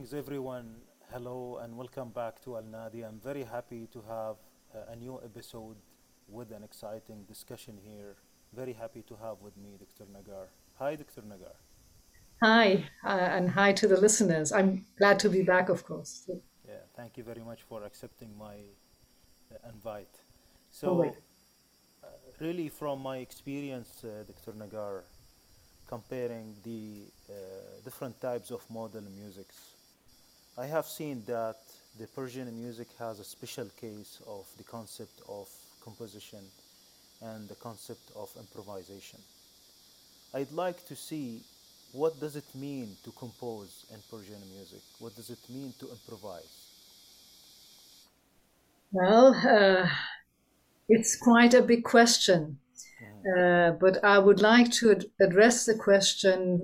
Greetings, everyone. Hello, and welcome back to Al Nadi. I'm very happy to have a new episode with an exciting discussion here. Very happy to have with me Dr. Nagar. Hi, Dr. Nagar. Hi, and hi to the listeners. I'm glad to be back, of course. Yeah, thank you very much for accepting my invite. Oh, wait. So, really, from my experience, Dr. Nagar, comparing the different types of modern musics, I have seen that the Persian music has a special case of the concept of composition and the concept of improvisation. I'd like to see what does it mean to compose in Persian music? What does it mean to improvise? Well, it's quite a big question, Mhm. but I would like to address the question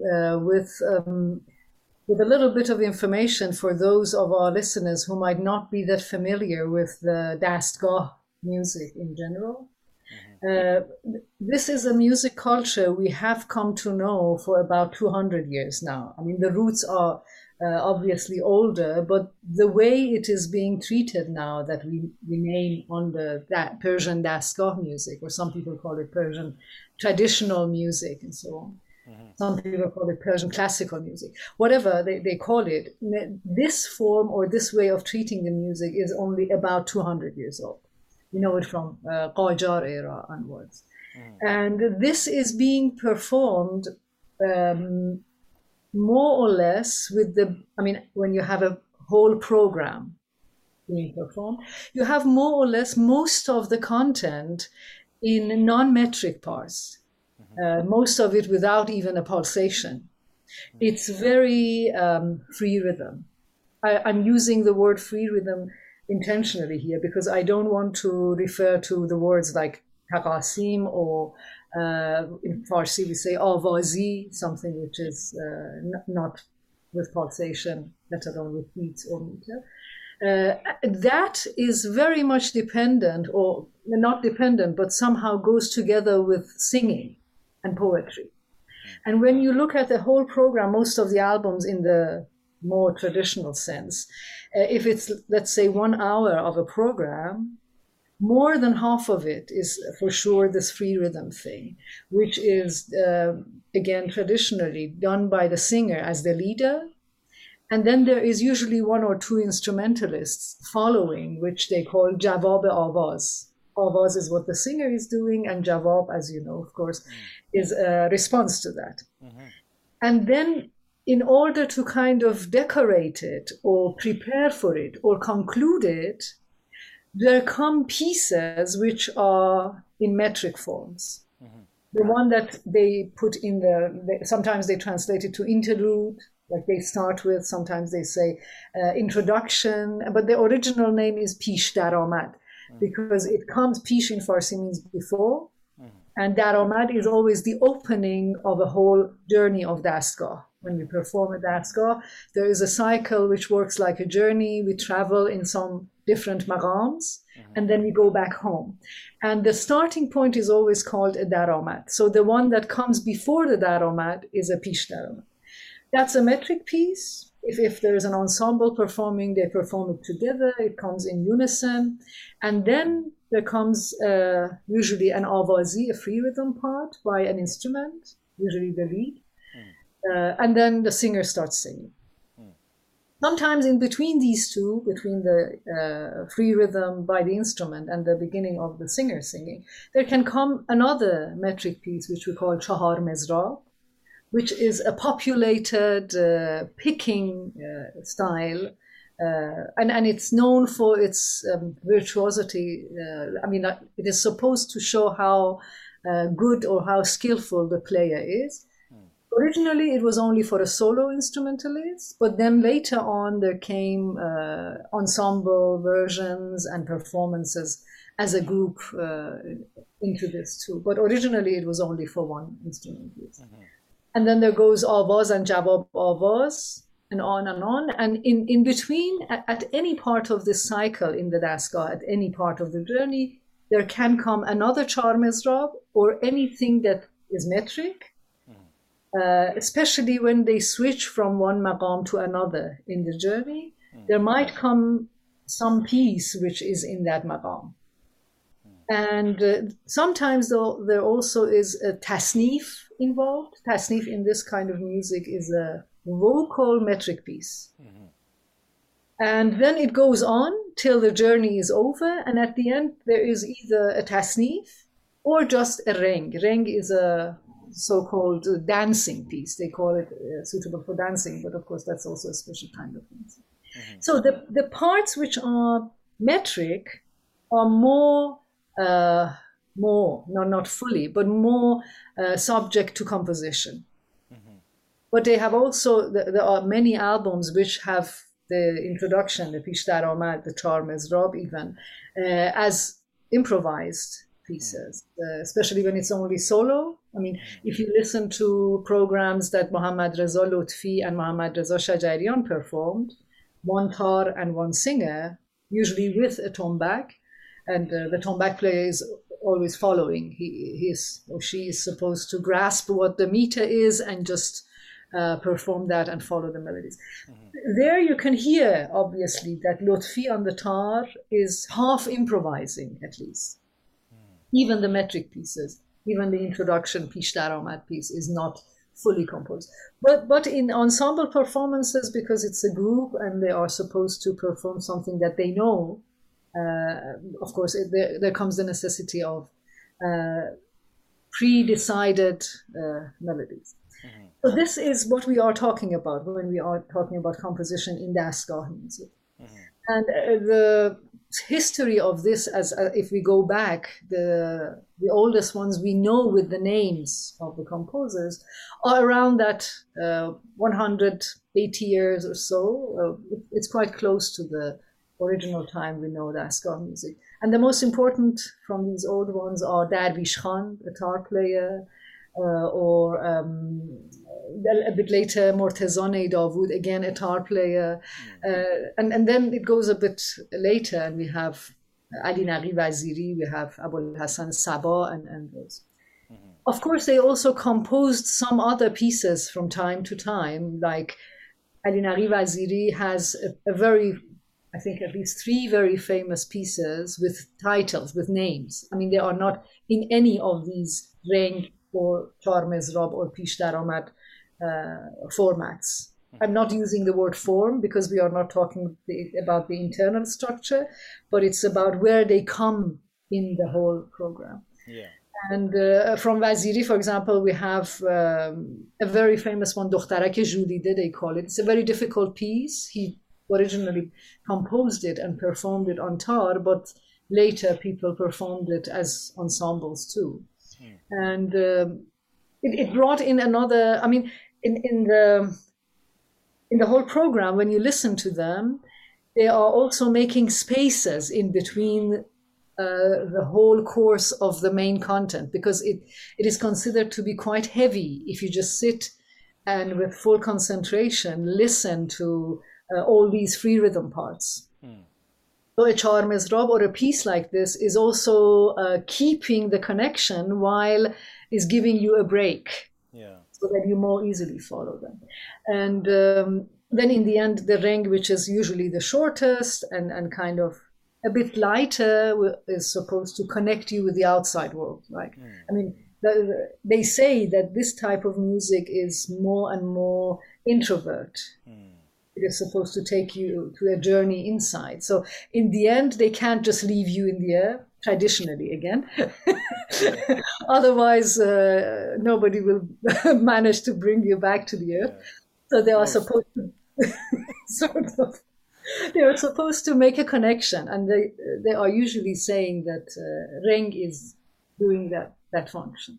with a little bit of information for those of our listeners who might not be that familiar with the Dastgah music in general. Mhm. Uh, this is a music culture we have come to know for about 200 years now. I mean, the roots are obviously older, but the way it is being treated now that we name on that Persian Dastgah music, or some people call it Persian traditional music and so on. Mhm. Some people call it Persian classical music. Whatever they call it, this form or this way of treating the music is only about 200 years old. You know it from Qajar era onwards. Mhm. And this is being performed um, more or less with I mean, when you have a whole program being performed, you have more or less most of the content in non-metric parts, Mhm. most of it without even a pulsation. Mhm. It's very free rhythm. I'm using the word free rhythm intentionally here because I don't want to refer to the words like taqasim or in Farsi we say avazi, something which is not with pulsation, let alone with beats or meter. That is very much dependent, or not dependent, but somehow goes together with singing and poetry. And when you look at the whole program, most of the albums in the more traditional sense, if it's, let's say, 1 hour of a program, more than half of it is for sure this free rhythm thing, which is, again, traditionally done by the singer as the leader. And then there is usually one or two instrumentalists following, which they call Jawab Avaz. Avaz is what the singer is doing, and Jawab, as you know, of course, Mhm. is a response to that. Mhm. And then, in order to kind of decorate it or prepare for it or conclude it, there come pieces which are in metric forms. Mhm. The one that they put in sometimes they translate it to interlude, like they start with, sometimes they say introduction, but the original name is Pish Daramad Mhm. because it comes, Pish in Farsi means before, Mhm. and Daromad is always the opening of a whole journey of Dastgah. When we Mhm. perform a Dastgah, there is a cycle which works like a journey. We travel in some different maqams, Mhm. and then we go back home. And the starting point is always called a Daromad. So the one that comes before the Daromad is a Pish Daromad. That's a metric piece. If there is an ensemble performing, they perform it together. It comes in unison. And then there comes usually an avazi, a free rhythm part by an instrument, usually the lead. Mhm. And then the singer starts singing. Mhm. Sometimes in between these two, between the free rhythm by the instrument and the beginning of the singer singing, there can come another metric piece, which we call chahar mezra, which is a populated picking style. And it's known for its virtuosity. I mean, it is supposed to show how good or how skillful the player is. Mhm. Originally, it was only for a solo instrumentalist, but then later on, there came ensemble versions and performances as a group into this too. But originally, it was only for one instrumentalist. Mhm. And then there goes Avaz and Jawab Avaz, and on and on. And in between, at any part of this cycle in the Daska, at any part of the journey, there can come another Char Mizrab or anything that is metric, Mhm. especially when they switch from one maqam to another in the journey, there might come some piece which is in that maqam. And sometimes though, there also is a tasnif involved. Tasnif in this kind of music is a vocal metric piece. And then it goes on till the journey is over. And at the end, there is either a tasnif or just a reng. Reng is a so-called dancing piece. They call it suitable for dancing, but of course, that's also a special kind of music. So the parts which are metric are more, not fully, but more subject to composition. But they have also, there are many albums which have the introduction, the Pish Dar Amad, the Char Mezrab even, as improvised pieces, especially when it's only solo. I mean, if you listen to programs that Mohammad Reza Lutfi and Mohammad Reza Shajarian performed, one tar and one singer, usually with a tombak, and the tombak player is always following. He is or she is supposed to grasp what the meter is and just perform that and follow the melodies. There you can hear, obviously, that Lutfi on the tar is half improvising, at least. Even the metric pieces, even the introduction, Pish Dar Amad piece, is not fully composed. But in ensemble performances, because it's a group and they are supposed to perform something that they know, of course, there comes the necessity of pre-decided melodies. So this is what we are talking about when we are talking about composition in Dastgah music. And the history of this, as if we go back, the oldest ones we know with the names of the composers are around that 180 years or so. It's quite close to the original time we know Dastgah music. And the most important from these old ones are Darwish Khan, a tar player, or a bit later Mortezane Dawood, again a tar player, and then it goes a bit later and we have Ali Naqi Waziri, we have Abul Hassan Sabah and those. Of course, they also composed some other pieces from time to time, like Ali Naqi Waziri has a very, I think at least 3 very famous pieces with titles, with names. I mean, they are not in any of these Reng or Char Mezrab or Pish Dar Amad formats. I'm not using the word form because we are not talking about the internal structure, but it's about where they come in the whole program. Yeah. And from Waziri, for example, we have a very famous one, Dokhtarak Joudide, they call it. It's a very difficult piece. He originally composed it and performed it on tar, but later people performed it as ensembles too. And it brought in another, I mean, in the whole program, when you listen to them, they are also making spaces in between the whole course of the main content, because it is considered to be quite heavy if you just sit and with full concentration listen to all these free rhythm parts. So a Char Mezrab or a piece like this is also keeping the connection while is giving you a break, so that you more easily follow them. And then in the end, the Reng, which is usually the shortest and kind of a bit lighter, is supposed to connect you with the outside world, right? I mean, they say that this type of music is more and more introvert. It is supposed to take you to a journey inside. So in the end, they can't just leave you in the air, traditionally again. Otherwise, nobody will manage to bring you back to the earth. So they are supposed to they are supposed to make a connection, and they are usually saying that Reng is doing that function.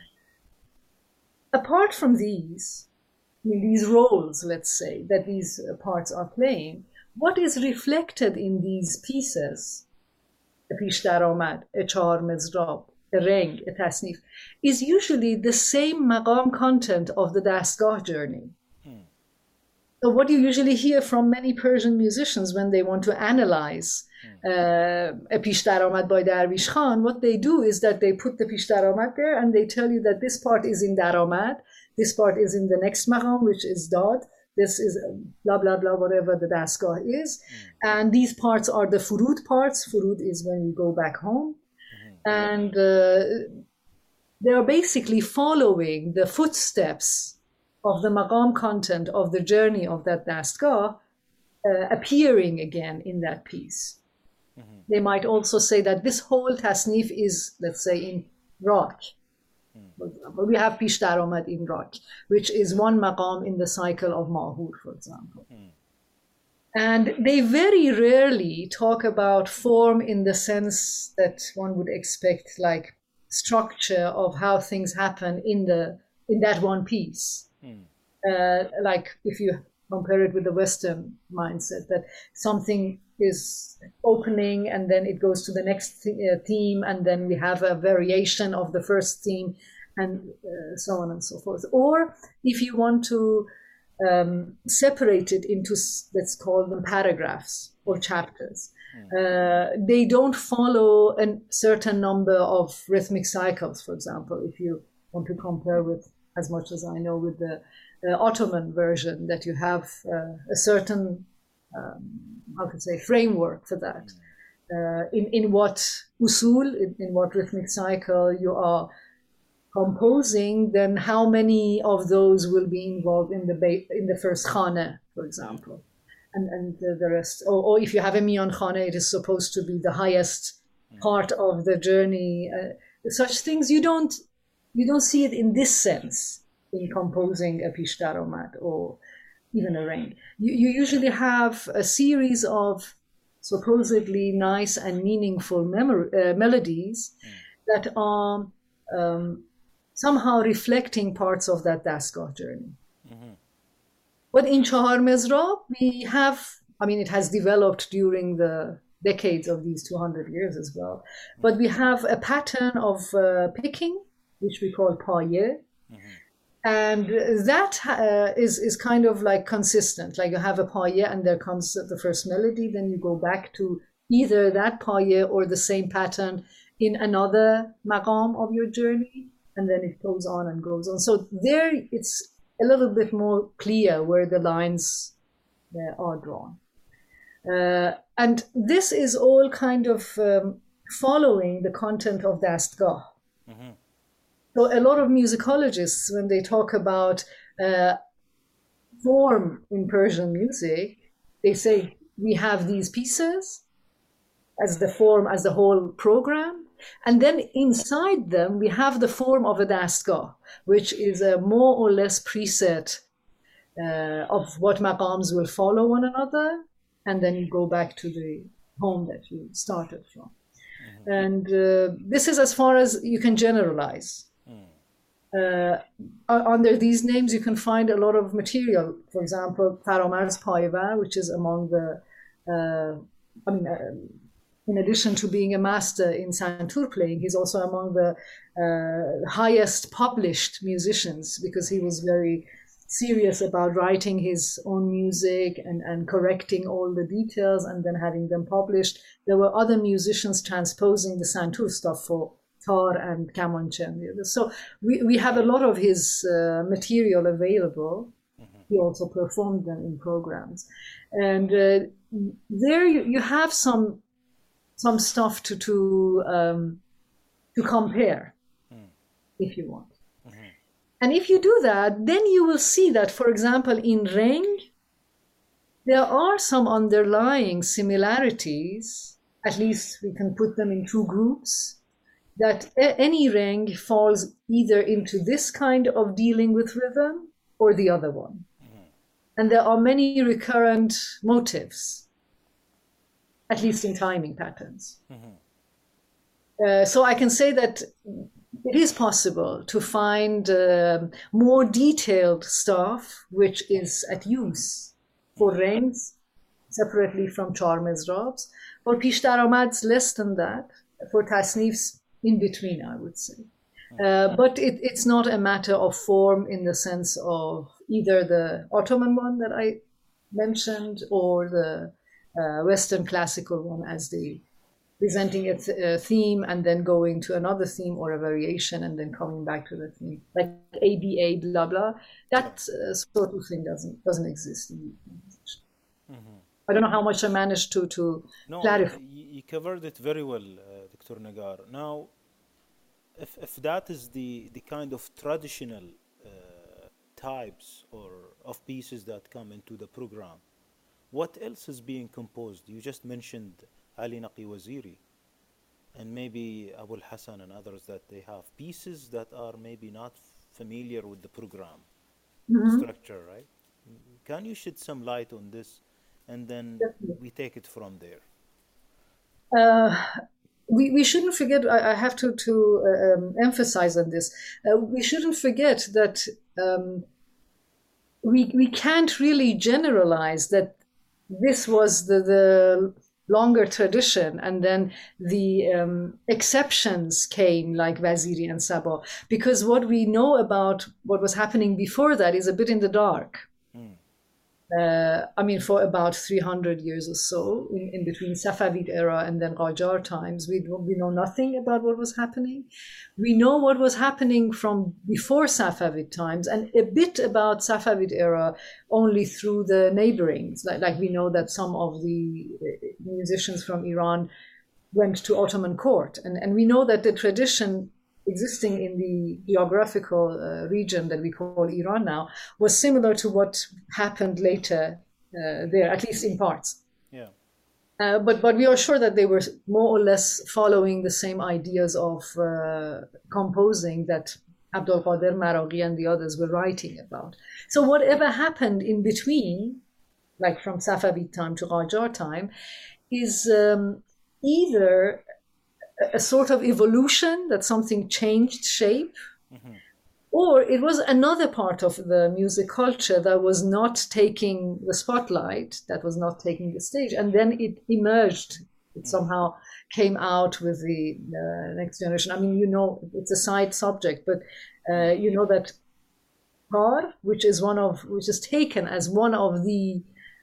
Apart from these, I mean, these roles, let's say, that these parts are playing, what is reflected in these pieces, a Pish Dar Amad, a Char Mezrab, a Reng, a Tasnif, is usually the same maqam content of the Dastgah journey. So what you usually hear from many Persian musicians when they want to analyze a Pish Daromad by Darvish Khan, what they do is that they put the Pish Daromad there and they tell you that this part is in Daromad, this part is in the next maqam, which is Dad, this is blah, blah, blah, whatever the Dastgah is. And these parts are the Furud parts. Furud is when you go back home. And they are basically following the footsteps of the maqam content of the journey of that Dastgah appearing again in that piece. They might also say that this whole tasnif is, let's say, in Rock. For example, we have Pish Daromad in Rock, which is one maqam in the cycle of Mahur, for example. And they very rarely talk about form in the sense that one would expect, like structure of how things happen in that one piece. Like if you compare it with the Western mindset, that something is opening and then it goes to the next theme, and then we have a variation of the first theme, and so on and so forth. Or if you want to separate it into, let's call them paragraphs or chapters, they don't follow a certain number of rhythmic cycles, for example, if you want to compare with, as much as I know, with the Ottoman version, that you have a certain how to say framework for that. In what usul, in what rhythmic cycle you are composing, then how many of those will be involved in the first khana, for example, and the rest. Or if you have a mian khana, it is supposed to be the highest part of the journey. Such things you don't see it in this sense in composing a Pish Daromad or even a ring. You usually have a series of supposedly nice and meaningful melodies that are somehow reflecting parts of that Dastgah journey. But in Chahar Mezrab, we have, I mean, it has developed during the decades of these 200 years as well, but we have a pattern of picking, which we call paye. And that is kind of like consistent. Like you have a paye and there comes the first melody, then you go back to either that paye or the same pattern in another maqam of your journey, and then it goes on and goes on. So there it's a little bit more clear where the lines are drawn. And this is all kind of following the content of Dastgah. So a lot of musicologists, when they talk about form in Persian music, they say we have these pieces as the form, as the whole program, and then inside them we have the form of a Dastgah, which is a more or less preset of what maqams will follow one another, and then you go back to the home that you started from. And this is as far as you can generalize. Under these names, you can find a lot of material. For example, Faramarz Payvar, which is among the, in addition to being a master in santur playing, he's also among the highest published musicians, because he was very serious about writing his own music and correcting all the details and then having them published. There were other musicians transposing the santur stuff for tar and kamanche. So we have a lot of his material available. He also performed them in programs. And there you have some stuff to compare, if you want. And if you do that, then you will see that, for example, in Reng, there are some underlying similarities, at least we can put them in two groups, that any Reng falls either into this kind of dealing with rhythm or the other one. And there are many recurrent motives, at least in timing patterns. So I can say that it is possible to find more detailed stuff which is at use for Rengs, separately from Chahar Mezrabs. For Pish Daromads, less than that. For Tasnifs, in between, I would say. But it's not a matter of form in the sense of either the Ottoman one that I mentioned, or the Western classical one as the presenting a theme and then going to another theme or a variation and then coming back to the theme, like ABA, blah blah. That sort of thing doesn't exist in European musician. I don't know how much I managed to No, clarify. you covered it very well, Dr. Nagar. Now, if that is the kind of traditional types or of pieces that come into the program, what else is being composed? You just mentioned Ali Naqi Waziri and maybe Abul Hassan and others that they have pieces that are maybe not familiar with the program Mhm. structure, right? Can you shed some light on this and then we take it from there? Uh, we shouldn't forget, I have to emphasize on this. We shouldn't forget that we can't really generalize that this was the longer tradition, and then the exceptions came like Waziri and Sabo, because what we know about what was happening before that is a bit in the dark. I mean, for about 300 years or so, in between Safavid era and then Qajar times, we know nothing about what was happening. We know what was happening from before Safavid times and a bit about Safavid era only through the neighborings. Like we know that some of the musicians from Iran went to Ottoman court. And we know that the tradition existing in the geographical region that we call Iran now was similar to what happened later there, at least in parts. Yeah. But we are sure that they were more or less following the same ideas of composing that Abdul Qadir Maraghi and the others were writing about. So whatever happened in between, like from Safavid time to Qajar time, is either a sort of evolution, that something changed shape, or it was another part of the music culture that was not taking the spotlight, that was not taking the stage, and then it emerged. It somehow came out with the next generation. I mean, it's a side subject, but you know that tar, which is taken as one of the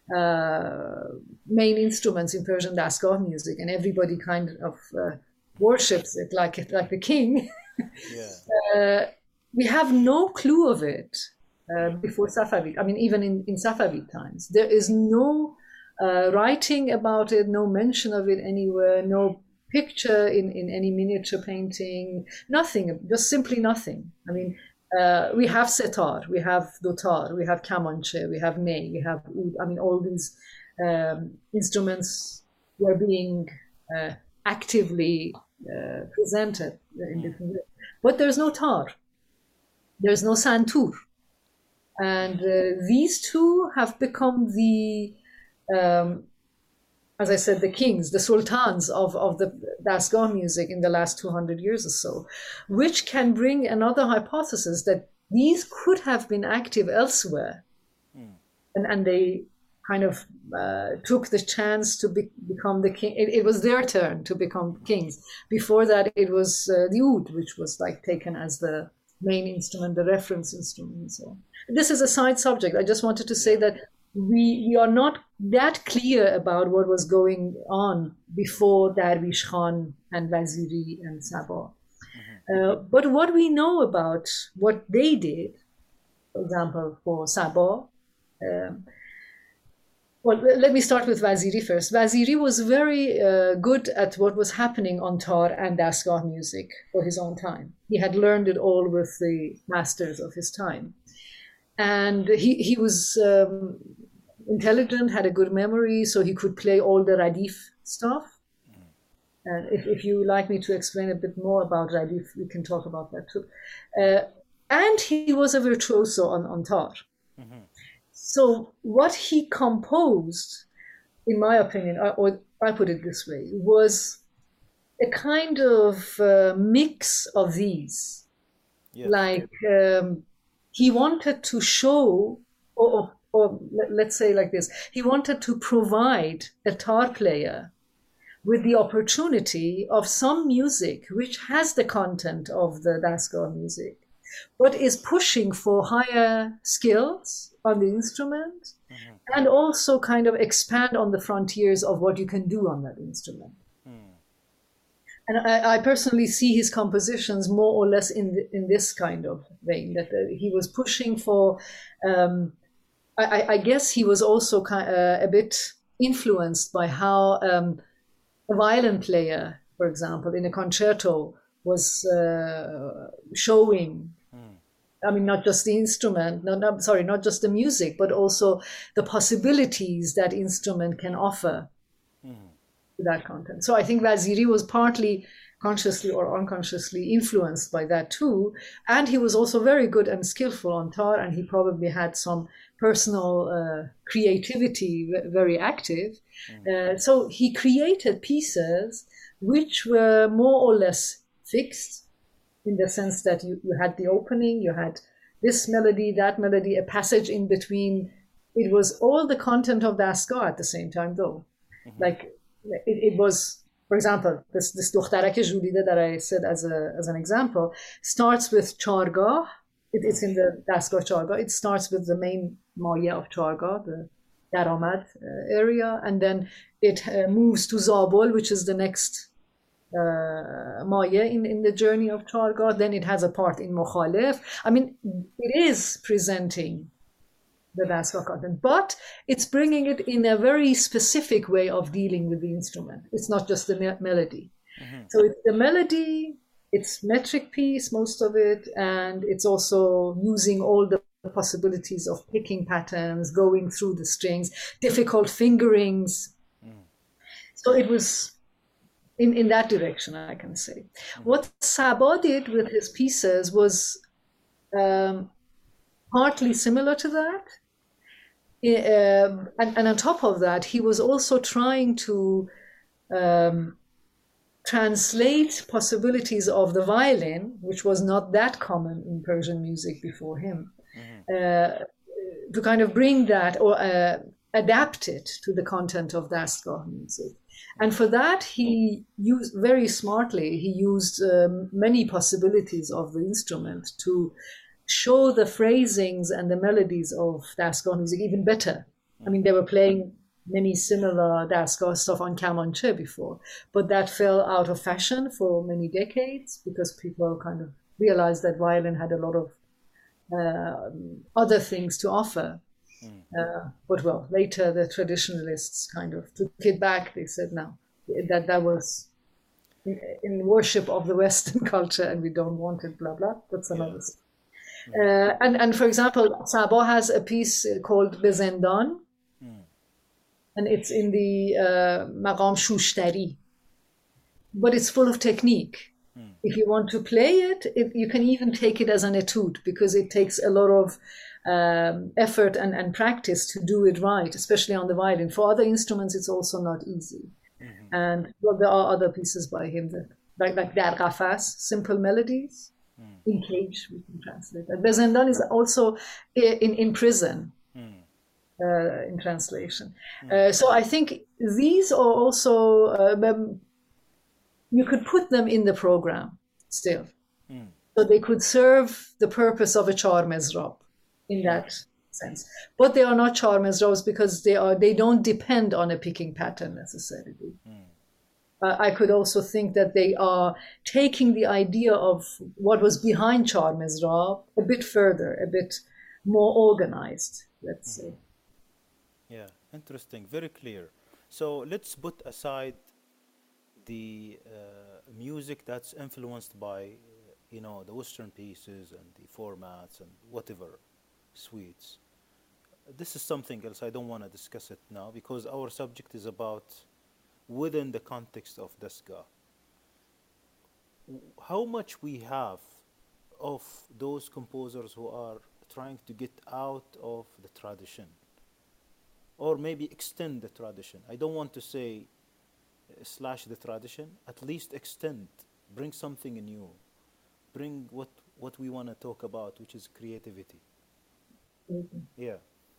main instruments in Persian Dasgah music, and everybody kind of worships it like the king. Yeah. We have no clue of it before Safavid. I mean, even in Safavid times, there is no writing about it, no mention of it anywhere, no picture in any miniature painting, nothing, just simply nothing. I mean, we have setar, we have dotar, we have kamanche, we have ney, we have oud. I mean, all these instruments were being actively presented in different ways. But there's no tar, there's no santur. And these two have become the, as I said, the kings, the sultans of the Dasgah music in the last 200 years or so, which can bring another hypothesis that these could have been active elsewhere. And they kind of took the chance to become the king. It was their turn to become kings. Before that, it was the oud, which was like taken as the main instrument, the reference instrument, and so on. This is a side subject. I just wanted to say that we are not that clear about what was going on before Darwish Khan and Waziri and Sabah. But what we know about what they did, for example, for Sabah, well, let me start with Waziri first. Waziri was very good at what was happening on tar and Dasgah music for his own time. He had learned it all with the masters of his time. And he was intelligent, had a good memory, so he could play all the Radif stuff. And if you like me to explain a bit more about Radif, we can talk about that too. And he was a virtuoso on tar. So what he composed, in my opinion, or I put it this way, was a kind of mix of these. Yes. Like he wanted to show, or let's say like this, he wanted to provide a tar player with the opportunity of some music which has the content of the Dasgah music, but is pushing for higher skills on the instrument and also kind of expand on the frontiers of what you can do on that instrument. And I personally see his compositions more or less in this kind of vein, that he was pushing for. I guess he was also a bit influenced by how a violin player, for example, in a concerto was showing. I mean, not just the instrument, not just the music, but also the possibilities that instrument can offer to that content. So I think Vaziri was partly consciously or unconsciously influenced by that too. And he was also very good and skillful on tar, and he probably had some personal creativity, very active. So he created pieces which were more or less fixed, in the sense that you had the opening, you had this melody, that melody, a passage in between. It was all the content of Dastgah at the same time, though. Like it was, for example, this Dukhtarake Julide that I said as an example starts with Chargah. It's in the Dastgah Chargah. It starts with the main Maya of Chargah, the Daramad area, and then it moves to Zabul, which is the next Maya in the journey of Chargah. Then it has a part in Mukhalif. I mean, it is presenting the Dastgah content, but it's bringing it in a very specific way of dealing with the instrument. It's not just the melody. So it's the melody, it's metric piece, most of it, and it's also using all the possibilities of picking patterns, going through the strings, difficult fingerings. So it was in that direction, I can say. What Sabah did with his pieces was partly similar to that. And on top of that, he was also trying to translate possibilities of the violin, which was not that common in Persian music before him, to kind of bring that or adapt it to the content of Dastgah music. And for that, he used very smartly, he used many possibilities of the instrument to show the phrasings and the melodies of Dastgah music even better. I mean, they were playing many similar Dastgah stuff on kamanche before, but that fell out of fashion for many decades because people kind of realized that violin had a lot of other things to offer. But well, later the traditionalists kind of took it back. They said, no, that was in worship of the Western culture and we don't want it, blah, blah. That's another stuff. And for example, Sabah has a piece called Bezendan, and it's in the Maqam Shushtari, but it's full of technique. If you want to play it, you can even take it as an etude because it takes a lot of effort and practice to do it right, especially on the violin. For other instruments, it's also not easy. And well, there are other pieces by him that, like Dar Qafas, simple melodies. In cage, we can translate that. Bezendan is also in prison, in translation. So I think these are also, you could put them in the program still. So they could serve the purpose of a char mezrab in that sense. But they are not char mezrabs because they don't depend on a picking pattern necessarily. I could also think that they are taking the idea of what was behind Char Mezrab a bit further, a bit more organized, let's say. Yeah, interesting, very clear. So let's put aside the music that's influenced by, the Western pieces and the formats and whatever, suites. This is something else. I don't want to discuss it now because our subject is about within the context of Dastgah. How much we have of those composers who are trying to get out of the tradition or maybe extend the tradition. I don't want to say slash the tradition, at least extend, bring something new, bring what we want to talk about, which is creativity. Yeah.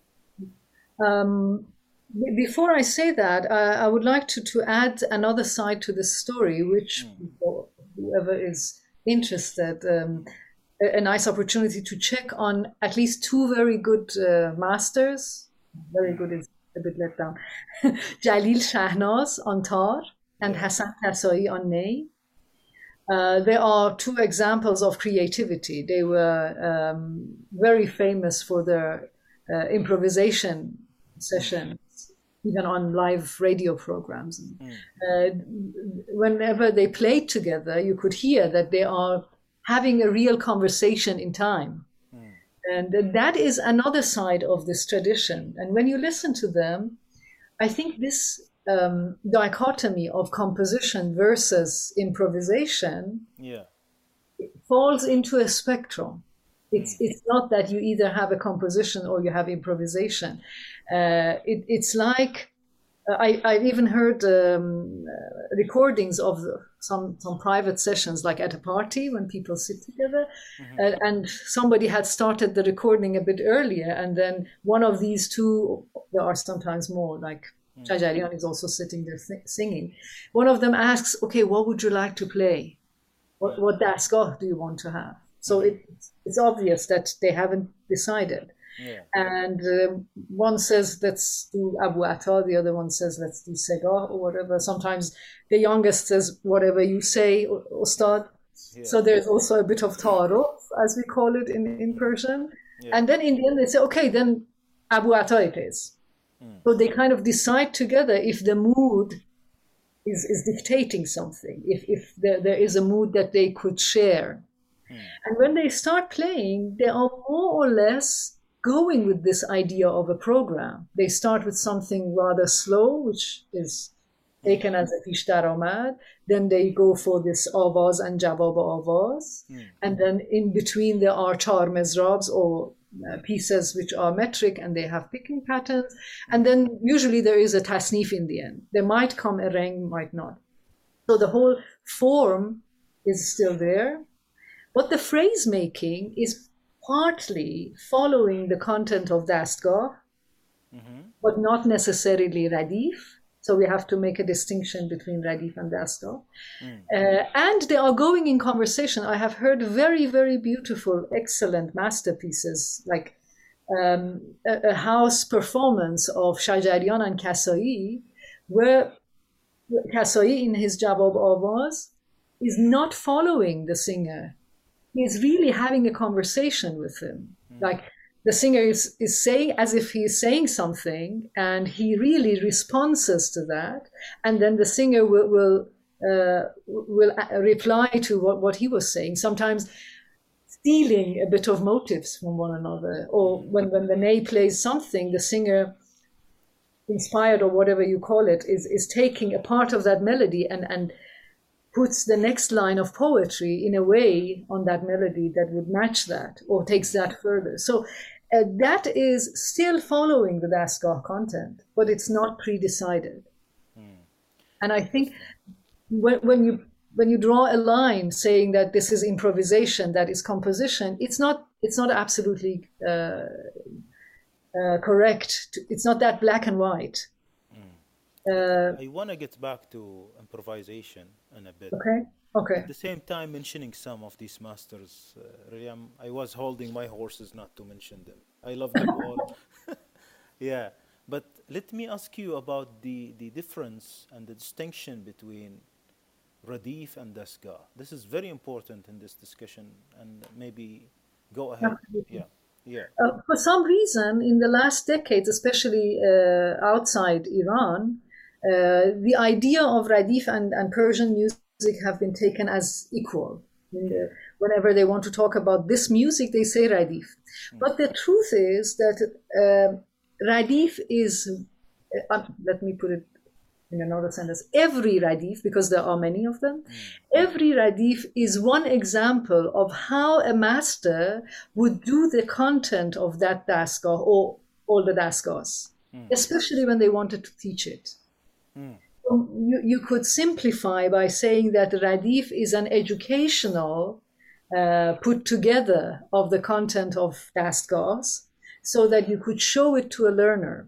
Before I say that, I would like to add another side to this story, which whoever is interested, a nice opportunity to check on at least two very good masters. Very good is a bit let down. Jalil Shahnaz on tar and Hassan Kasai on ney. There are two examples of creativity. They were very famous for their improvisation sessions, even on live radio programs. Whenever they played together, you could hear that they are having a real conversation in time. And that is another side of this tradition. And when you listen to them, I think this dichotomy of composition versus improvisation falls into a spectrum. It's not that you either have a composition or you have improvisation. It's like I've even heard recordings of some private sessions, like at a party when people sit together, and somebody had started the recording a bit earlier, and then one of these two, there are sometimes more, like Shajarian is also sitting there singing. One of them asks, "Okay, what would you like to play? What dastgah do you want to have?" So it's obvious that they haven't decided. And one says, let's do Abu Atta, the other one says, let's do Segah or whatever. Sometimes the youngest says, whatever you say, Ustad. So there's also a bit of ta'aruf, as we call it in Persian. And then in the end they say, okay, then Abu Atta it is. So they kind of decide together if the mood is dictating something, if there is a mood that they could share. And when they start playing, they are more or less going with this idea of a program. They start with something rather slow, which is taken as a pish daramad. Then they go for this avaz and jawab avaz. And then in between there are char mezrabs, or pieces which are metric and they have picking patterns. And then usually there is a tasnif in the end. There might come a reng, might not. So the whole form is still there. But the phrase making is partly following the content of dastgah, but not necessarily radif. So we have to make a distinction between radif and dastgah. And they are going in conversation. I have heard very, very beautiful, excellent masterpieces, like a house performance of Shajarian and Kasai, where Kasai in his Jawab Awaz is not following the singer. He's really having a conversation with him. Like the singer is saying, as if he's saying something, and he really responds to that. And then the singer will reply to what he was saying, sometimes stealing a bit of motives from one another. Or when the ney plays something, the singer, inspired or whatever you call it, is taking a part of that melody and puts the next line of poetry in a way on that melody that would match that, or takes that further. So that is still following the dastgah content, but it's not pre-decided. And I think when you draw a line saying that this is improvisation, that is composition, it's not absolutely correct. It's not that black and white. I want to get back to improvisation in a bit. Okay. At the same time, mentioning some of these masters, really, I was holding my horses not to mention them. I love them all. Yeah, but let me ask you about the difference and the distinction between radif and dastgah. This is very important in this discussion, and maybe go ahead. Yeah. For some reason, in the last decades, especially outside Iran, the idea of radif and Persian music have been taken as equal. Whenever they want to talk about this music, they say radif. But the truth is that radif is, let me put it in another sentence, every radif, because there are many of them, every radif is one example of how a master would do the content of that dastgah or all the dastgahs, especially when they wanted to teach it. So you could simplify by saying that radif is an educational put together of the content of dastgahs so that you could show it to a learner.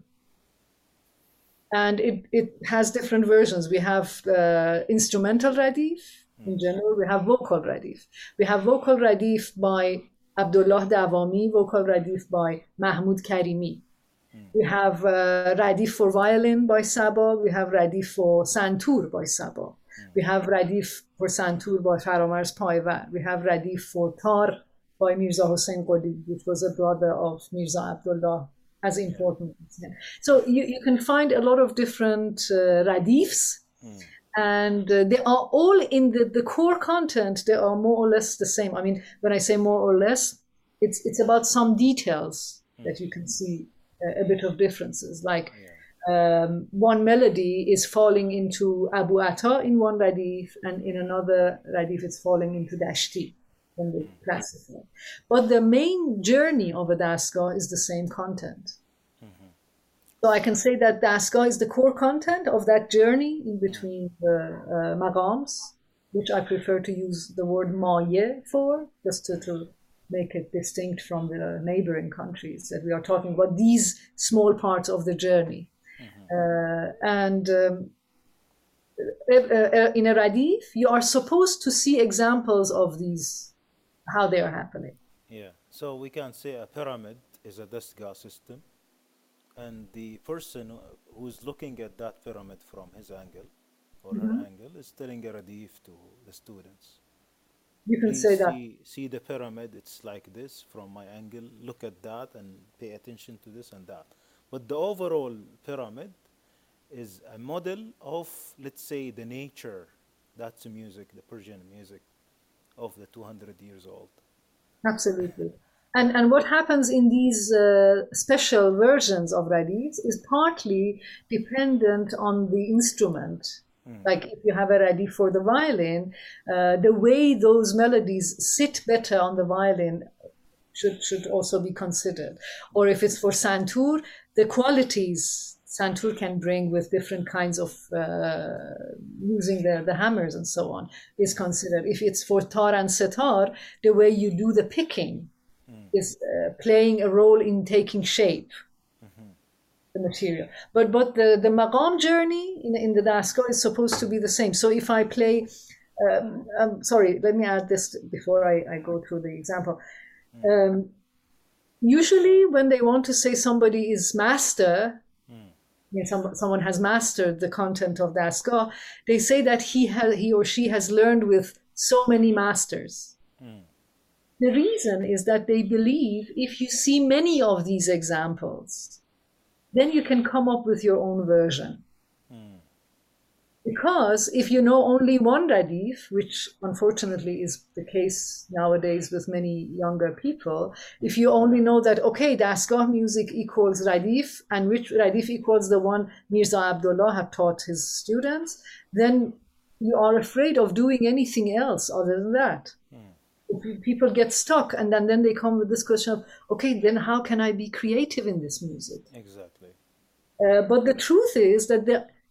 And it has different versions. We have instrumental radif, In general, we have vocal radif. We have vocal radif by Abdullah Dawami, vocal radif by Mahmoud Karimi. We have radif for violin by Sabah. We have radif for santur by Sabah. We have radif for santur by Faramars Paivar. We have radif for tar by Mirza Hossein Qodi, which was a brother of Mirza Abdullah, as important as him. So you can find a lot of different radifs, and they are all in the core content. They are more or less the same. I mean, when I say more or less, it's about some details that you can see a bit of differences. Like one melody is falling into Abu Atta in one radif, and in another radif it's falling into Dashti when they classify. But the main journey of a dastgah is the same content. So I can say that dastgah is the core content of that journey in between the maqams, which I prefer to use the word maye for, just to make it distinct from the neighboring countries that we are talking about, these small parts of the journey. In a radif, you are supposed to see examples of these, how they are happening. Yeah, so we can say a pyramid is a dastgah system, and the person who's looking at that pyramid from his angle or her angle is telling a radif to the students. You can Please say that. see the pyramid, it's like this from my angle, look at that and pay attention to this and that. But the overall pyramid is a model of, let's say, the nature, that's the music, the Persian music of the 200 years old. Absolutely. And what happens in these special versions of radifs is partly dependent on the instrument. Like if you have a radif for the violin, the way those melodies sit better on the violin should also be considered. Or if it's for santur, the qualities santur can bring with different kinds of using the hammers and so on is considered. If it's for tar and setar, the way you do the picking is playing a role in taking shape, the material. But the maqam journey in the dastgah is supposed to be the same. So if I play, sorry, let me add this before I go through the example. Usually when they want to say somebody is master, someone has mastered the content of dastgah, they say that he or she has learned with so many masters. The reason is that they believe if you see many of these examples, then you can come up with your own version. Because if you know only one radif, which unfortunately is the case nowadays with many younger people, if you only know that, okay, dastgah music equals radif, and which radif equals the one Mirza Abdullah have taught his students, then you are afraid of doing anything else other than that. People get stuck, and then they come with this question of, okay, then how can I be creative in this music? Exactly. But the truth is that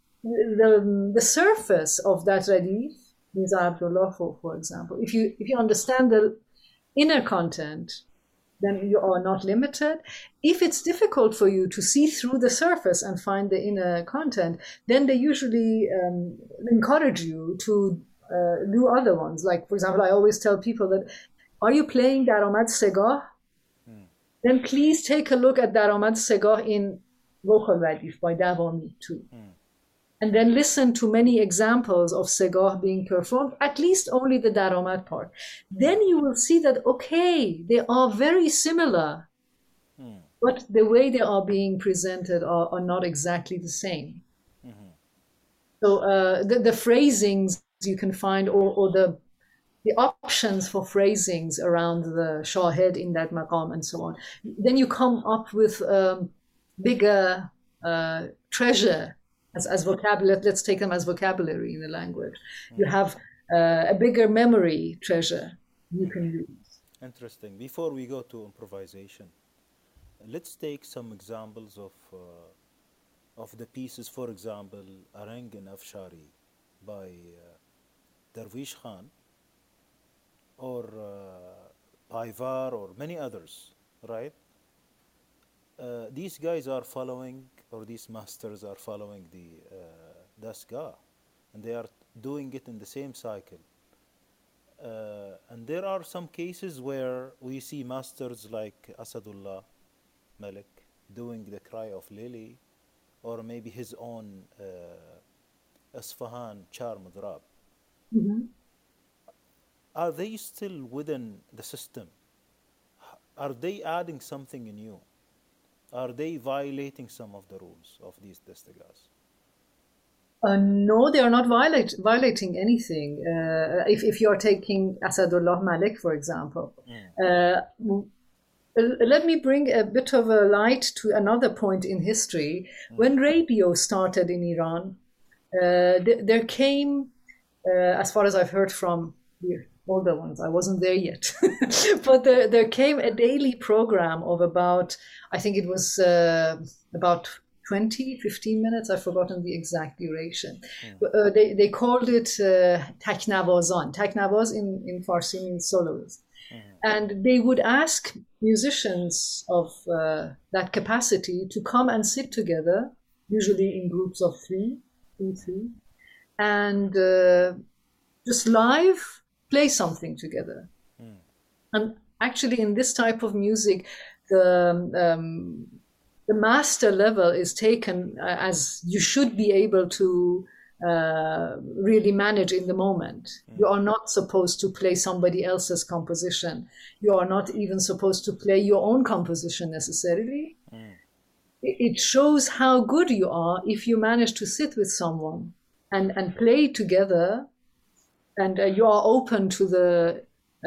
the surface of that radif, Mirza Abdullah, for example, if you understand the inner content, then you are not limited. If it's difficult for you to see through the surface and find the inner content, then they usually encourage you to do other ones. Like, for example, I always tell people that, are you playing Daramad Segah? Then please take a look at Daramad Segah in vocal radif by Dawami too. And then listen to many examples of segah being performed, at least only the daramad part. Then you will see that, okay, they are very similar, but the way they are being presented are not exactly the same. So the phrasings you can find, or the options for phrasings around the shahed in that maqam and so on, then you come up with bigger treasure as vocabulary. Let's take them as vocabulary in the language. You have a bigger memory treasure you can use. Interesting. Before we go to improvisation, let's take some examples of the pieces. For example, Arang and Afshari by Darwish Khan, or Paivar, or many others, right? These guys are following, or these masters are following the dastgah, and they are doing it in the same cycle. And there are some cases where we see masters like Asadullah Malik doing the Cry of Lily, or maybe his own Isfahan Char Madrab. Mhm. Are they still within the system? Are they adding something new? Are they violating some of the rules of these destagas? No, they are not violating anything. If you're taking Asadullah Malik, for example, let me bring a bit of a light to another point in history. When radio started in Iran, there came, as far as I've heard from the older ones, I wasn't there yet, but there came a daily program of about, I think it was about 15 minutes. I've forgotten the exact duration. They called it Taknavazan. Taknavaz in Farsi means soloist. And they would ask musicians of that capacity to come and sit together, usually in groups of three, and just live play something together. And actually, in this type of music, the master level is taken as you should be able to really manage in the moment. You are not supposed to play somebody else's composition. You are not even supposed to play your own composition necessarily. It shows how good you are if you manage to sit with someone and play together, and you are open to the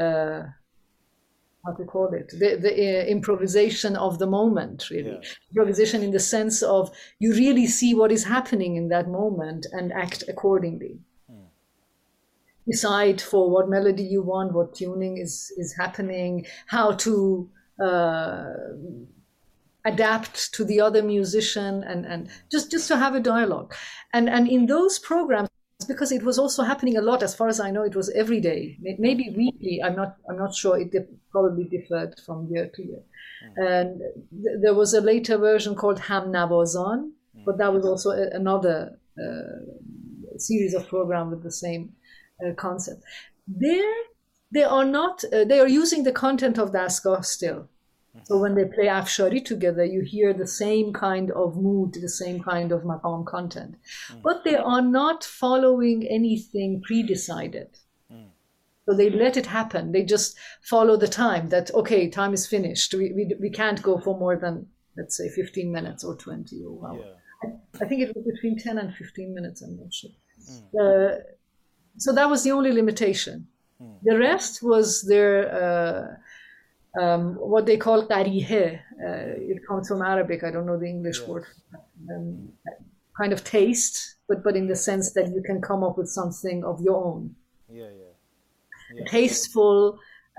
how to call it, the improvisation of the moment, really. Yeah. Improvisation in the sense of you really see what is happening in that moment and act accordingly. Decide for what melody you want, what tuning is happening, how to adapt to the other musician, and just to have a dialogue. And in those programs, because it was also happening a lot, as far as I know, it was every day, maybe weekly. I'm not sure. It probably differed from year to year. And there was a later version called Ham Navazan, but that was also another series of programs with the same concept. They are using the content of Dastgah still. So when they play Afshari together, you hear the same kind of mood, the same kind of maqam content. But they are not following anything pre-decided. So they let it happen. They just follow the time that, okay, time is finished. We can't go for more than, let's say, 15 minutes or 20 or hour. Yeah. I think it was between 10 and 15 minutes, I'm not sure. So that was the only limitation. The rest was their... what they call tarihe. It comes from Arabic. I don't know the English word. Kind of taste, but in the sense that you can come up with something of your own. Yeah. Tasteful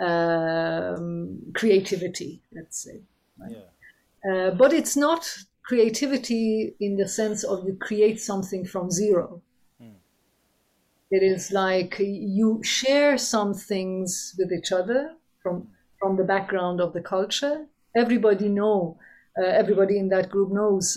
creativity, let's say. Right? But it's not creativity in the sense of you create something from zero. It is like you share some things with each other from the background of the culture. Everybody in that group knows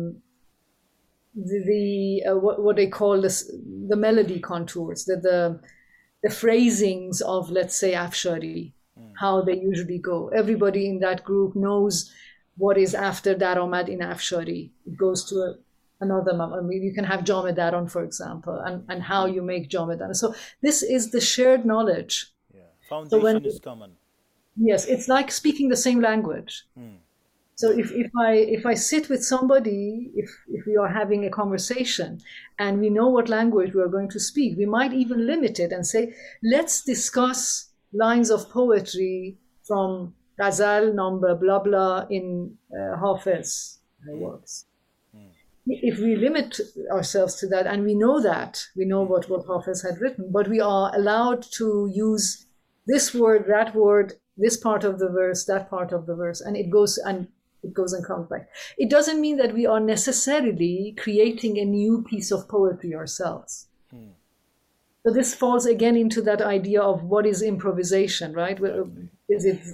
what they call the melody contours, the phrasings of, let's say, Afshari, how they usually go. Everybody in that group knows what is after Daromad in Afshari. It goes to another. I mean, you can have Jamedaron, for example, and how you make Jamedaron. So this is the shared knowledge. Foundation is common. Yes, it's like speaking the same language. So if I sit with somebody, if we are having a conversation and we know what language we are going to speak, we might even limit it and say, let's discuss lines of poetry from Ghazal number blah blah in Hafiz works. If we limit ourselves to that, and we know what Hafiz had written, but we are allowed to use this word, that word, this part of the verse, that part of the verse, and it goes and comes back. It doesn't mean that we are necessarily creating a new piece of poetry ourselves. So this falls again into that idea of what is improvisation, right? Is it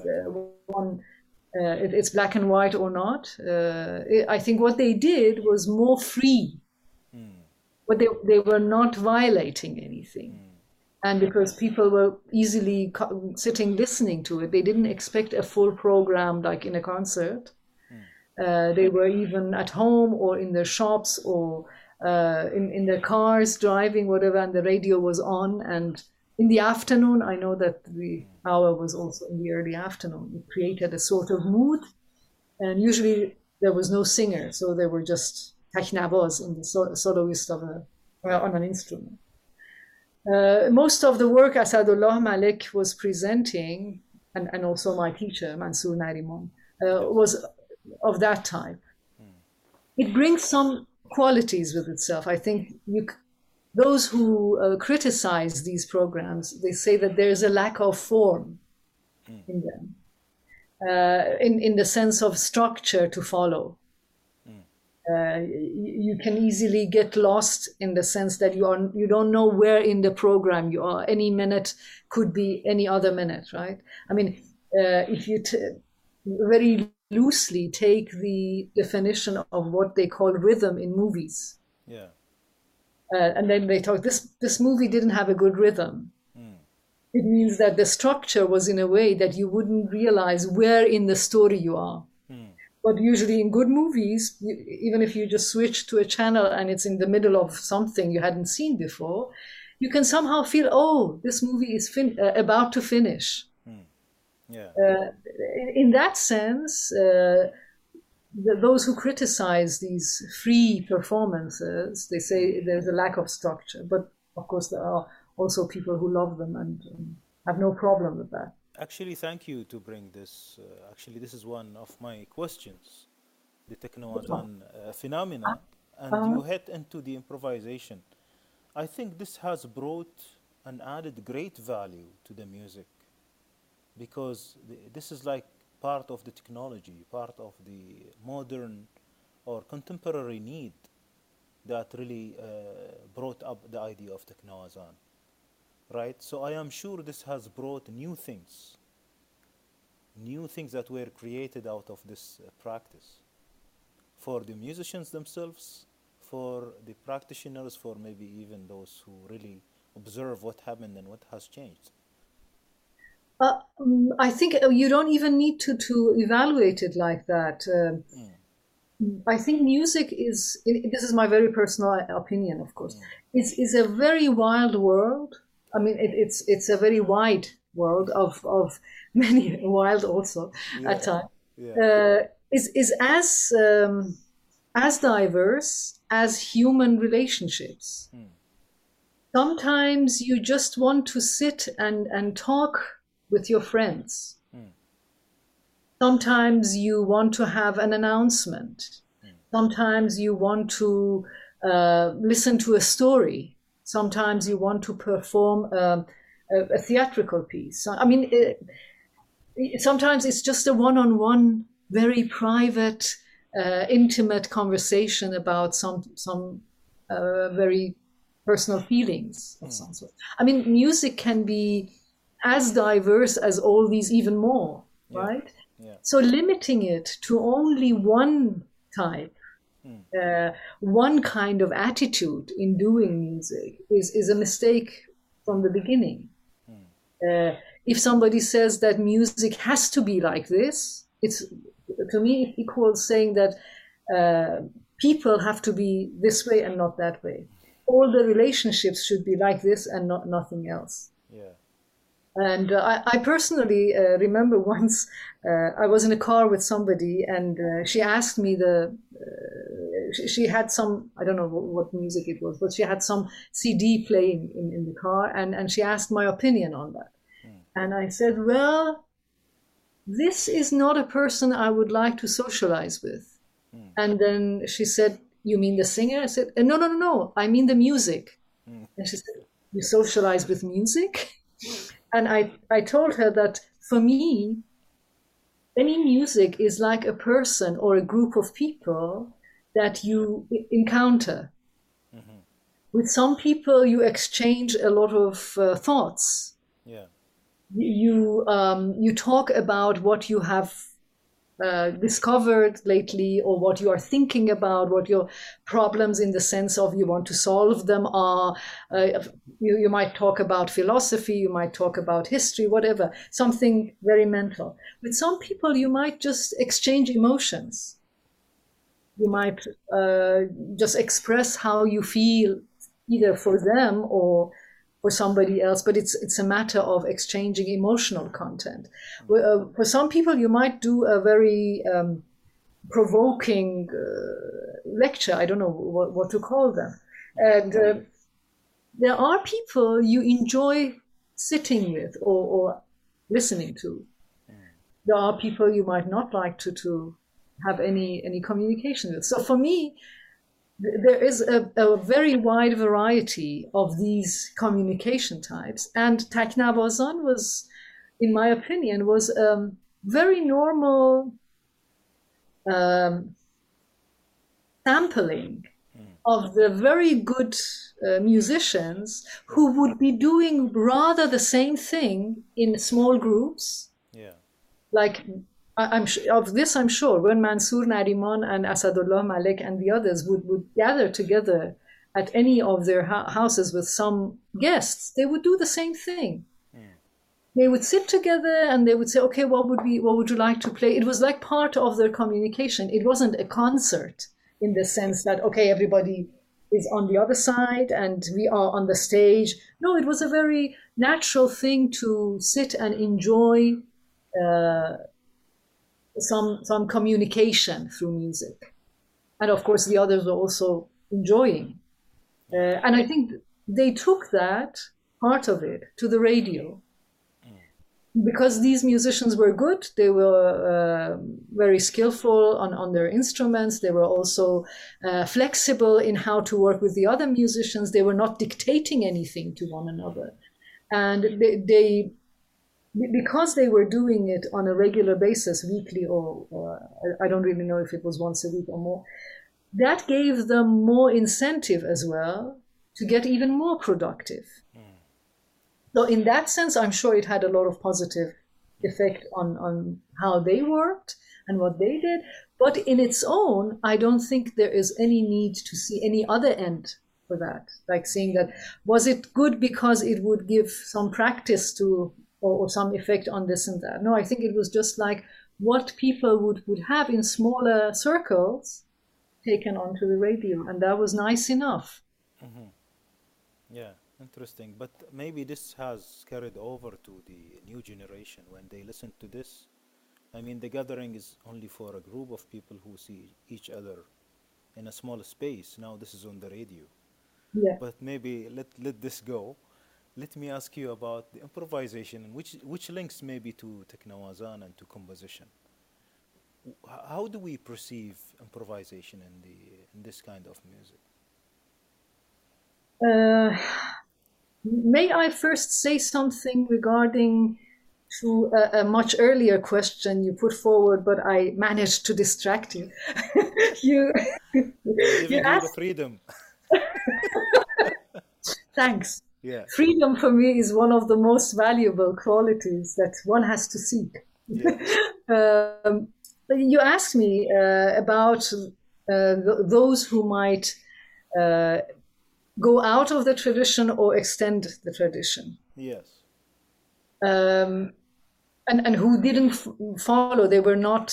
it's black and white or not? I think what they did was more free, but they were not violating anything. And because people were easily sitting listening to it, they didn't expect a full program like in a concert. They were even at home or in their shops or in their cars driving, whatever, and the radio was on. And in the afternoon, I know that the hour was also in the early afternoon. It created a sort of mood. And usually there was no singer, so they were just takhnavaz in the soloist of on an instrument. Most of the work Asadullah Malik was presenting, and also my teacher, Mansour Nariman, was of that type. It brings some qualities with itself. I think those who criticize these programs, they say that there's a lack of form in them, in the sense of structure to follow. You can easily get lost in the sense that you don't know where in the program you are. Any minute could be any other minute, right? I mean, if you very loosely take the definition of what they call rhythm in movies, and then they talk, this movie didn't have a good rhythm. It means that the structure was in a way that you wouldn't realize where in the story you are. But usually in good movies, even if you just switch to a channel and it's in the middle of something you hadn't seen before, you can somehow feel, oh, this movie is about to finish. In that sense, those who criticize these free performances, they say there's a lack of structure. But of course, there are also people who love them and have no problem with that. Actually, thank you to bring this. Actually, this is one of my questions, the Techno-Azan phenomena, and you hit into the improvisation. I think this has brought and added great value to the music, because this is like part of the technology, part of the modern or contemporary need that really brought up the idea of Techno-Azan. Right? So I am sure this has brought new things that were created out of this practice for the musicians themselves, for the practitioners, for maybe even those who really observe what happened and what has changed. I think you don't even need to evaluate it like that. I think music is, this is my very personal opinion, of course, is a very wild world. I mean, it's a very wide world of many wild also at times. Is as diverse as human relationships. Sometimes you just want to sit and talk with your friends. Sometimes you want to have an announcement. Sometimes you want to listen to a story. Sometimes you want to perform a theatrical piece. I mean, sometimes it's just a one-on-one, very private, intimate conversation about some very personal feelings of some sort. I mean, music can be as diverse as all these, even more, right? So limiting it to only one type, one kind of attitude in doing music is a mistake from the beginning. If somebody says that music has to be like this, it's, to me, it equals saying that people have to be this way and not that way. All the relationships should be like this and nothing else. And I personally remember once I was in a car with somebody, and she asked me she had some, I don't know what music it was, but she had some CD playing in the car, and she asked my opinion on that. And I said, well, this is not a person I would like to socialize with. And then she said, you mean the singer? I said, no, I mean the music. And she said, you socialize with music? And I told her that for me, any music is like a person or a group of people that you encounter. With some people, you exchange a lot of thoughts. You talk about what you have discovered lately, or what you are thinking about, what your problems in the sense of you want to solve them are. You might talk about philosophy, you might talk about history, whatever, something very mental. With some people, you might just exchange emotions. You might just express how you feel, either for them or for somebody else, but it's a matter of exchanging emotional content. For some people, you might do a very provoking lecture. I don't know what to call them. And there are people you enjoy sitting with or listening to. There are people you might not like to have any communication with. So for me, there is a very wide variety of these communication types, and Taknavazan was, in my opinion, was very normal sampling of the very good musicians who would be doing rather the same thing in small groups. Yeah. Like, I'm sure, when Mansour Nariman and Asadullah Malik and the others would gather together at any of their houses with some guests, they would do the same thing. They would sit together and they would say, okay, what would you like to play? It was like part of their communication. It wasn't a concert in the sense that, okay, everybody is on the other side and we are on the stage. No, it was a very natural thing to sit and enjoy some communication through music. And of course, the others were also enjoying. And I think they took that part of it to the radio. Because these musicians were good, they were very skillful on their instruments. They were also flexible in how to work with the other musicians. They were not dictating anything to one another. And they because they were doing it on a regular basis, weekly, or I don't really know if it was once a week or more, that gave them more incentive as well to get even more productive. So in that sense, I'm sure it had a lot of positive effect on how they worked and what they did. But in its own, I don't think there is any need to see any other end for that. Like saying that, was it good because it would give some practice to or some effect on this and that? No, I think it was just like what people would have in smaller circles taken onto the radio, and that was nice enough. Yeah, interesting. But maybe this has carried over to the new generation when they listen to this. I mean, the gathering is only for a group of people who see each other in a small space. Now this is on the radio. Yeah. But maybe let this go. Let me ask you about the improvisation, which links maybe to Teknawazan and to composition. How do we perceive improvisation in this kind of music? May I first say something regarding to a much earlier question you put forward, but I managed to distract you. you Giving you the freedom. Thanks. Yeah. Freedom for me is one of the most valuable qualities that one has to seek. Yeah. You asked me about those who might go out of the tradition or extend the tradition. Yes. And who didn't follow. They were not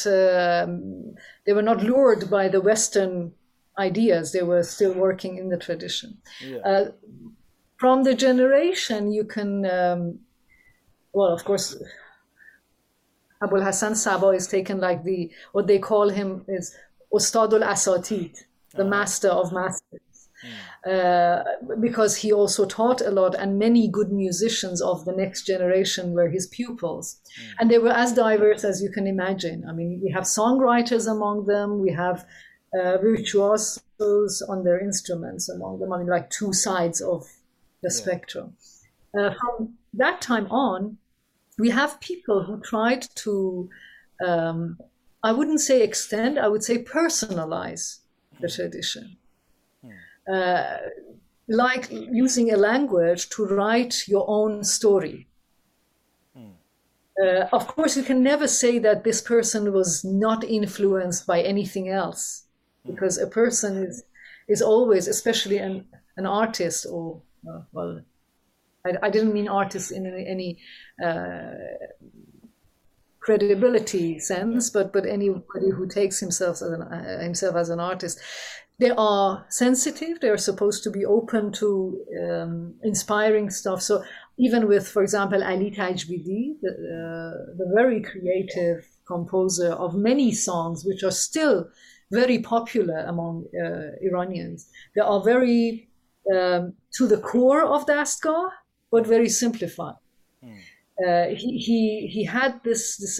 lured by the Western ideas. They were still working in the tradition. Yeah. From the generation, you can, well, of course, Abul Hassan Saba is taken like what they call him is Ustadul Asatid, the master of masters. Because he also taught a lot, and many good musicians of the next generation were his pupils. And they were as diverse as you can imagine. I mean, we have songwriters among them, we have virtuosos on their instruments among them. I mean, like two sides of the spectrum. From that time on, we have people who tried to, I wouldn't say extend, I would say personalize the tradition. Like using a language to write your own story. Of course, you can never say that this person was not influenced by anything else, because a person is always, especially an artist, or well, I didn't mean artist in any credibility sense, but anybody who takes himself as an artist, they are sensitive. They are supposed to be open to inspiring stuff. So even with, for example, Ali Tajbidi, the very creative composer of many songs, which are still very popular among Iranians, they are very to the core of Dastgah, but very simplified. He had this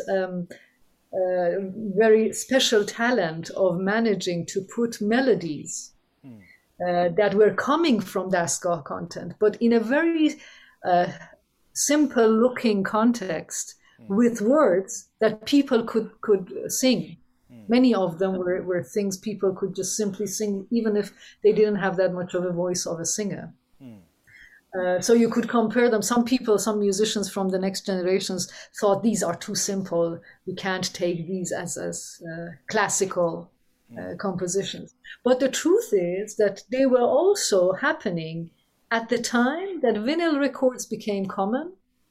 very special talent of managing to put melodies that were coming from Dastgah content, but in a very simple looking context with words that people could sing. Many of them were things people could just simply sing, even if they didn't have that much of a voice of a singer. So you could compare them. Some musicians from the next generations thought these are too simple. We can't take these as classical compositions. But the truth is that they were also happening at the time that vinyl records became common.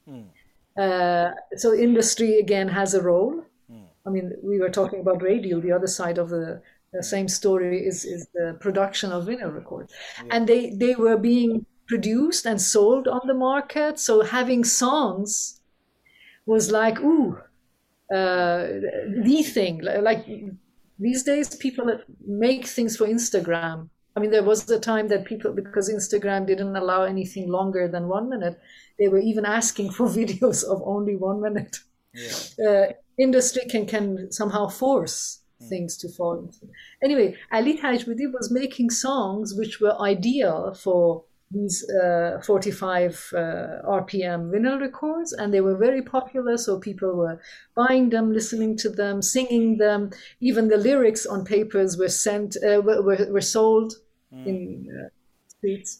So industry again has a role. I mean, we were talking about radio. The other side of the same story is the production of vinyl records. And they were being produced and sold on the market. So having songs was like, the thing. Like these days, people make things for Instagram. I mean, there was a time that people, because Instagram didn't allow anything longer than 1 minute, they were even asking for videos of only 1 minute. Industry can somehow force things to fall into. Anyway, Ali Tajbidi was making songs which were ideal for these 45 RPM vinyl records, and they were very popular, so people were buying them, listening to them, singing them. Even the lyrics on papers were sold in streets.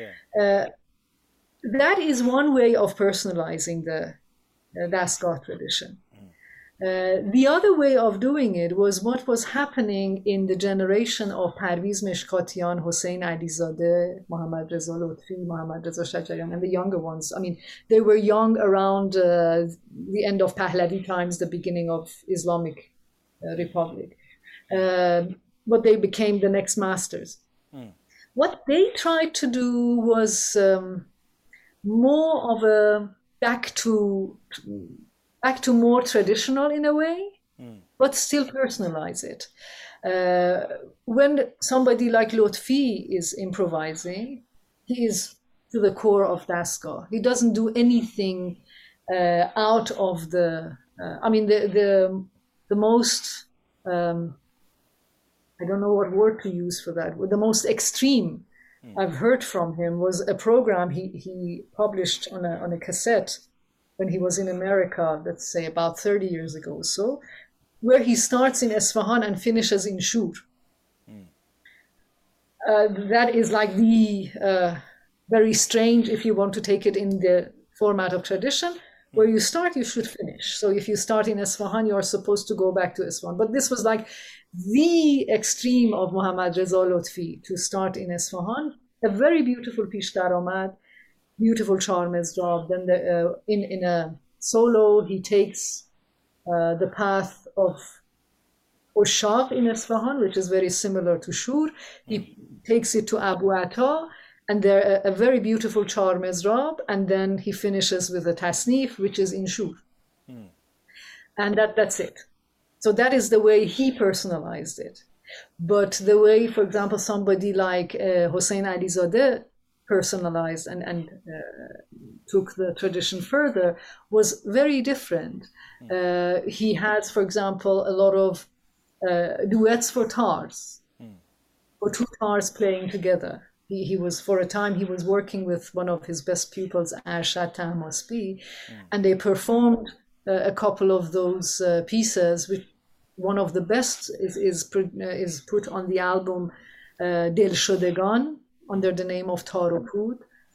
That is one way of personalizing the Dastgah tradition. The other way of doing it was what was happening in the generation of Parviz Meshkatian, Hossein Alizadeh, Mohammad Reza Lotfi, Mohammad Reza Shajarian, and the younger ones. I mean, they were young around the end of Pahlavi times, the beginning of Islamic Republic. But they became the next masters. What they tried to do was more of a back to more traditional in a way, but still personalize it. When somebody like Lotfi is improvising, he is to the core of Dastgah. He doesn't do anything out of the. I mean, the most. I don't know what word to use for that. The most extreme I've heard from him was a program he published on a cassette when he was in America, let's say about 30 years ago or so, where he starts in Esfahan and finishes in Shur. That is like the very strange, if you want to take it in the format of tradition, where you start, you should finish. So if you start in Esfahan, you are supposed to go back to Esfahan. But this was like the extreme of Mohammad Reza Lotfi, to start in Esfahan. A very beautiful Pish Daramad, beautiful Char Mezrab. Then in a solo, he takes the path of Oshaq in Esfahan, which is very similar to Shur. He takes it to Abu Atta, and there a very beautiful Char Mezrab, and then he finishes with a Tasnif, which is in Shur. And that's it. So that is the way he personalized it. But the way, for example, somebody like Hossein Alizadeh personalized and took the tradition further was very different. He has, for example, a lot of duets for tars, for two tars playing together. He was, for a time, he was working with one of his best pupils, Arshad Tahmasbi, and they performed a couple of those pieces, which one of the best is put on the album Dil Shodegan under the name of Tar o Pud.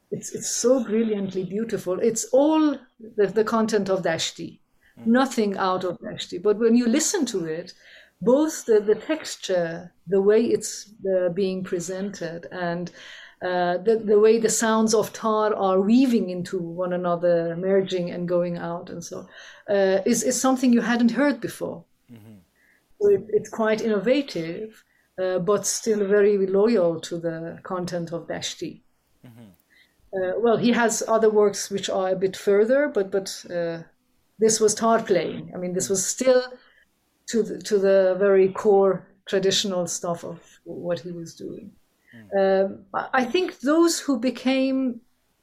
it's so brilliantly beautiful. It's all the content of Dashti, nothing out of Dashti. But when you listen to it, both the texture, the way it's being presented, and the way the sounds of tar are weaving into one another, merging and going out, and so is something you hadn't heard before. So it's quite innovative, but still very loyal to the content of Dashti. Well, he has other works which are a bit further, but this was tar playing. I mean, this was still to the very core traditional stuff of what he was doing. I think those who became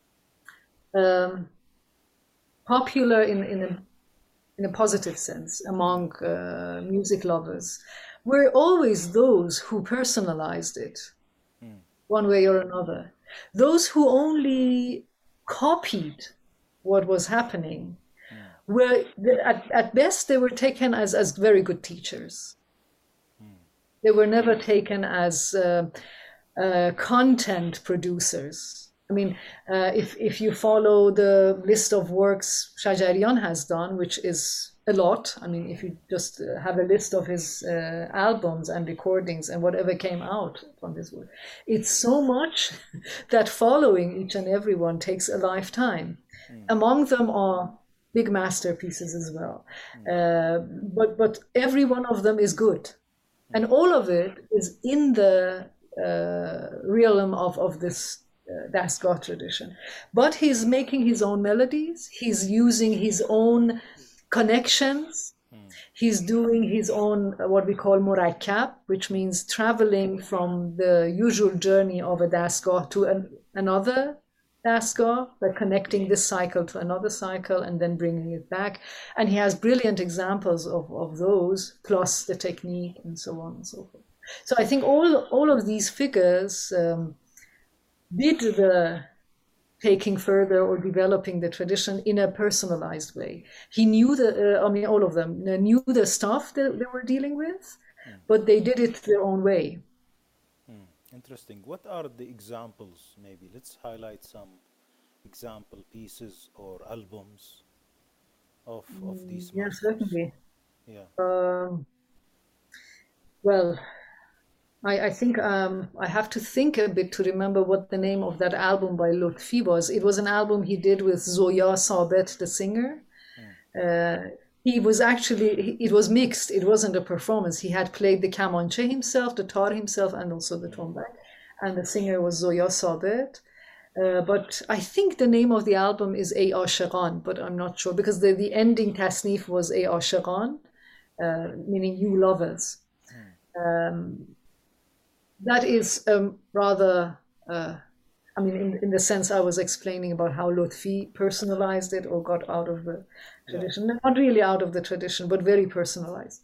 popular in a positive sense among music lovers were always those who personalized it one way or another. Those who only copied what was happening were, at best, they were taken as very good teachers. They were never taken as content producers. I mean, if you follow the list of works Shajarian has done, which is a lot. I mean, if you just have a list of his albums and recordings and whatever came out from this work, it's so much that following each and every one takes a lifetime. Among them are big masterpieces as well. But every one of them is good. And all of it is in the realm of this Dastgah tradition. But he's making his own melodies. He's using his own connections. He's doing his own, what we call murakkab, which means traveling from the usual journey of a Dastgah to another Dastgah, by connecting this cycle to another cycle and then bringing it back. And he has brilliant examples of those, plus the technique and so on and so forth. So I think all of these figures did the taking further or developing the tradition in a personalized way. He knew all of them knew the stuff that they were dealing with, but they did it their own way. Interesting. What are the examples? Maybe let's highlight some example pieces or albums of these. Yeah, certainly. Yeah. Well, I think I have to think a bit to remember what the name of that album by Lutfi was. It was an album he did with Zoya Sabet, the singer. He was actually, it was mixed. It wasn't a performance. He had played the kamanche himself, the tar himself, and also the tombak. And the singer was Zoya Sabet. But I think the name of the album is A Ashiqan, but I'm not sure, because the ending tasnif was A Ashiqan, meaning you lovers. That is rather, I mean, in the sense I was explaining about how Lutfi personalized it or got out of the tradition. Yeah. Not really out of the tradition, but very personalized.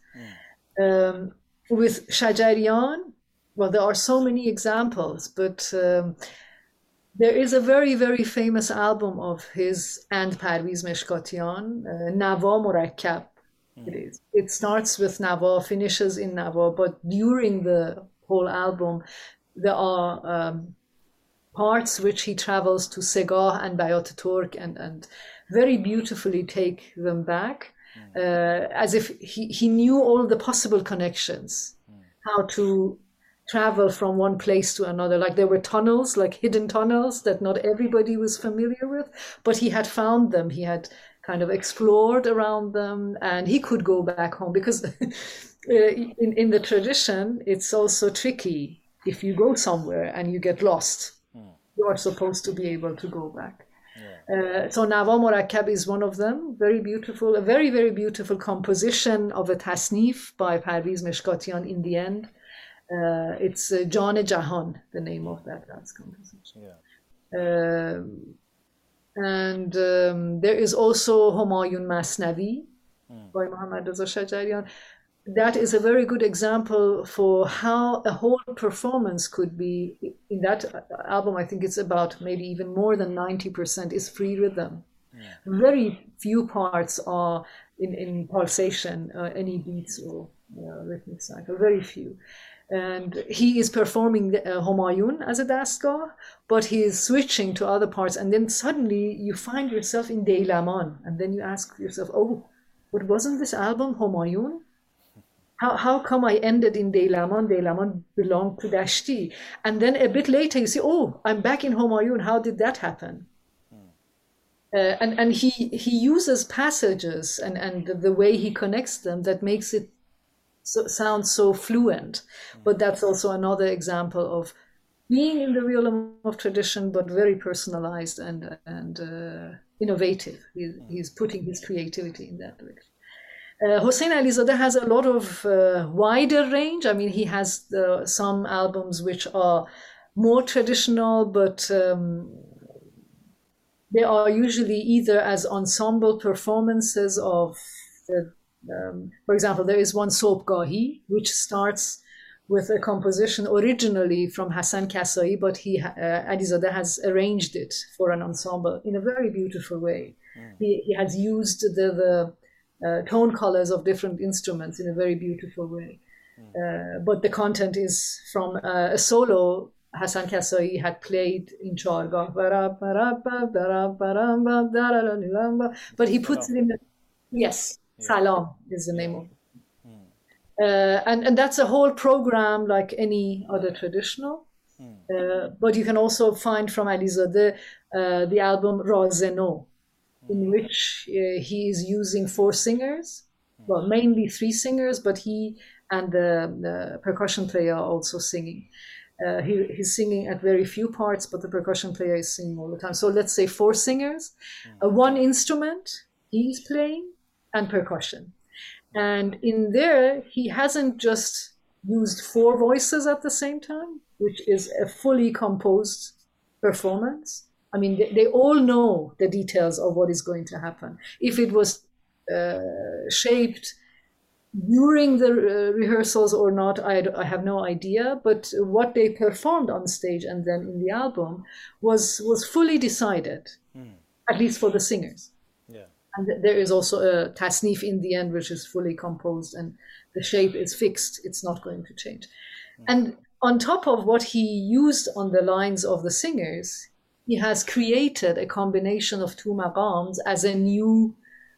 With Shajarian, well, there are so many examples, but there is a very, very famous album of his and Parviz Meshkatian, Nawa Murakkab. It is. It starts with Nawa, finishes in Nawa, but during the whole album, there are parts which he travels to Segah and Bayat Turk and very beautifully take them back, as if he knew all the possible connections, how to travel from one place to another. Like there were tunnels, like hidden tunnels that not everybody was familiar with, but he had found them. He had kind of explored around them, and he could go back home, because in the tradition, it's also tricky. If you go somewhere and you get lost, you are supposed to be able to go back. So Nawa Murakkab is one of them. Very beautiful, a very, very beautiful composition of a tasnif by Parviz Meshkatian in the end. It's Jan Jahan, the name of that dance composition. And there is also Humayun Masnavi by Muhammad Reza Shajarian. That is a very good example for how a whole performance could be. In that album, I think it's about maybe even more than 90% is free rhythm. Very few parts are in pulsation, any beats or rhythmic cycle, very few. And he is performing Homayun as a dastgah, but he is switching to other parts. And then suddenly you find yourself in Deilaman. And then you ask yourself, oh, but wasn't this album Homayun? How come I ended in Deilaman? Deilaman belonged to Dashti. And then a bit later you see, oh, I'm back in Homayun. How did that happen? And he uses passages and the way he connects them that makes it sound so fluent. But that's also another example of being in the realm of tradition, but very personalized and innovative. He's putting his creativity in that direction. Hossein Alizadeh has a lot of wider range. I mean, he has some albums which are more traditional, but they are usually either as ensemble performances of, for example, there is one Sobgahi, which starts with a composition originally from Hassan Kasai, but Alizadeh has arranged it for an ensemble in a very beautiful way. He has used the tone colors of different instruments in a very beautiful way. But the content is from a solo Hassan Kasai had played in Chargah. But he puts it in the, yes, Salam is the name of it. And that's a whole program like any other traditional. But you can also find from Alizadeh the album Razeno, in which he is using 4 singers, well, mainly 3 singers, but he and the percussion player are also singing. He's singing at very few parts, but the percussion player is singing all the time. So let's say 4 singers, 1 instrument he's playing, and percussion. And in there, he hasn't just used 4 voices at the same time, which is a fully composed performance. I mean, they all know the details of what is going to happen. If it was shaped during the rehearsals or not, I have no idea. But what they performed on stage and then in the album was fully decided, at least for the singers. Yeah. And there is also a tasnif in the end, which is fully composed, and the shape is fixed. It's not going to change. And on top of what he used on the lines of the singers, he has created a combination of 2 maqams as a new,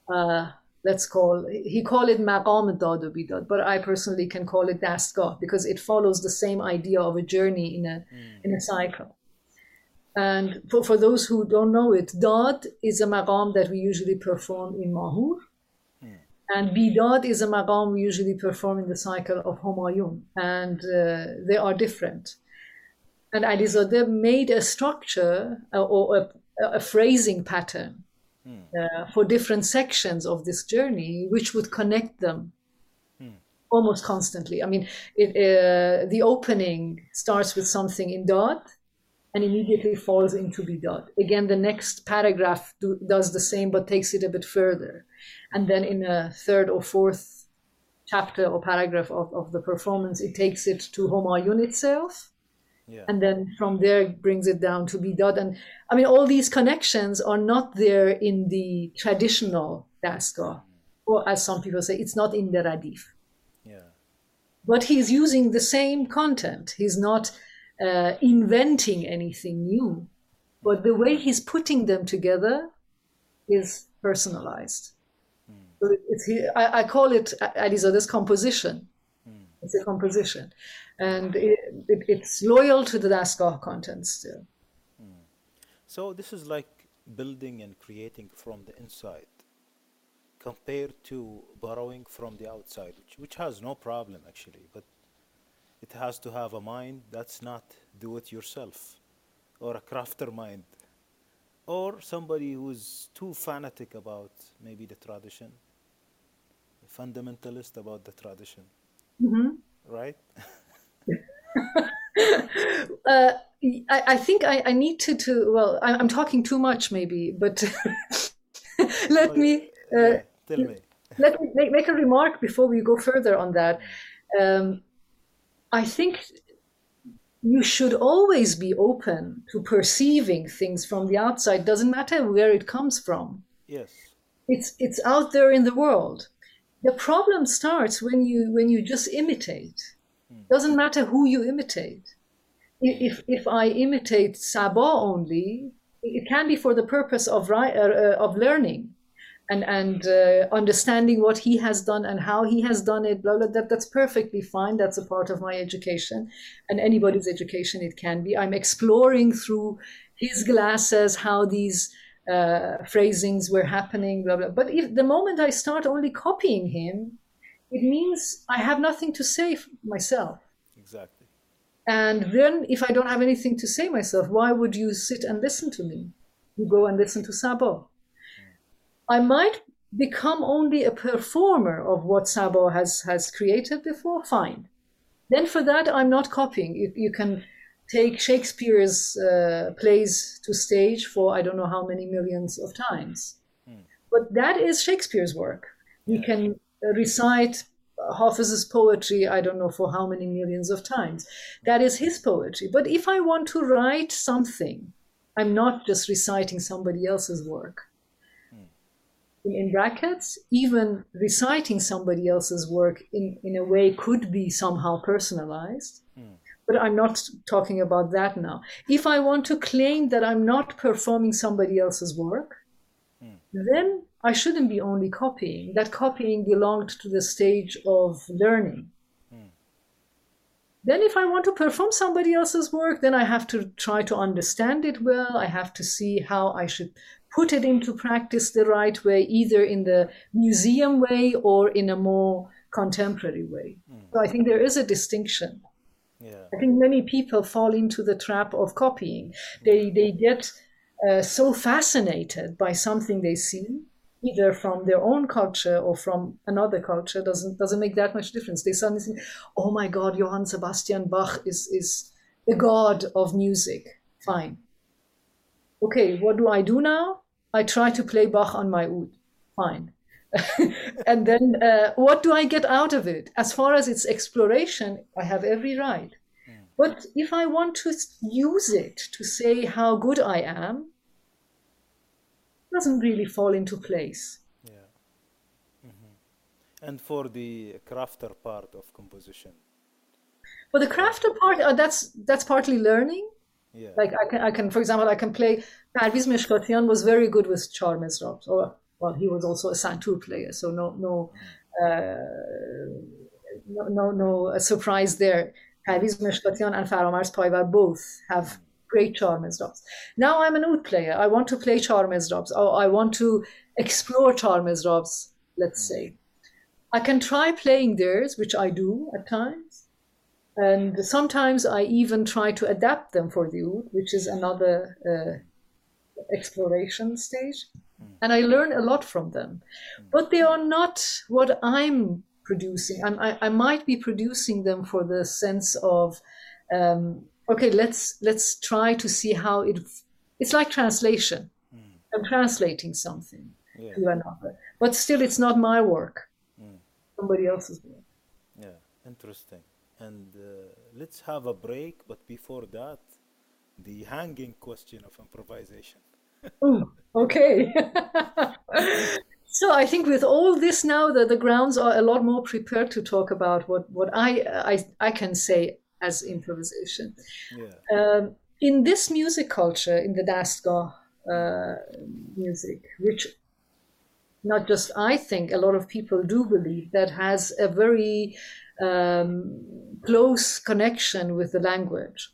he call it maqam dad o bidad, but I personally can call it dastgah because it follows the same idea of a journey in a cycle. And for those who don't know it, dad is a maqam that we usually perform in Mahur, and bidad is a maqam we usually perform in the cycle of Homayun, and they are different. And Alizadeh made a structure or a phrasing pattern for different sections of this journey, which would connect them almost constantly. I mean, the opening starts with something in Dad and immediately falls into Bidad. Again, the next paragraph does the same, but takes it a bit further. And then in a 3rd or 4th chapter or paragraph of the performance, it takes it to Homayun itself. Yeah. And then from there it brings it down to Bidad. And I mean, all these connections are not there in the traditional dastgah, or as some people say, it's not in the radif. Yeah. But he's using the same content. He's not inventing anything new, but the way he's putting them together is personalized. So I call it Alizadeh's composition. It's a composition. And it's loyal to the dastgah content still. So this is like building and creating from the inside compared to borrowing from the outside, which has no problem actually, but it has to have a mind that's not do-it-yourself, or a crafter mind, or somebody who's too fanatic about maybe the tradition, fundamentalist about the tradition, right? I think I need to well, I'm talking too much maybe, but let me tell me. Let me make a remark before we go further on that. I think you should always be open to perceiving things from the outside. Doesn't matter where it comes from. Yes. It's out there in the world. The problem starts when you just imitate. Doesn't matter who you imitate. If I imitate Sabah only, it can be for the purpose of learning and understanding what he has done and how he has done it. Blah, blah, that's perfectly fine. That's a part of my education, and anybody's education it can be. I'm exploring through his glasses how these phrasings were happening. Blah, blah. But if the moment I start only copying him, it means I have nothing to say myself. Exactly. And then if I don't have anything to say myself, why would you sit and listen to me? You go and listen to Sabah. I might become only a performer of what Sabah has created before, fine. Then for that, I'm not copying. You can take Shakespeare's plays to stage for I don't know how many millions of times. But that is Shakespeare's work. You can recite Hafiz's poetry, I don't know for how many millions of times. That is his poetry. But if I want to write something, I'm not just reciting somebody else's work. In brackets, even reciting somebody else's work in a way could be somehow personalized. But I'm not talking about that now. If I want to claim that I'm not performing somebody else's work, then I shouldn't be only copying. That copying belonged to the stage of learning. Then if I want to perform somebody else's work, then I have to try to understand it well. I have to see how I should put it into practice the right way, either in the museum way or in a more contemporary way. So I think there is a distinction. Yeah. I think many people fall into the trap of copying. They get so fascinated by something they see, either from their own culture or from another culture. Doesn't make that much difference. They suddenly think, oh my God, Johann Sebastian Bach is the god of music. Fine. Okay, what do I do now? I try to play Bach on my oud. Fine. And then what do I get out of it? As far as its exploration, I have every right. But if I want to use it to say how good I am, it doesn't really fall into place. Yeah. And for the crafter part of composition. For the crafter part, that's partly learning. Yeah. Like I can, for example, I can play. Parviz Meshkatian was very good with Char Mizrabs. Well, he was also a santur player, so no surprise there. Parviz Meshkatian and Faramars Paivar both have great Char Mizrabs. Now I'm an oud player. I want to play Char Mizrabs, or I want to explore Char Mizrabs, let's say. I can try playing theirs, which I do at times. And sometimes I even try to adapt them for the oud, which is another exploration stage. And I learn a lot from them. But they are not what I'm producing. I might be producing them for the sense of, okay, let's try to see how it's like translation. I'm translating something to another. But still, it's not my work. Somebody else's work. Yeah, interesting. And let's have a break, but before that, the hanging question of improvisation. Ooh, okay. So I think with all this now, the grounds are a lot more prepared to talk about what I can say as improvisation. Yeah. In this music culture, in the Dastgah music, which not just I think, a lot of people do believe, that has a very close connection with the language.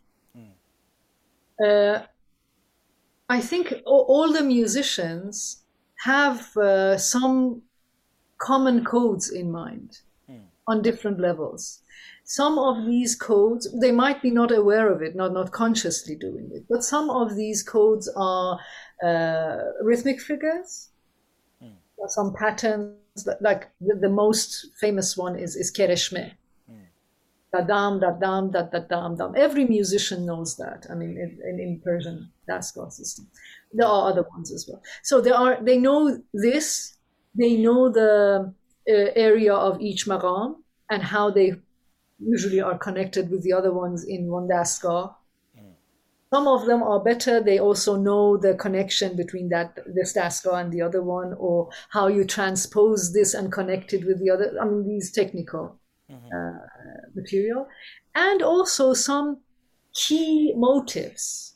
I think all the musicians have some common codes in mind on different levels. Some of these codes, they might be not aware of it, not consciously doing it, but some of these codes are rhythmic figures, some patterns, like the most famous one is Kereshme. Da-dam, da-dam, da-da-dam, dam. Every musician knows that. I mean, in Persian Dastgah system. There are other ones as well. So they know this, they know the area of each maqam and how they usually are connected with the other ones in one Dastgah. Some of them are better. They also know the connection between this dastgah and the other one, or how you transpose this and connect it with the other. I mean, these technical material, and also some key motives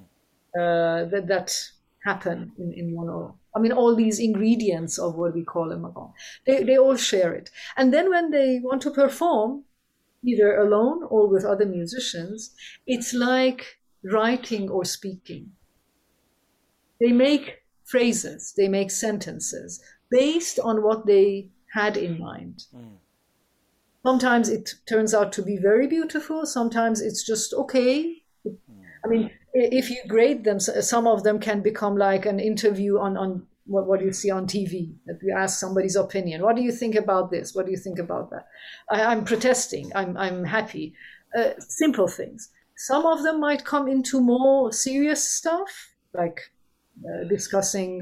that happen in one or. I mean, all these ingredients of what we call a maqam, they all share it. And then when they want to perform, either alone or with other musicians, it's like writing or speaking. They make phrases, they make sentences based on what they had in mind. Sometimes it turns out to be very beautiful, sometimes it's just okay. I mean, if you grade them, some of them can become like an interview on what you see on TV, that you ask somebody's opinion. What do you think about this? What do you think about that? I'm protesting. I'm happy. Simple things. Some of them might come into more serious stuff, like discussing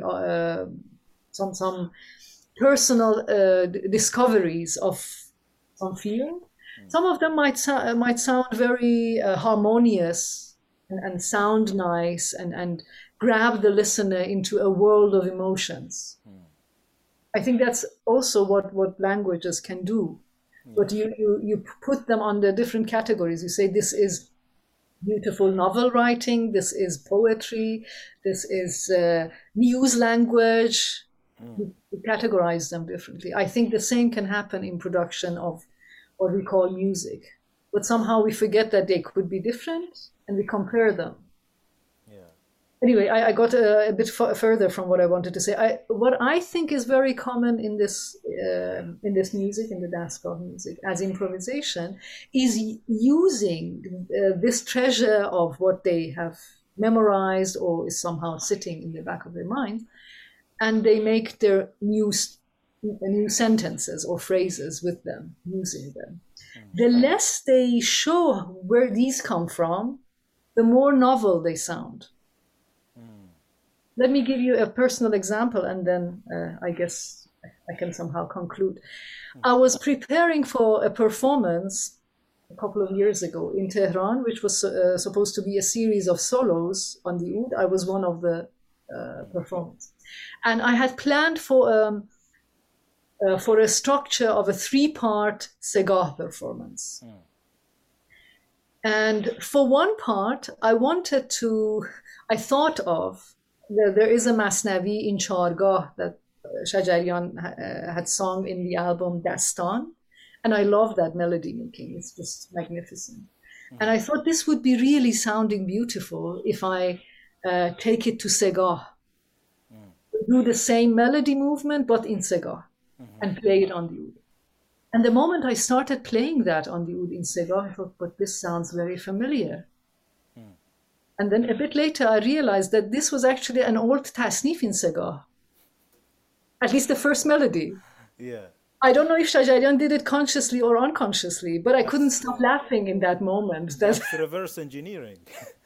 some personal discoveries of some field. Some of them might sound very harmonious and sound nice and grab the listener into a world of emotions. I think that's also what languages can do. But you put them under different categories. You say this is beautiful novel writing, this is poetry, this is news language. You categorize them differently. I think the same can happen in production of what we call music. But somehow we forget that they could be different and we compare them. Anyway, I got a bit further from what I wanted to say. What I think is very common in this music, in the dastgah music, as improvisation, is using this treasure of what they have memorized or is somehow sitting in the back of their mind, and they make their new sentences or phrases with them, using them. The less they show where these come from, the more novel they sound. Let me give you a personal example, and then I guess I can somehow conclude. I was preparing for a performance a couple of years ago in Tehran, which was supposed to be a series of solos on the oud. I was one of the performers. And I had planned for a structure of a 3-part segah performance. And for one part, I thought of, there is a Masnavi in Chargah that Shajarian had sung in the album Dastan. And I love that melody making. It's just magnificent. And I thought this would be really sounding beautiful if I take it to segah. Do the same melody movement, but in segah, and play it on the oud. And the moment I started playing that on the oud in segah, I thought, but this sounds very familiar. And then a bit later, I realized that this was actually an old tasnif in segah. At least the first melody. Yeah. I don't know if Shajarian did it consciously or unconsciously, but I couldn't stop laughing in that moment. That's reverse engineering.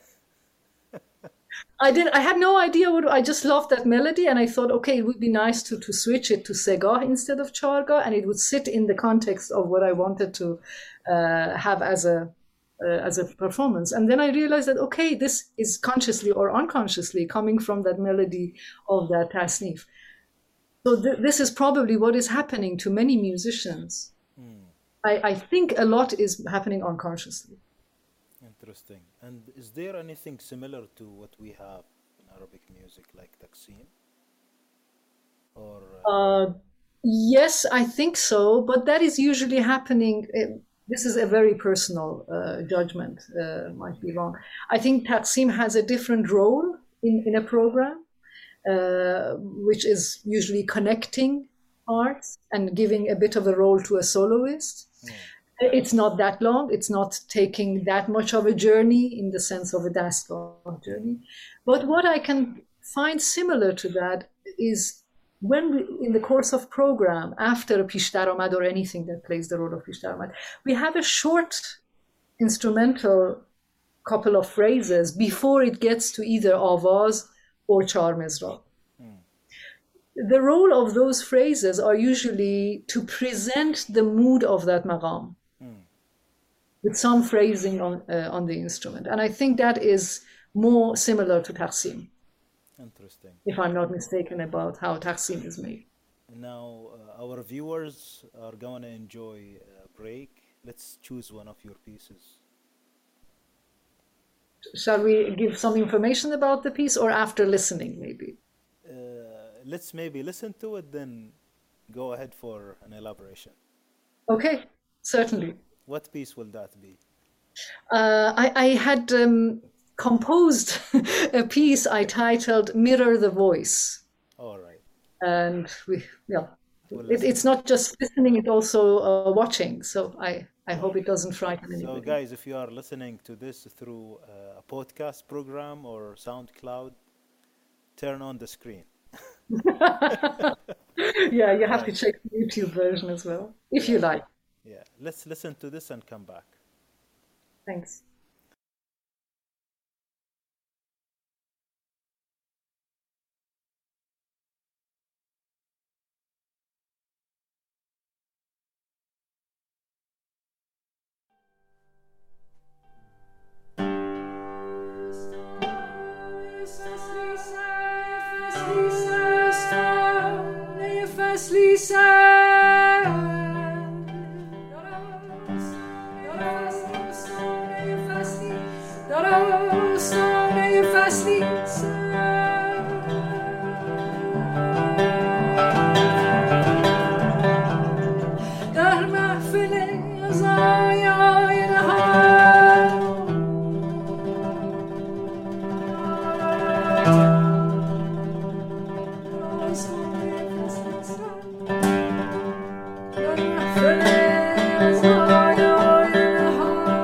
I had no idea I just loved that melody, and I thought, okay, it would be nice to switch it to segah instead of chargah, and it would sit in the context of what I wanted to have as a performance. And then I realized that, okay, this is consciously or unconsciously coming from that melody of that tasnif. So this is probably what is happening to many musicians. I think a lot is happening unconsciously. Interesting. And is there anything similar to what we have in Arabic music, like Taksim? Or yes, I think so, but that is usually happening. This is a very personal judgment, might be wrong. I think Taksim has a different role in a program, which is usually connecting parts and giving a bit of a role to a soloist. It's not that long. It's not taking that much of a journey in the sense of a dastgah journey. But what I can find similar to that is when we, in the course of program, after a pish daramad or anything that plays the role of pish daramad, we have a short instrumental couple of phrases before it gets to either avaz or char mizrab. The role of those phrases are usually to present the mood of that maqam with some phrasing on the instrument. And I think that is more similar to Taksim, Interesting. if I'm not mistaken about how Taksim is made. Now, our viewers are going to enjoy a break. Let's choose one of your pieces. Shall we give some information about the piece or after listening, maybe? Let's maybe listen to it, then go ahead for an elaboration. Okay, certainly. What piece will that be? I had composed a piece I titled Mirror the Voice. All right. And We'll listen it's to it. not just listening, it's also watching. So I hope it doesn't frighten So, anybody. guys, if you are listening to this through a podcast program or SoundCloud, turn on the screen. Yeah, you have to Right. check the YouTube version as well, if you Yeah. like. Yeah. Let's listen to this and come back. Thanks. در محفل عزایای نهان در محفل عزایای نهان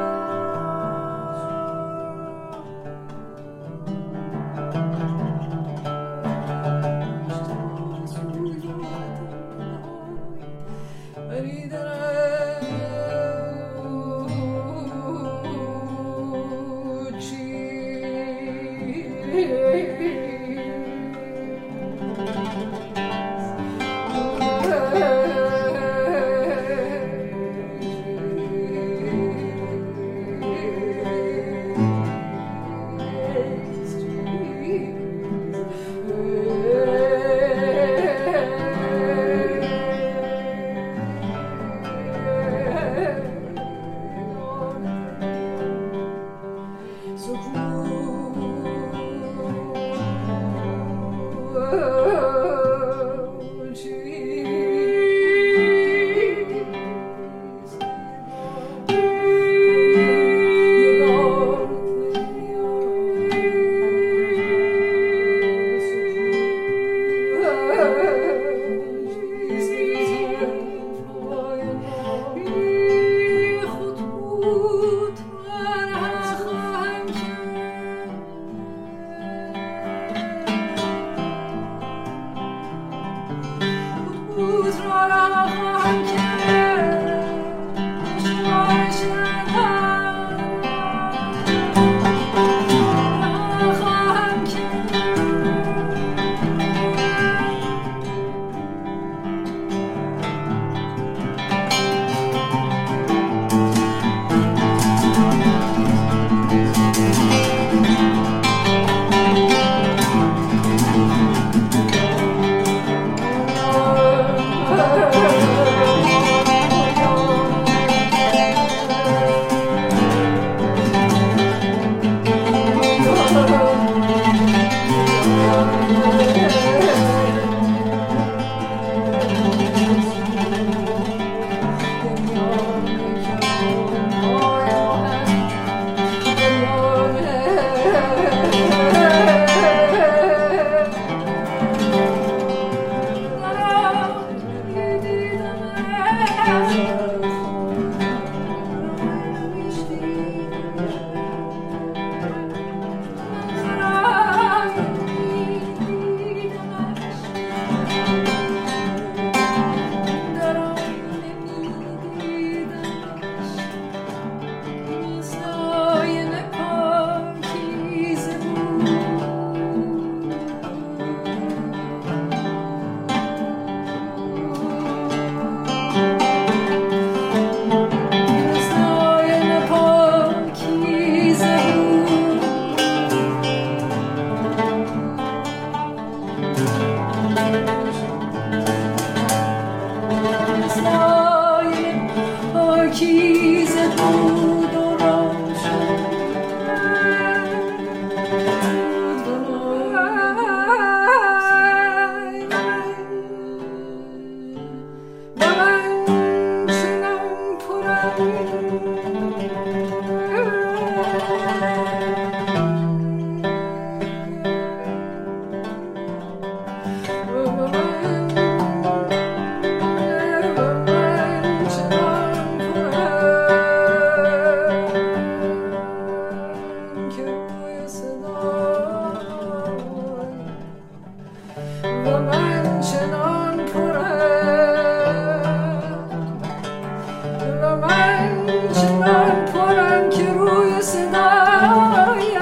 پرم که روی صدای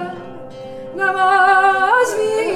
نماز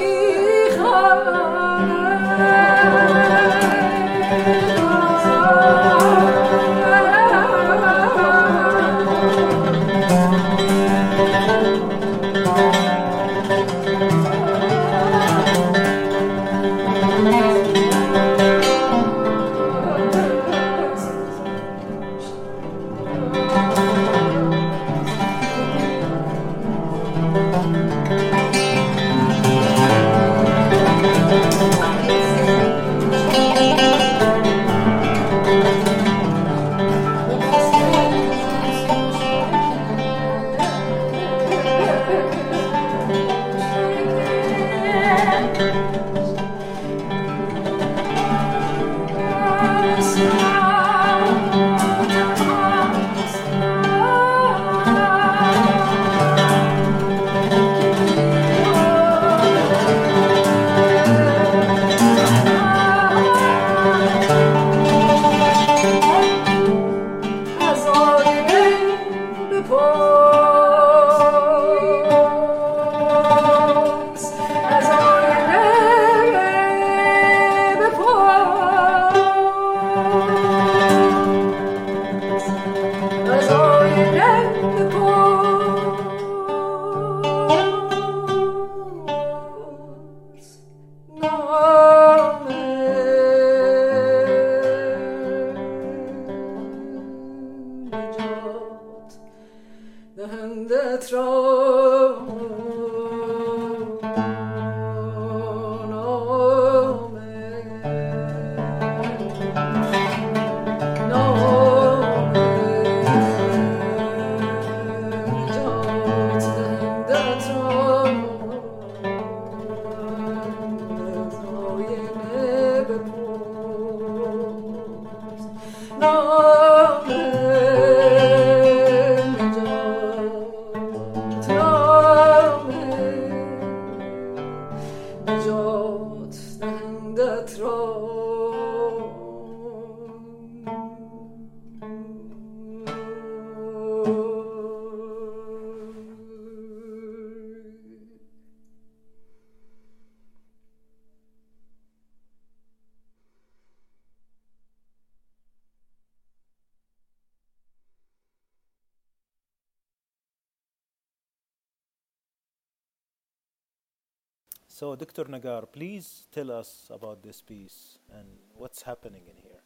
So, Dr. Nagar, please tell us about this piece and what's happening in here.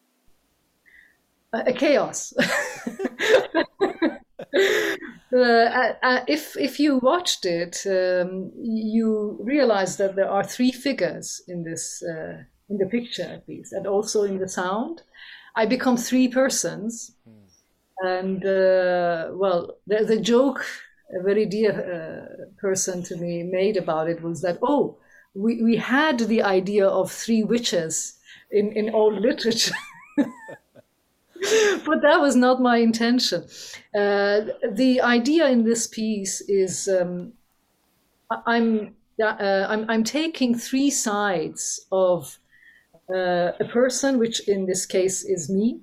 A chaos. If you watched it, you realize that there are three figures in this in the picture, at least, and also in the sound. I become three persons, and well, the joke a very dear person to me made about it was that, oh, we had the idea of three witches in old literature. But that was not my intention. The idea in this piece is I'm taking three sides of a person, which in this case is me.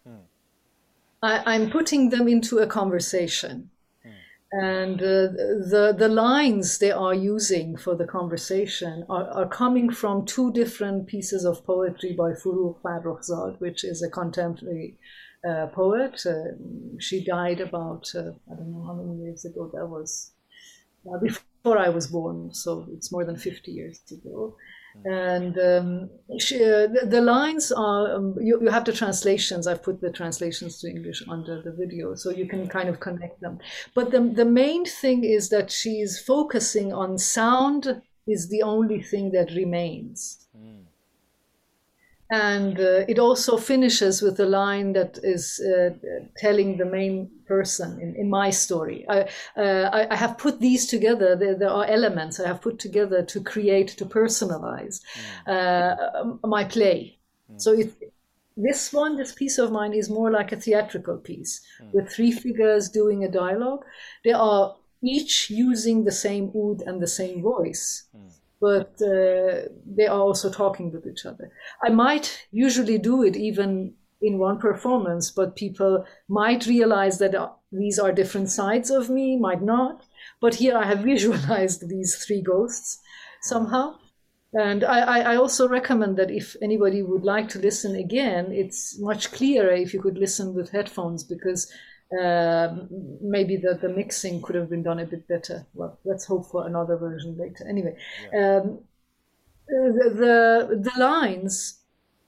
I'm putting them into a conversation. And the lines they are using for the conversation are coming from two different pieces of poetry by Forough Farrokhzad, which is a contemporary poet. She died about, I don't know how many years ago that was, before I was born, so it's more than 50 years ago. And the lines are, you have the translations. I've put the translations to English under the video, so you can kind of connect them. But the main thing is that she's focusing on sound is the only thing that remains. And it also finishes with a line that is telling the main person in my story. I have put these together. There are elements I have put together to create, to personalize my play. So this piece of mine is more like a theatrical piece with three figures doing a dialogue. They are each using the same oud and the same voice. But they are also talking with each other. I might usually do it even in one performance, but people might realize that these are different sides of me, might not. But here I have visualized these three ghosts somehow. And I also recommend that if anybody would like to listen again, it's much clearer if you could listen with headphones, because maybe the mixing could have been done a bit better. Well, let's hope for another version later. Anyway, the lines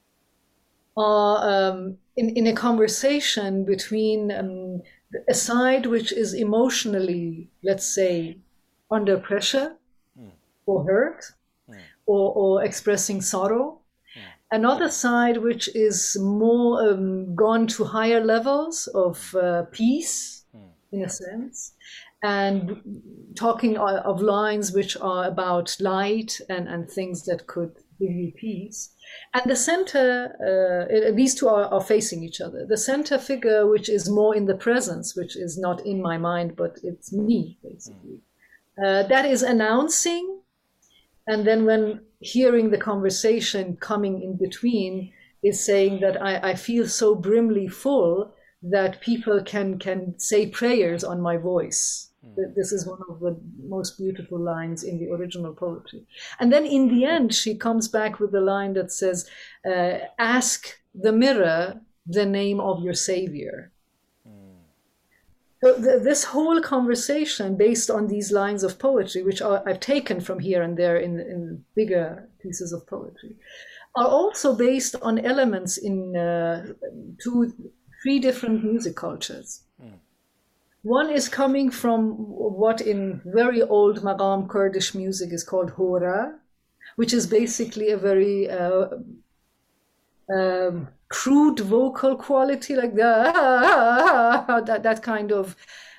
are in a conversation between a side which is emotionally, let's say, under pressure or hurt, or expressing sorrow. Another side which is more gone to higher levels of peace, in a sense, and talking of lines which are about light and things that could give you peace. And the center, these two are facing each other. The center figure, which is more in the presence, which is not in my mind, but it's me, basically. That is announcing. And then when hearing the conversation coming in between is saying that I feel so brimly full that people can say prayers on my voice. This is one of the most beautiful lines in the original poetry. And then in the end, she comes back with a line that says, ask the mirror the name of your savior. So this whole conversation based on these lines of poetry, which I've taken from here and there in bigger pieces of poetry, are also based on elements in three different music cultures. One is coming from what in very old Maqam Kurdish music is called hora, which is basically a very crude vocal quality, like that kind of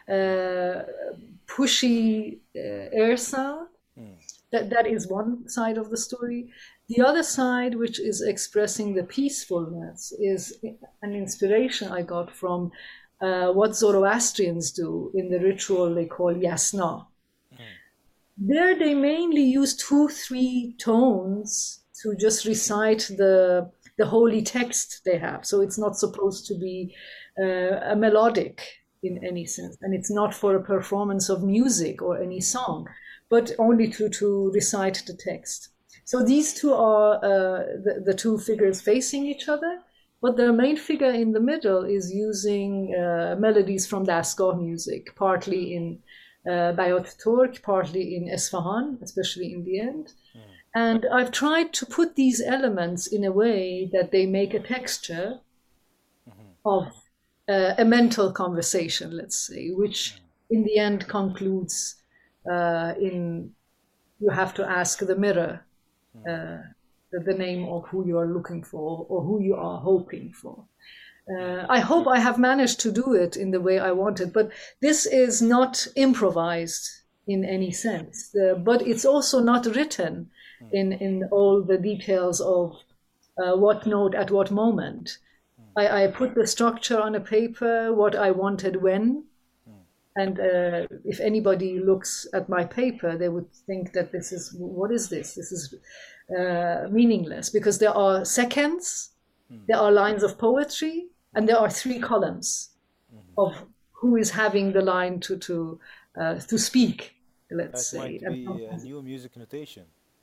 pushy air sound. That is one side of the story. The other side, which is expressing the peacefulness, is an inspiration I got from what Zoroastrians do in the ritual they call yasna. There they mainly use 2-3 tones to just recite the holy text they have. So it's not supposed to be a melodic in any sense. And it's not for a performance of music or any song, but only to recite the text. So these two are the two figures facing each other. But the main figure in the middle is using melodies from Dastgah music, partly in Bayat Turk, partly in Esfahan, especially in the end. And I've tried to put these elements in a way that they make a texture of a mental conversation, let's say, which in the end concludes in you have to ask the mirror the name of who you are looking for or who you are hoping for. I hope I have managed to do it in the way I wanted, but this is not improvised in any sense, but it's also not written in all the details of what note at what moment. I put the structure on a paper, what I wanted when, and if anybody looks at my paper, they would think that what is this? This is meaningless, because there are seconds, there are lines of poetry, and there are 3 columns of who is having the line to speak, let's say. That might be a new music notation.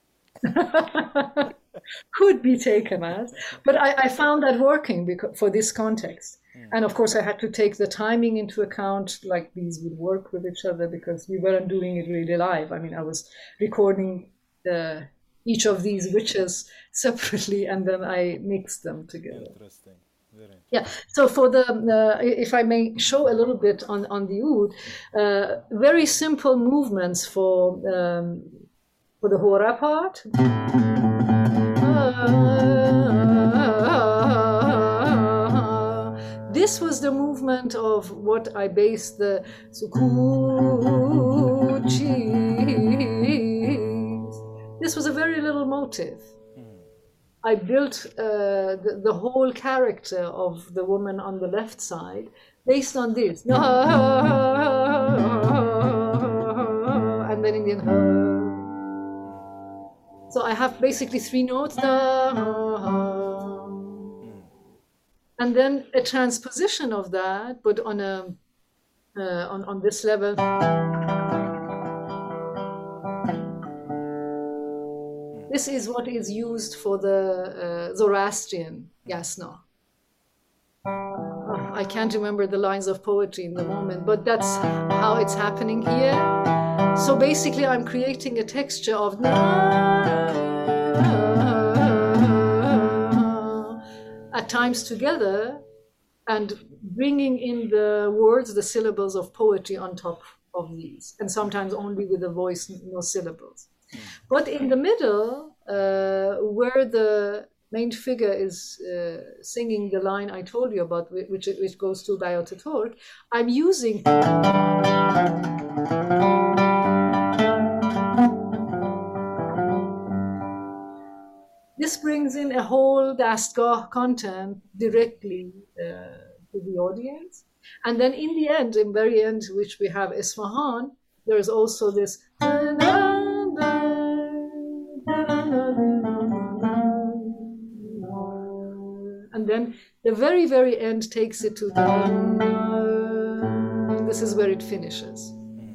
Could be taken as, but I found that working for this context. And of course I had to take the timing into account, like these would work with each other, because we weren't doing it really live. I mean, I was recording each of these witches separately, and then I mixed them together. Interesting. Very interesting. Yeah. So for if I may show a little bit on the oud, very simple movements for the hora part. This was the movement of what I based the sukut cheese. This was a very little motive. I built the whole character of the woman on the left side based on this. And then in the end, so I have basically 3 notes. And then a transposition of that, but on a on this level. This is what is used for the Zoroastrian yasna. I can't remember the lines of poetry in the moment, but that's how it's happening here. So basically, I'm creating a texture of at times together, and bringing in the words, the syllables of poetry on top of these, and sometimes only with a voice, no syllables. But in the middle, where the main figure is singing the line I told you about, which goes to Bayat Turk, I'm using this brings in a whole Dastgah content directly to the audience. And then in the end, in very end, which we have Isfahan, there is also this. And then the very, very end takes it to the. This is where it finishes.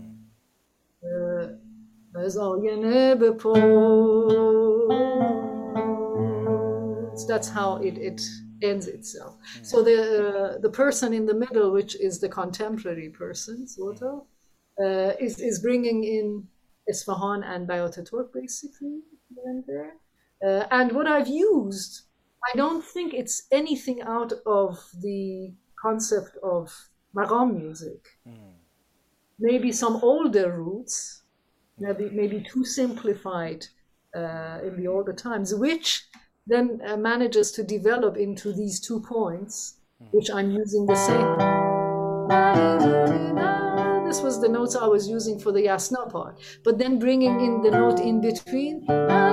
That's how it ends itself. So the person in the middle, which is the contemporary person, sort of, is bringing in Isfahan and Bayat Turk, basically. And what I've used, I don't think it's anything out of the concept of maqam music. Maybe some older roots, maybe too simplified in the older times, which then manages to develop into these 2 points, which I'm using the same. This was the notes I was using for the yasna part, but then bringing in the note in between.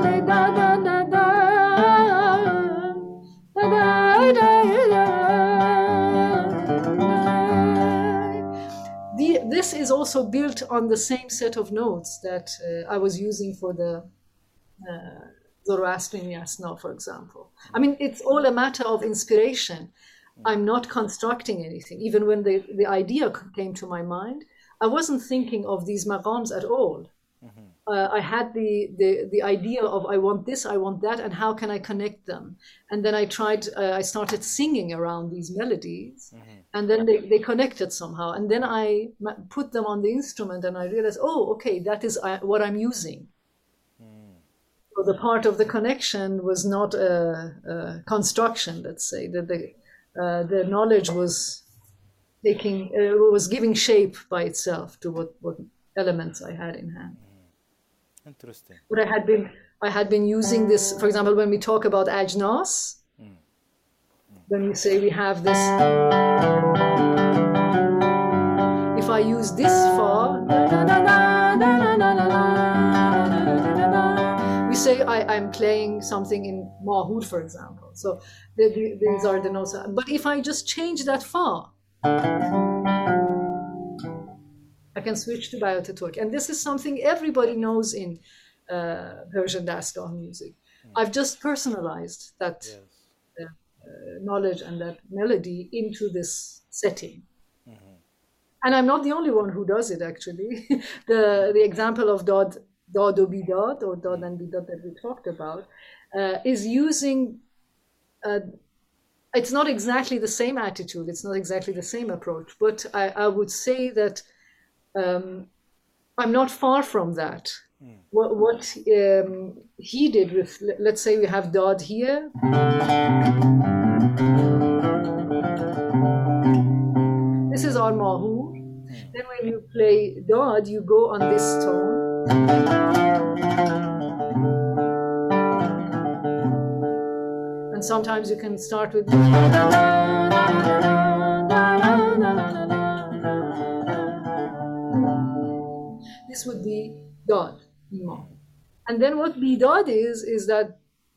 This is also built on the same set of notes that I was using for the Zoroastrian yasna, for example. I mean, it's all a matter of inspiration. I'm not constructing anything. Even when the idea came to my mind, I wasn't thinking of these maqams at all. I had the idea of I want this, I want that, and how can I connect them? And then I started singing around these melodies, and then they connected somehow. And then I put them on the instrument, and I realized, oh, okay, that is what I'm using. So the part of the connection was not a construction, let's say, that the knowledge was giving shape by itself to what elements I had in hand. Interesting. But I had been using this, for example, when we talk about ajnas, when we say we have this, if I use this fa, we say I'm playing something in mahud, for example. So these are the notes. But if I just change that fa, I can switch to Bayat Turk. And this is something everybody knows in Persian Dastgah music. I've just personalized that knowledge and that melody into this setting. And I'm not the only one who does it, actually. The example of Dod o Bidad, or Dod and Bidad that we talked about, is using, it's not exactly the same attitude, it's not exactly the same approach, but I would say that I'm not far from that. What he did with, let's say we have Dod here. This is our mahur. Then when you play Dod, you go on this tone. And sometimes you can start with. This would be Dod. And then what Bidad is that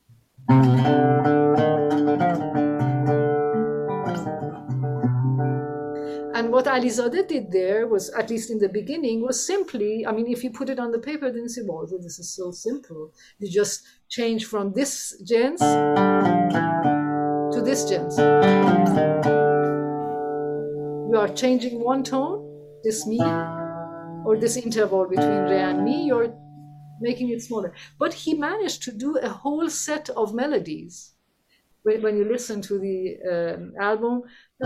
and what Alizadeh did there was, at least in the beginning, was simply, I mean, if you put it on the paper, then you say, well, this is so simple. You just change from this gens to this gens. You are changing one tone, this mi, or this interval between re and mi, you're making it smaller. But he managed to do a whole set of melodies. When you listen to the album,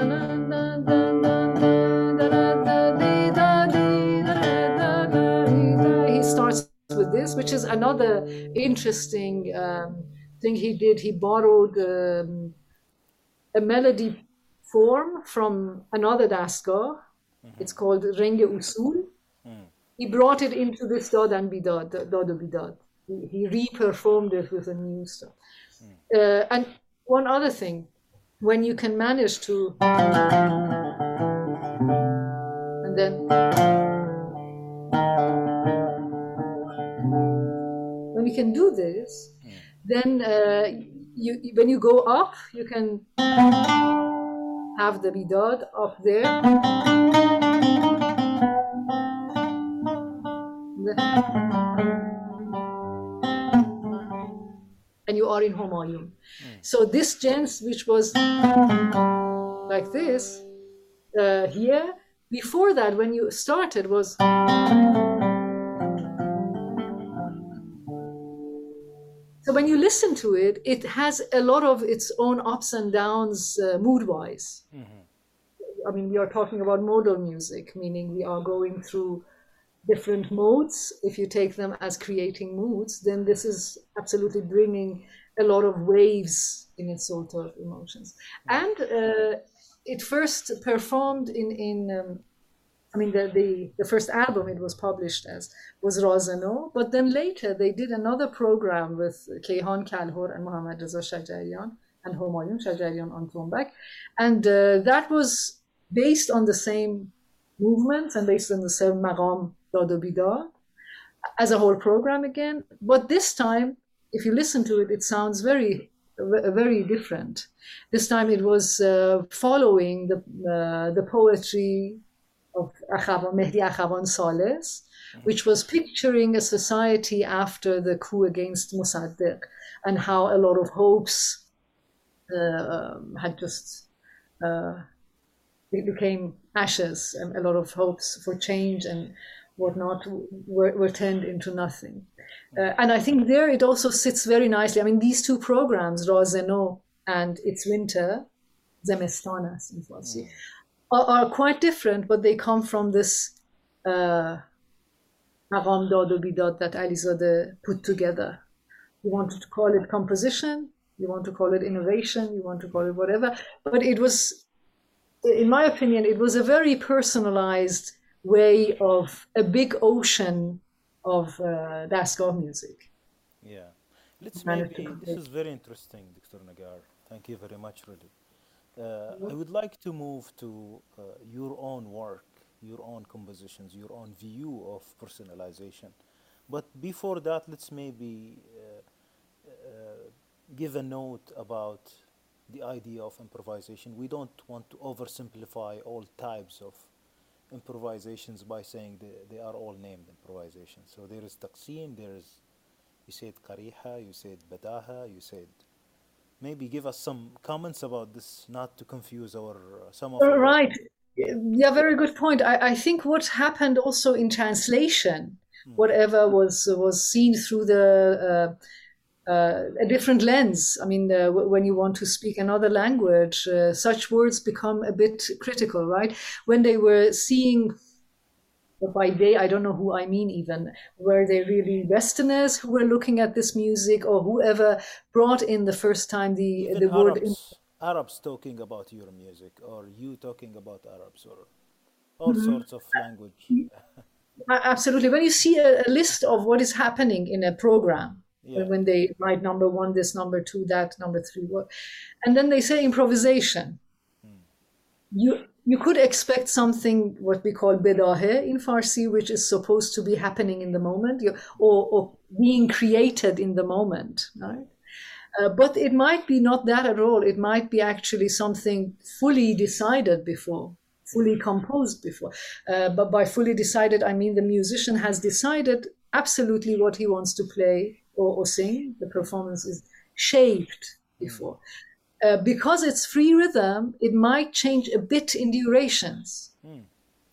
he starts with this, which is another interesting thing he did. He borrowed a melody form from another dastgah. It's called Reng Usul. He brought it into this Dad and Bidad, Dad and Bidad. He re-performed it with a new stuff. And one other thing, when you can manage to, and then, when you can do this, then when you go up, you can have the Bidad up there. And you are in Humayun. So this gens, which was like this, here, before that, when you started, was so when you listen to it, it has a lot of its own ups and downs mood-wise. I mean, we are talking about modal music, meaning we are going through different modes. If you take them as creating moods, then this is absolutely bringing a lot of waves in its sort of emotions. And it first performed the first album it was published as was Razeno, but then later they did another program with Kayhan Kalhor and Mohammad Reza Shajarian and Humayun Shajarian on trombek, and that was based on the same movements and based on the same maqam Dad o Bidad as a whole program again. But this time, if you listen to it, it sounds very, very different. This time it was following the poetry of Mehdi Akhavan Sales, which was picturing a society after the coup against Mossadegh and how a lot of hopes had just it became ashes, and a lot of hopes for change and whatnot were turned into nothing. And I think there it also sits very nicely. I mean, these two programs, Razeno and It's Winter, Zemistan ast in Farsi, are quite different, but they come from this Maqam Dad o Bidad that Alizadeh put together. You wanted to call it composition, you want to call it innovation, you want to call it whatever, but it was, in my opinion, it was a very personalized way of a big ocean of dastgah music. Yeah. This is very interesting, Dr. Nagar. Thank you very much, really. I would like to move to your own work, your own compositions, your own view of personalization. But before that, let's maybe give a note about the idea of improvisation. We don't want to oversimplify all types of improvisations by saying they are all named improvisations. So there is taqsim, there is, you said qariha, you said badaha, you said, maybe give us some comments about this, not to confuse some of our... Right. Yeah, very good point. I think what happened also in translation, whatever was seen through a different lens. I mean, when you want to speak another language, such words become a bit critical, right? When they were seeing, by they, I don't know who I mean even, were they really Westerners who were looking at this music, or whoever brought in the first time the word... Arabs talking about your music, or you talking about Arabs, or all sorts of language. Absolutely. When you see a list of what is happening in a program, when they write number 1, this, number 2, that, number 3, what, and then they say improvisation. You could expect something what we call bidahe in Farsi, which is supposed to be happening in the moment, or being created in the moment, right? But it might be not that at all. It might be actually something fully decided before, fully composed before. But by fully decided, I mean the musician has decided absolutely what he wants to play or sing. The performance is shaped before. Because it's free rhythm, it might change a bit in durations.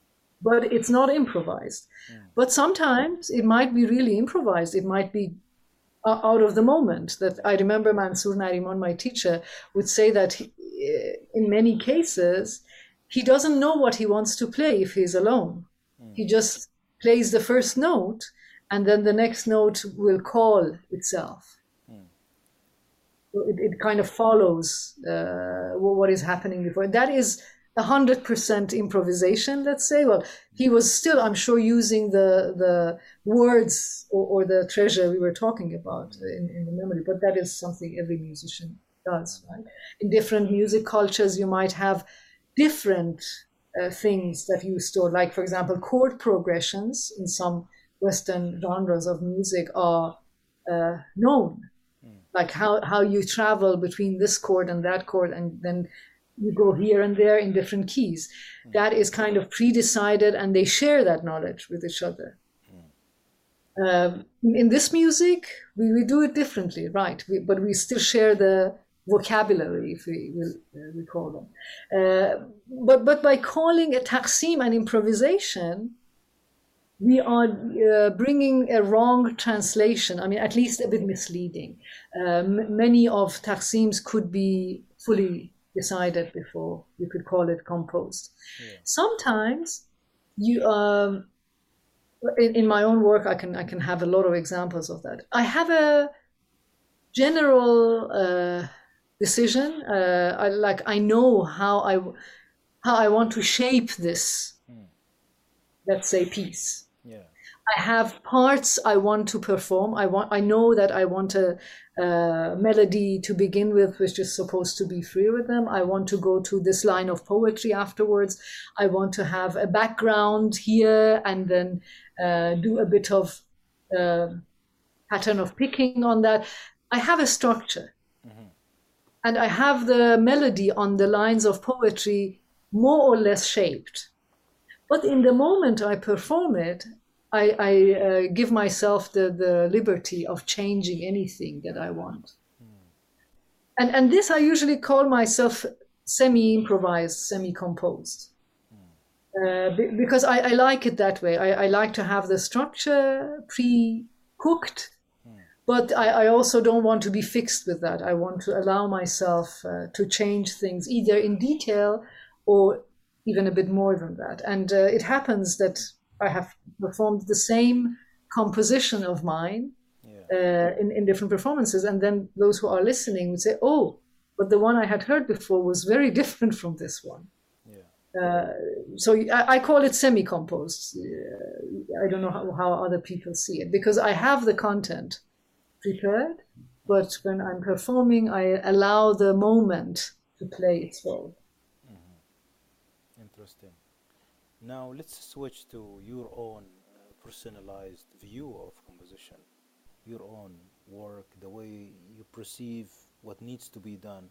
but it's not improvised. But sometimes it might be really improvised. It might be out of the moment. That I remember Mansour Nariman, my teacher, would say that in many cases, he doesn't know what he wants to play if he's alone. He just plays the first note, and then the next note will call itself. So it kind of follows what is happening before. That is 100% improvisation, let's say. Well, he was still, I'm sure, using the words or the treasure we were talking about in the memory, but that is something every musician does, right? In different music cultures, you might have different things that you store. Like, for example, chord progressions in some Western genres of music are known. Like how you travel between this chord and that chord, and then you go here and there in different keys. That is kind of pre-decided, and they share that knowledge with each other. In this music, we do it differently, right? But we still share the vocabulary, if we call them. But by calling a taqsim an improvisation, we are bringing a wrong translation. I mean, at least a bit misleading. Many of taqsims could be fully decided before you could call it composed. Yeah. Sometimes you, in my own work, I can have a lot of examples of that. I have a general decision. I know how I want to shape this, let's say, piece. Yeah. I have parts I want to perform. I know that I want a melody to begin with, which is supposed to be free rhythm. I want to go to this line of poetry afterwards. I want to have a background here, and then do a bit of pattern of picking on that. I have a structure. And I have the melody on the lines of poetry more or less shaped. But in the moment I perform it, I give myself the liberty of changing anything that I want. And this I usually call myself semi-improvised, semi-composed. Because I like it that way. I like to have the structure pre-cooked, but I also don't want to be fixed with that. I want to allow myself to change things either in detail or even a bit more than that. And it happens that I have performed the same composition of mine in different performances. And then those who are listening would say, oh, but the one I had heard before was very different from this one. So I call it semi-composed. I don't know how other people see it, because I have the content prepared, but when I'm performing, I allow the moment to play its role. Interesting. Now let's switch to your own personalized view of composition, your own work, the way you perceive what needs to be done.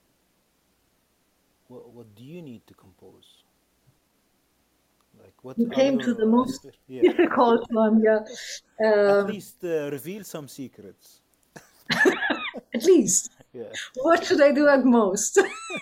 What do you need to compose? Like, what you came to the most difficult one, yeah. At least reveal some secrets. At least. Yeah. What should I do at most?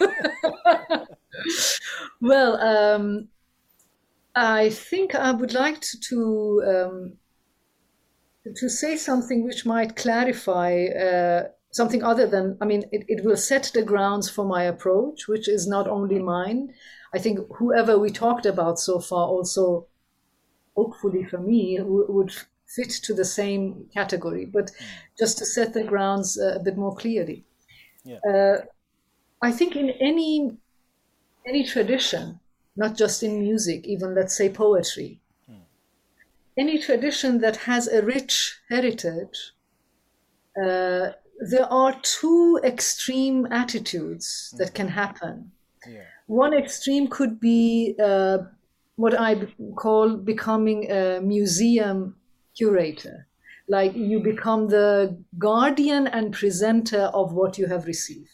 Well, I think I would like to say something which might clarify something other than, I mean, it will set the grounds for my approach, which is not only mine. I think whoever we talked about so far also, hopefully for me, would fit to the same category, but just to set the grounds a bit more clearly. Yeah. I think in any tradition, not just in music, even let's say poetry, any tradition that has a rich heritage, there are two extreme attitudes that can happen. Yeah. One extreme could be what I call becoming a museum curator. Like you become the guardian and presenter of what you have received.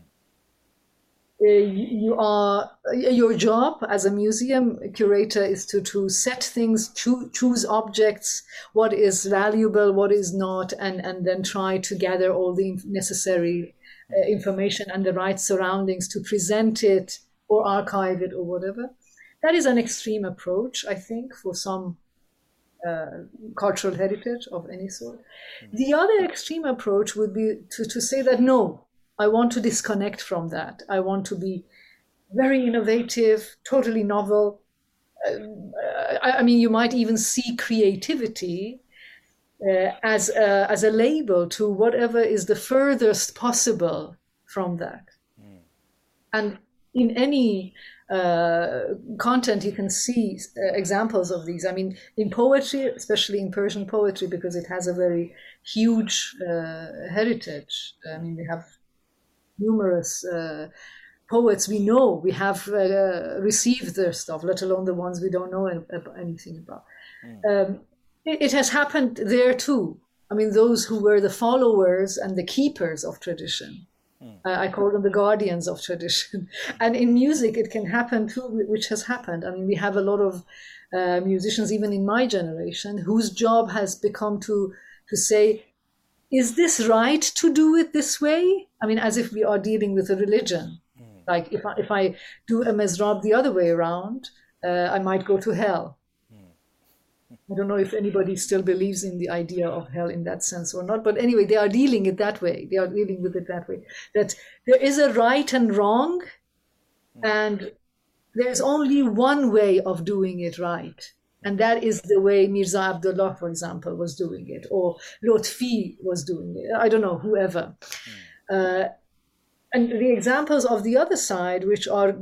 Your job as a museum curator is to set things, choose objects, what is valuable, what is not, and then try to gather all the necessary information and the right surroundings to present it or archive it or whatever. That is an extreme approach, I think, for some cultural heritage of any sort. The other extreme approach would be to say that no, I want to disconnect from that. I want to be very innovative, totally novel. I mean, you might even see creativity as a label to whatever is the furthest possible from that. And in any content, you can see examples of these. I mean, in poetry, especially in Persian poetry, because it has a very huge heritage. I mean, we have numerous poets we know, we have received their stuff, let alone the ones we don't know anything about. It has happened there too. I mean, those who were the followers and the keepers of tradition. I call them the guardians of tradition. And in music, it can happen too, which has happened. I mean, we have a lot of musicians, even in my generation, whose job has become to say, is this right to do it this way? I mean, as if we are dealing with a religion. Like if I do a mezrab the other way around, I might go to hell. I don't know if anybody still believes in the idea of hell in that sense or not. But anyway, they are dealing it that way. They are dealing with it that way. That there is a right and wrong, and there's only one way of doing it right. And that is the way Mirza Abdullah, for example, was doing it, or Lotfi was doing it. I don't know, whoever. And the examples of the other side, which are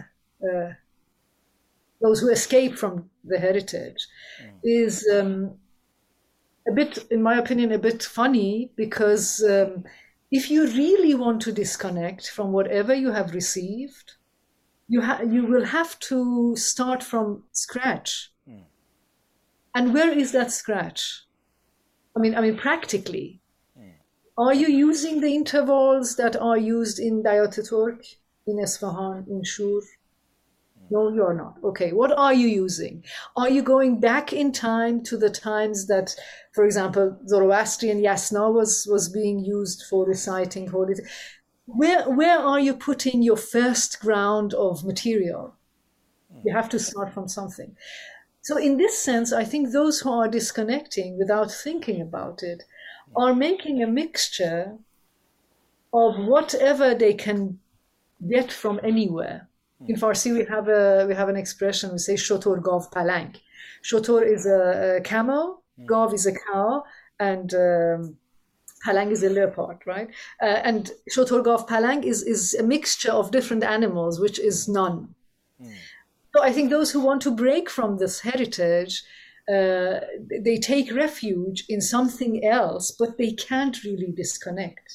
those who escape from the heritage, is a bit, in my opinion, a bit funny, because if you really want to disconnect from whatever you have received, you will have to start from scratch. And where is that scratch? I mean, practically, are you using the intervals that are used in Dayat Turk, in Esfahan, in Shur? No, you're not. Okay, what are you using? Are you going back in time to the times that, for example, Zoroastrian Yasna was being used for reciting holy? Where are you putting your first ground of material? You have to start from something. So in this sense, I think those who are disconnecting without thinking about it are making a mixture of whatever they can get from anywhere. In Farsi, we have an expression, we say shotor gav palang. Shotor is a camel, gav is a cow, and palang is a leopard, right? And shotor gav palang is a mixture of different animals, which is none. So I think those who want to break from this heritage, they take refuge in something else, but they can't really disconnect.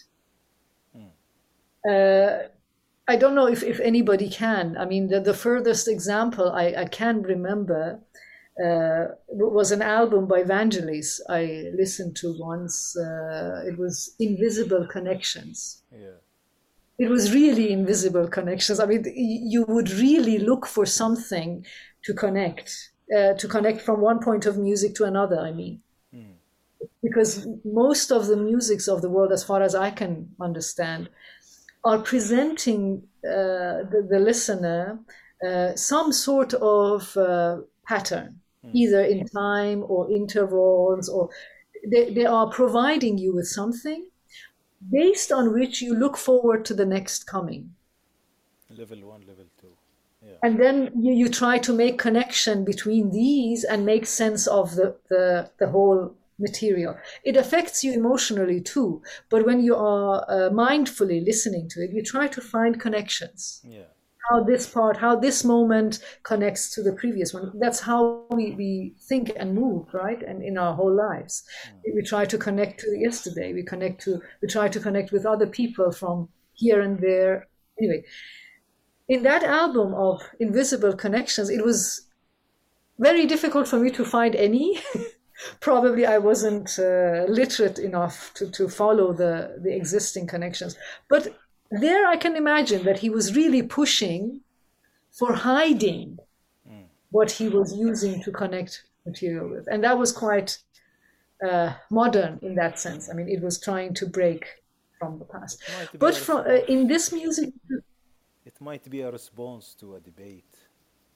I don't know if anybody can. I mean, the furthest example I can remember was an album by Vangelis I listened to once. It was Invisible Connections. Yeah. It was really invisible connections. I mean, you would really look for something to connect from one point of music to another, I mean. Because most of the musics of the world, as far as I can understand, are presenting the listener some sort of pattern, either in time or intervals, or they are providing you with something based on which you look forward to the next coming. Level 1, level 2. Yeah. And then you try to make connection between these and make sense of the whole material. It affects you emotionally too, but when you are mindfully listening to it, you try to find connections. Yeah. How this moment connects to the previous one. That's how we think and move, right? And in our whole lives, we try to connect to yesterday. We try to connect with other people from here and there. Anyway, in that album of Invisible Connections, it was very difficult for me to find any. Probably I wasn't literate enough to follow the existing connections. But there I can imagine that he was really pushing for hiding what he was using to connect material with. And that was quite modern in that sense. I mean, it was trying to break from the past. But in this music... It might be a response to a debate.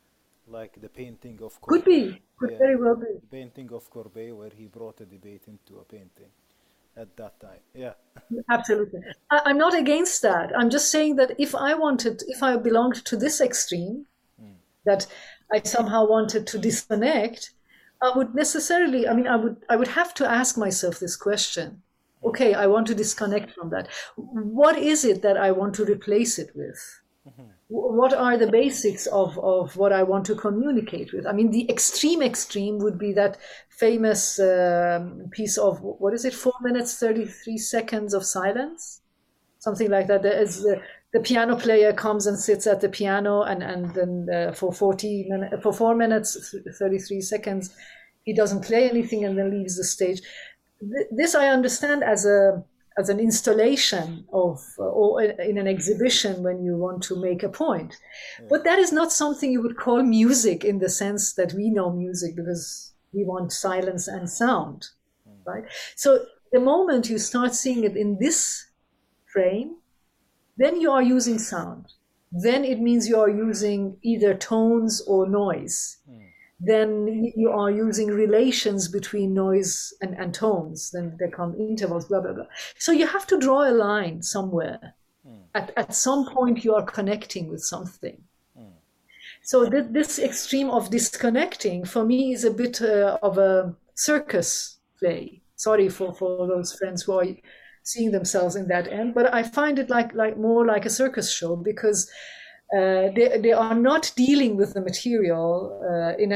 like the painting of Could Courbet. be, could Yeah, very well be. the painting of Courbet, where he brought a debate into a painting at that time. Yeah. Absolutely. I'm not against that. I'm just saying that if I belonged to this extreme, that I somehow wanted to disconnect, I would necessarily, I would have to ask myself this question. Okay, I want to disconnect from that. What is it that I want to replace it with? What are the basics of what I want to communicate with? I mean, the extreme would be that famous piece of, what is it, 4 minutes, 33 seconds of silence? Something like that. There is the piano player comes and sits at the piano, and then for 4 minutes, 33 seconds, he doesn't play anything and then leaves the stage. This I understand as an installation of, or in an exhibition when you want to make a point. But that is not something you would call music in the sense that we know music, because we want silence and sound, right? So the moment you start seeing it in this frame, then you are using sound. Then it means you are using either tones or noise. Then you are using relations between noise and tones. Then there come intervals, blah, blah, blah. So you have to draw a line somewhere. At some point, you are connecting with something. So this extreme of disconnecting, for me, is a bit of a circus play. Sorry for those friends who are seeing themselves in that end, but I find it like more like a circus show, because they are not dealing with the material in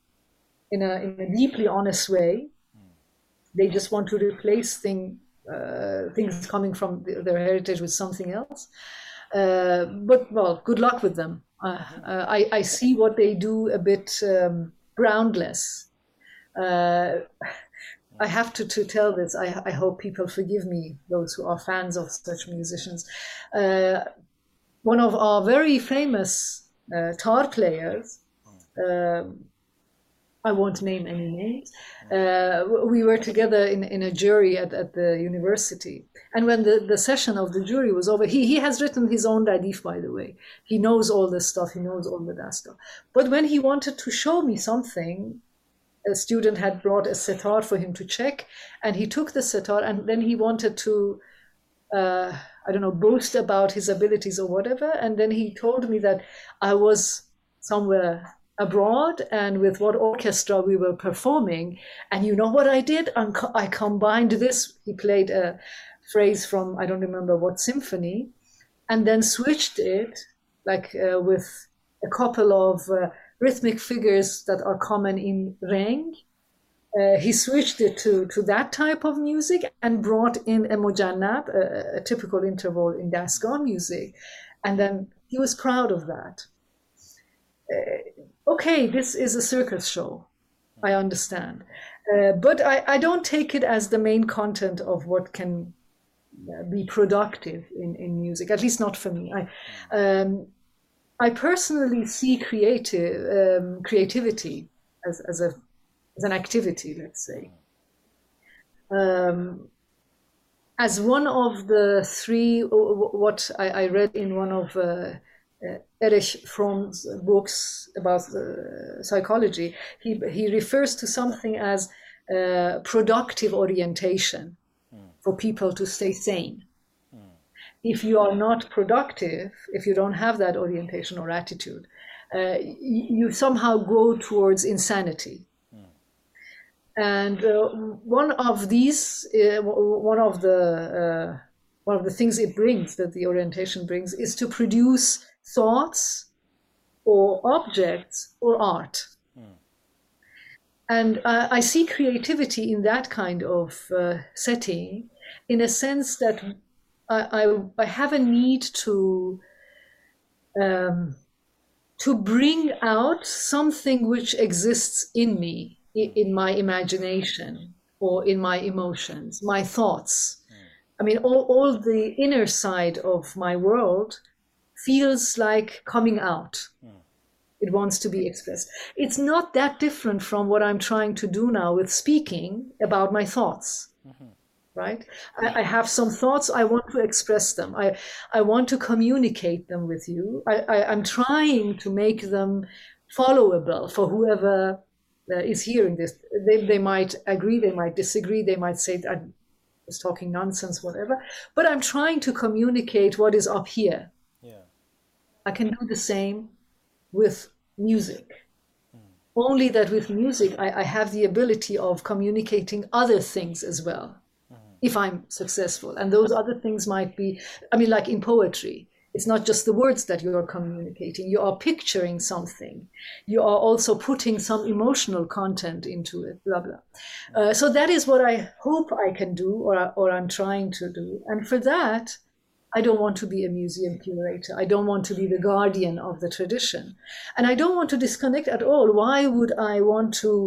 a deeply honest way. They just want to replace things coming from their heritage with something else. But well, good luck with them. I see what they do a bit groundless. I have to tell this. I hope people forgive me, those who are fans of such musicians. One of our very famous tar players, I won't name any names, we were together in a jury at the university. And when the session of the jury was over, he has written his own radif, by the way. He knows all this stuff, he knows all the dasta. But when he wanted to show me something, a student had brought a setar for him to check, and he took the setar, and then he wanted to, I don't know, boast about his abilities or whatever. And then he told me that I was somewhere abroad and with what orchestra we were performing. And you know what I did? I combined this. He played a phrase from, I don't remember what symphony, and then switched it with a couple of rhythmic figures that are common in Reng. He switched it to that type of music and brought in a mujannab, a typical interval in Dastgah music. And then he was proud of that. Okay, this is a circus show, I understand. But I don't take it as the main content of what can be productive in music, at least not for me. I personally see creativity as an activity, let's say, as one of the three. What I read in one of Erich Fromm's books about psychology, he refers to something as productive orientation for people to stay sane. If you are not productive, if you don't have that orientation or attitude, you somehow go towards insanity. And one of these, one of the things it brings, that the orientation brings, is to produce thoughts or objects or art. And I see creativity in that kind of setting, in a sense that I have a need to bring out something which exists in me, in my imagination or in my emotions, my thoughts. I mean, all the inner side of my world feels like coming out. It wants to be expressed. It's not that different from what I'm trying to do now with speaking about my thoughts. Right? I have some thoughts, I want to express them. I want to communicate them with you. I'm trying to make them followable for whoever is hearing this. They might agree, they might disagree, they might say that I'm just talking nonsense, whatever. But I'm trying to communicate what is up here. Yeah. I can do the same with music. Only that with music, I have the ability of communicating other things as well, if I'm successful. And those other things might be, I mean, like in poetry, it's not just the words that you're communicating. You are picturing something. You are also putting some emotional content into it, blah, blah. So that is what I hope I can do, or I'm trying to do. And for that, I don't want to be a museum curator. I don't want to be the guardian of the tradition. And I don't want to disconnect at all. Why would I want to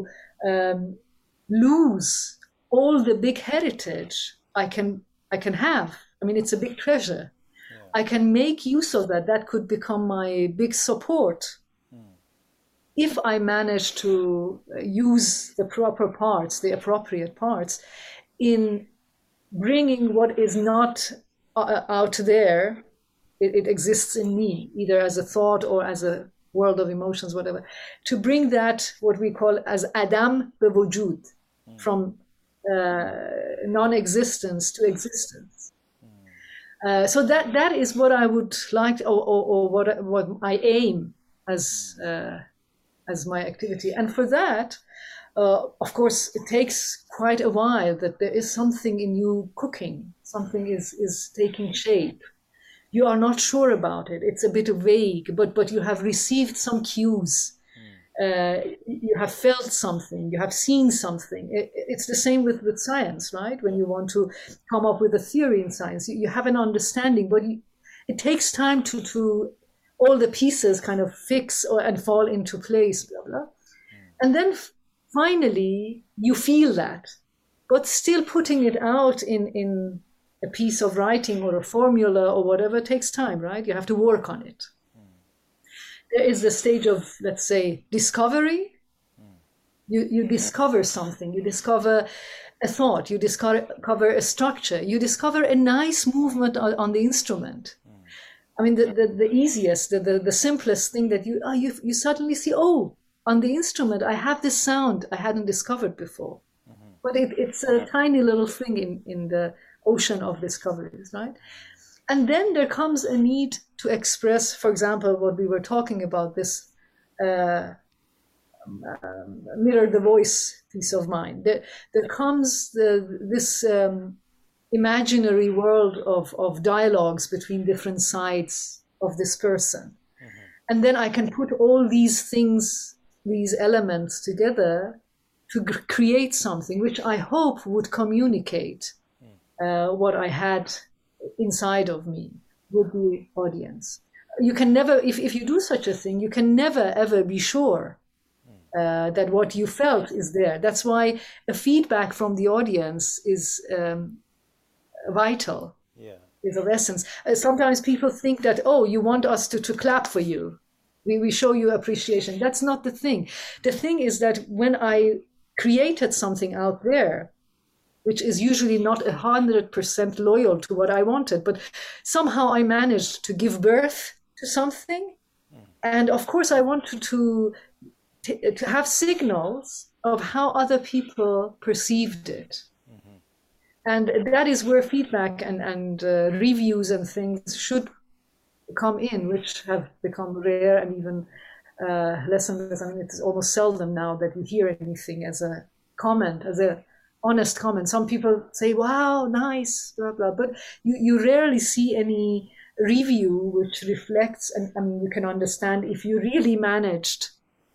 lose all the big heritage I can have? I mean, it's a big treasure. I can make use of that. That could become my big support if I manage to use the proper parts, the appropriate parts, in bringing what is not out there. It exists in me, either as a thought or as a world of emotions, whatever. To bring that, what we call as Adam be wujud, from non-existence to existence. So that is what I would like, or what I aim as my activity. And for that, of course, it takes quite a while that there is something in you cooking, something is taking shape. You are not sure about it. It's a bit vague, but you have received some cues. You have felt something, you have seen something. It's the same with science, right? When you want to come up with a theory in science, you have an understanding, but it takes time to all the pieces kind of fix and fall into place, blah, blah. And then finally, you feel that, but still putting it out in a piece of writing or a formula or whatever takes time, right? You have to work on it. There is the stage of, let's say, discovery. You discover something. You discover a thought. You discover a structure. You discover a nice movement on the instrument. I mean, the easiest, the simplest thing that you suddenly see, oh, on the instrument, I have this sound I hadn't discovered before. But it's a tiny little thing in the ocean of discoveries, right? And then there comes a need to express, for example, what we were talking about, this mirror the voice piece of mine. There comes this imaginary world of dialogues between different sides of this person. And then I can put all these things, these elements together to create something which I hope would communicate what I had inside of me with the audience. You can never, if you do such a thing, you can never ever be sure that what you felt is there. That's why a feedback from the audience is vital, is of essence. Sometimes people think that, oh, you want us to clap for you. We show you appreciation. That's not the thing. The thing is that when I created something out there, which is usually not 100% loyal to what I wanted, but somehow I managed to give birth to something. And of course, I wanted to have signals of how other people perceived it. And that is where feedback and reviews and things should come in, which have become rare and even less and less. I mean, it's almost seldom now that you hear anything as a comment, as a honest comment. Some people say, wow, nice, blah, blah, but you rarely see any review which reflects, and I mean, you can understand if you really managed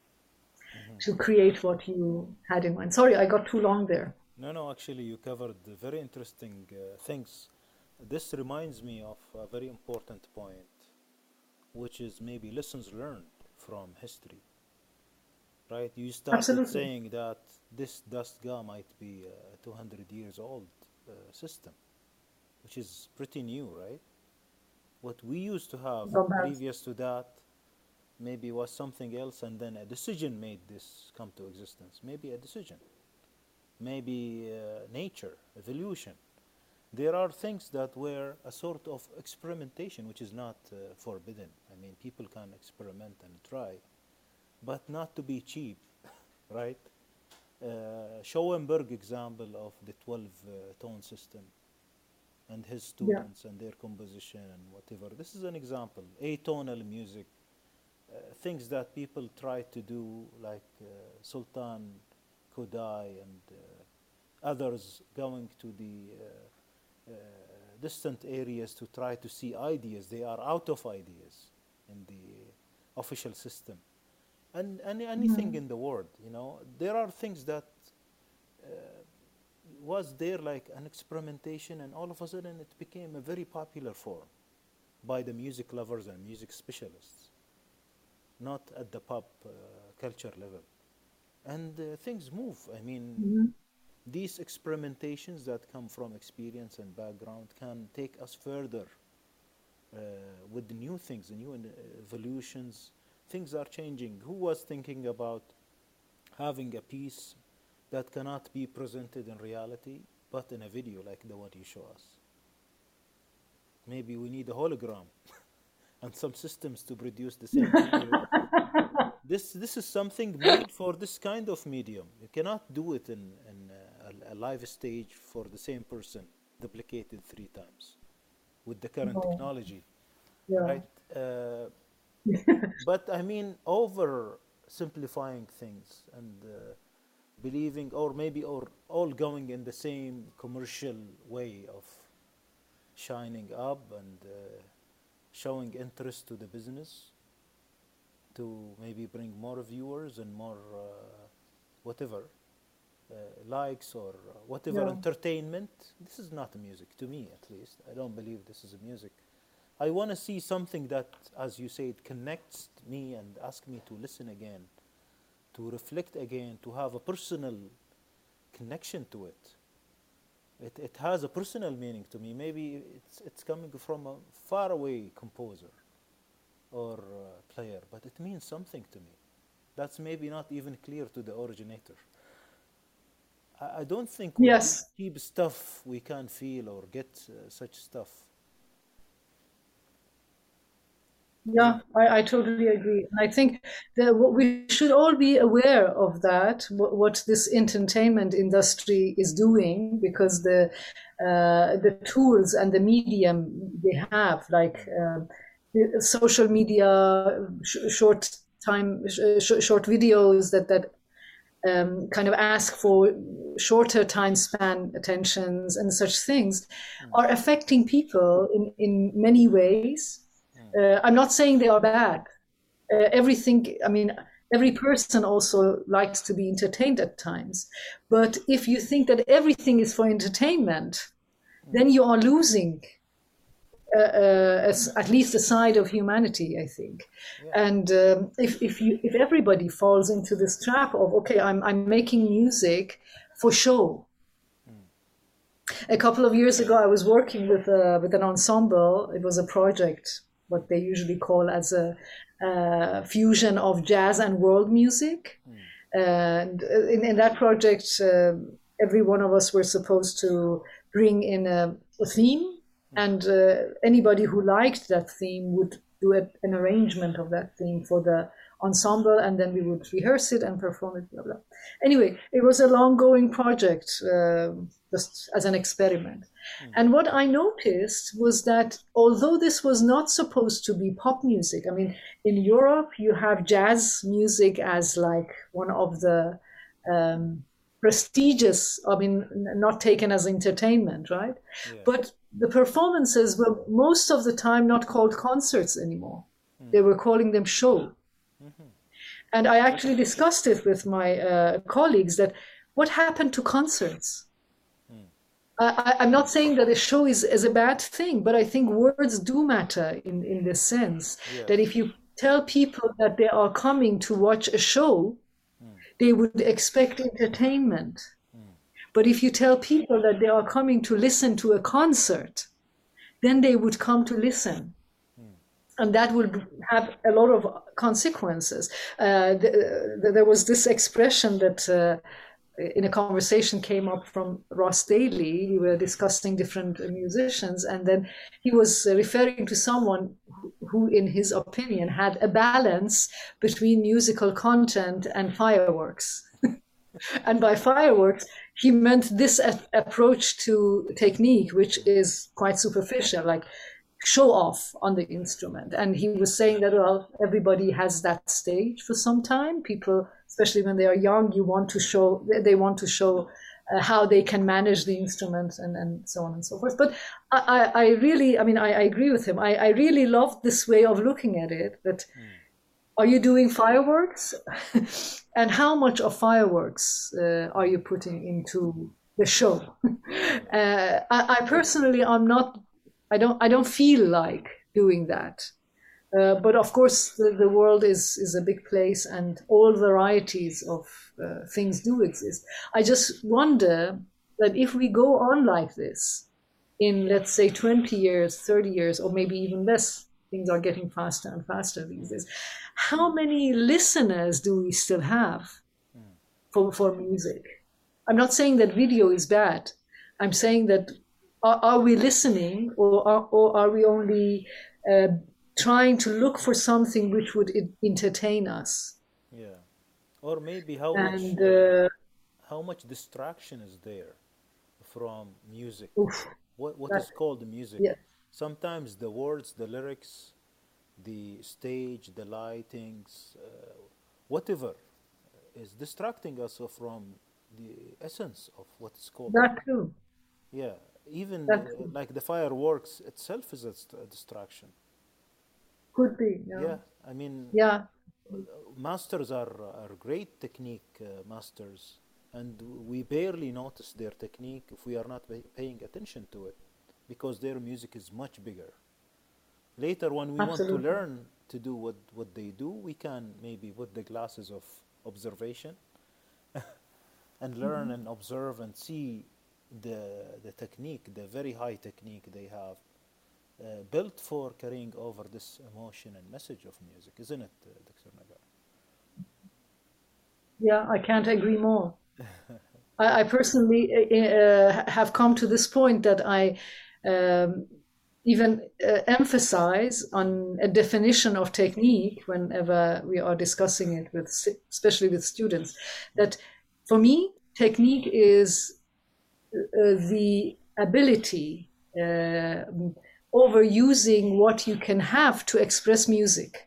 to create what you had in mind. Sorry, I got too long there. No, actually, you covered very interesting things. This reminds me of a very important point, which is maybe lessons learned from history. Right? You started Absolutely. saying that this Dastgah might be a 200 years old system, which is pretty new, right? What we used to have previous to that maybe was something else, and then a decision made this come to existence. Maybe a decision, maybe nature, evolution. There are things that were a sort of experimentation, which is not forbidden. I mean, people can experiment and try. but not to be cheap, right? Schoenberg example of the 12 tone system and his Yeah. students and their composition and whatever. This is an example. Atonal music, things that people try to do, like Sultan Kodai and others going to the distant areas to try to see ideas. They are out of ideas in the official system. And anything in the world, you know, there are things that was there like an experimentation, and all of a sudden it became a very popular form by the music lovers and music specialists, not at the pop culture level. And things move. I mean, these experimentations that come from experience and background can take us further with the new things, the new evolutions. Things are changing. Who was thinking about having a piece that cannot be presented in reality, but in a video like the one you show us? Maybe we need a hologram and some systems to produce the same video. This is something made for this kind of medium. You cannot do it in a live stage for the same person, duplicated 3 times with the current technology, Yeah. right? But I mean, over simplifying things and believing, or maybe or all going in the same commercial way of shining up and showing interest to the business to maybe bring more viewers and more whatever likes or whatever Yeah. entertainment. This is not music to me, at least. I don't believe this is music. I want to see something that, as you said, connects me and ask me to listen again, to reflect again, to have a personal connection to it. It has a personal meaning to me. Maybe it's coming from a faraway composer or player, but it means something to me. That's maybe not even clear to the originator. I don't think with Yes. cheap stuff we can feel or get such stuff. Yeah, I totally agree. And I think that we should all be aware of that, what this entertainment industry is doing, because the tools and the medium they have, like the social media, short videos that kind of ask for shorter time span attentions and such things, are affecting people in many ways. I'm not saying they are bad. Everything, I mean, every person also likes to be entertained at times. But if you think that everything is for entertainment, then you are losing at least a side of humanity, I think. And if everybody falls into this trap of, okay, I'm making music for show. A couple of years ago, I was working with an ensemble. It was a project, what they usually call as a fusion of jazz and world music. And in that project, every one of us were supposed to bring in a theme, and anybody who liked that theme would do an arrangement of that theme for the ensemble, and then we would rehearse it and perform it, blah, blah. Anyway, it was a long-going project, just as an experiment. And what I noticed was that although this was not supposed to be pop music, I mean, in Europe, you have jazz music as like one of the prestigious, I mean, not taken as entertainment, right? Yeah. But the performances were most of the time not called concerts anymore. They were calling them show. And I actually discussed it with my colleagues, that what happened to concerts? I'm not saying that a show is a bad thing, but I think words do matter in this sense. Yes. That if you tell people that they are coming to watch a show, they would expect entertainment. But if you tell people that they are coming to listen to a concert, then they would come to listen. And that would have a lot of consequences. There was this expression that in a conversation came up from Ross Daly. We were discussing different musicians, and then he was referring to someone who, in his opinion, had a balance between musical content and fireworks. And by fireworks, he meant this approach to technique, which is quite superficial, like show off on the instrument. And he was saying that, well, everybody has that stage for some time. People, especially when they are young, they want to show how they can manage the instrument and so on and so forth. But I agree with him. I really loved this way of looking at it, that are you doing fireworks? And how much of fireworks are you putting into the show? I personally, I don't feel like doing that. But of course, the world is a big place, and all varieties of things do exist. I just wonder that if we go on like this in, let's say, 20 years, 30 years, or maybe even less, things are getting faster and faster these days. How many listeners do we still have for music? I'm not saying that video is bad. I'm saying that are we listening, or are we only trying to look for something which would entertain us? Yeah. Or maybe how much distraction is there from music? Oof, What that, is called music? yeah, Sometimes the words, the lyrics, the stage, the lightings, whatever is distracting us from the essence of what is called. that too. Yeah, even That too. like the fireworks itself is a distraction. Could be. Yeah, I mean, Yeah. masters are great technique masters, and we barely notice their technique if we are not paying attention to it, because their music is much bigger. Later, when we want to Absolutely. learn to do what they do, we can maybe put the glasses of observation and learn and observe and see the technique, the very high technique they have built for carrying over this emotion and message of music, isn't it, Dr. Nagar? Yeah, I can't agree more. I personally have come to this point that I even emphasize on a definition of technique whenever we are discussing it with, especially with students, that for me, technique is the ability overusing what you can have to express music.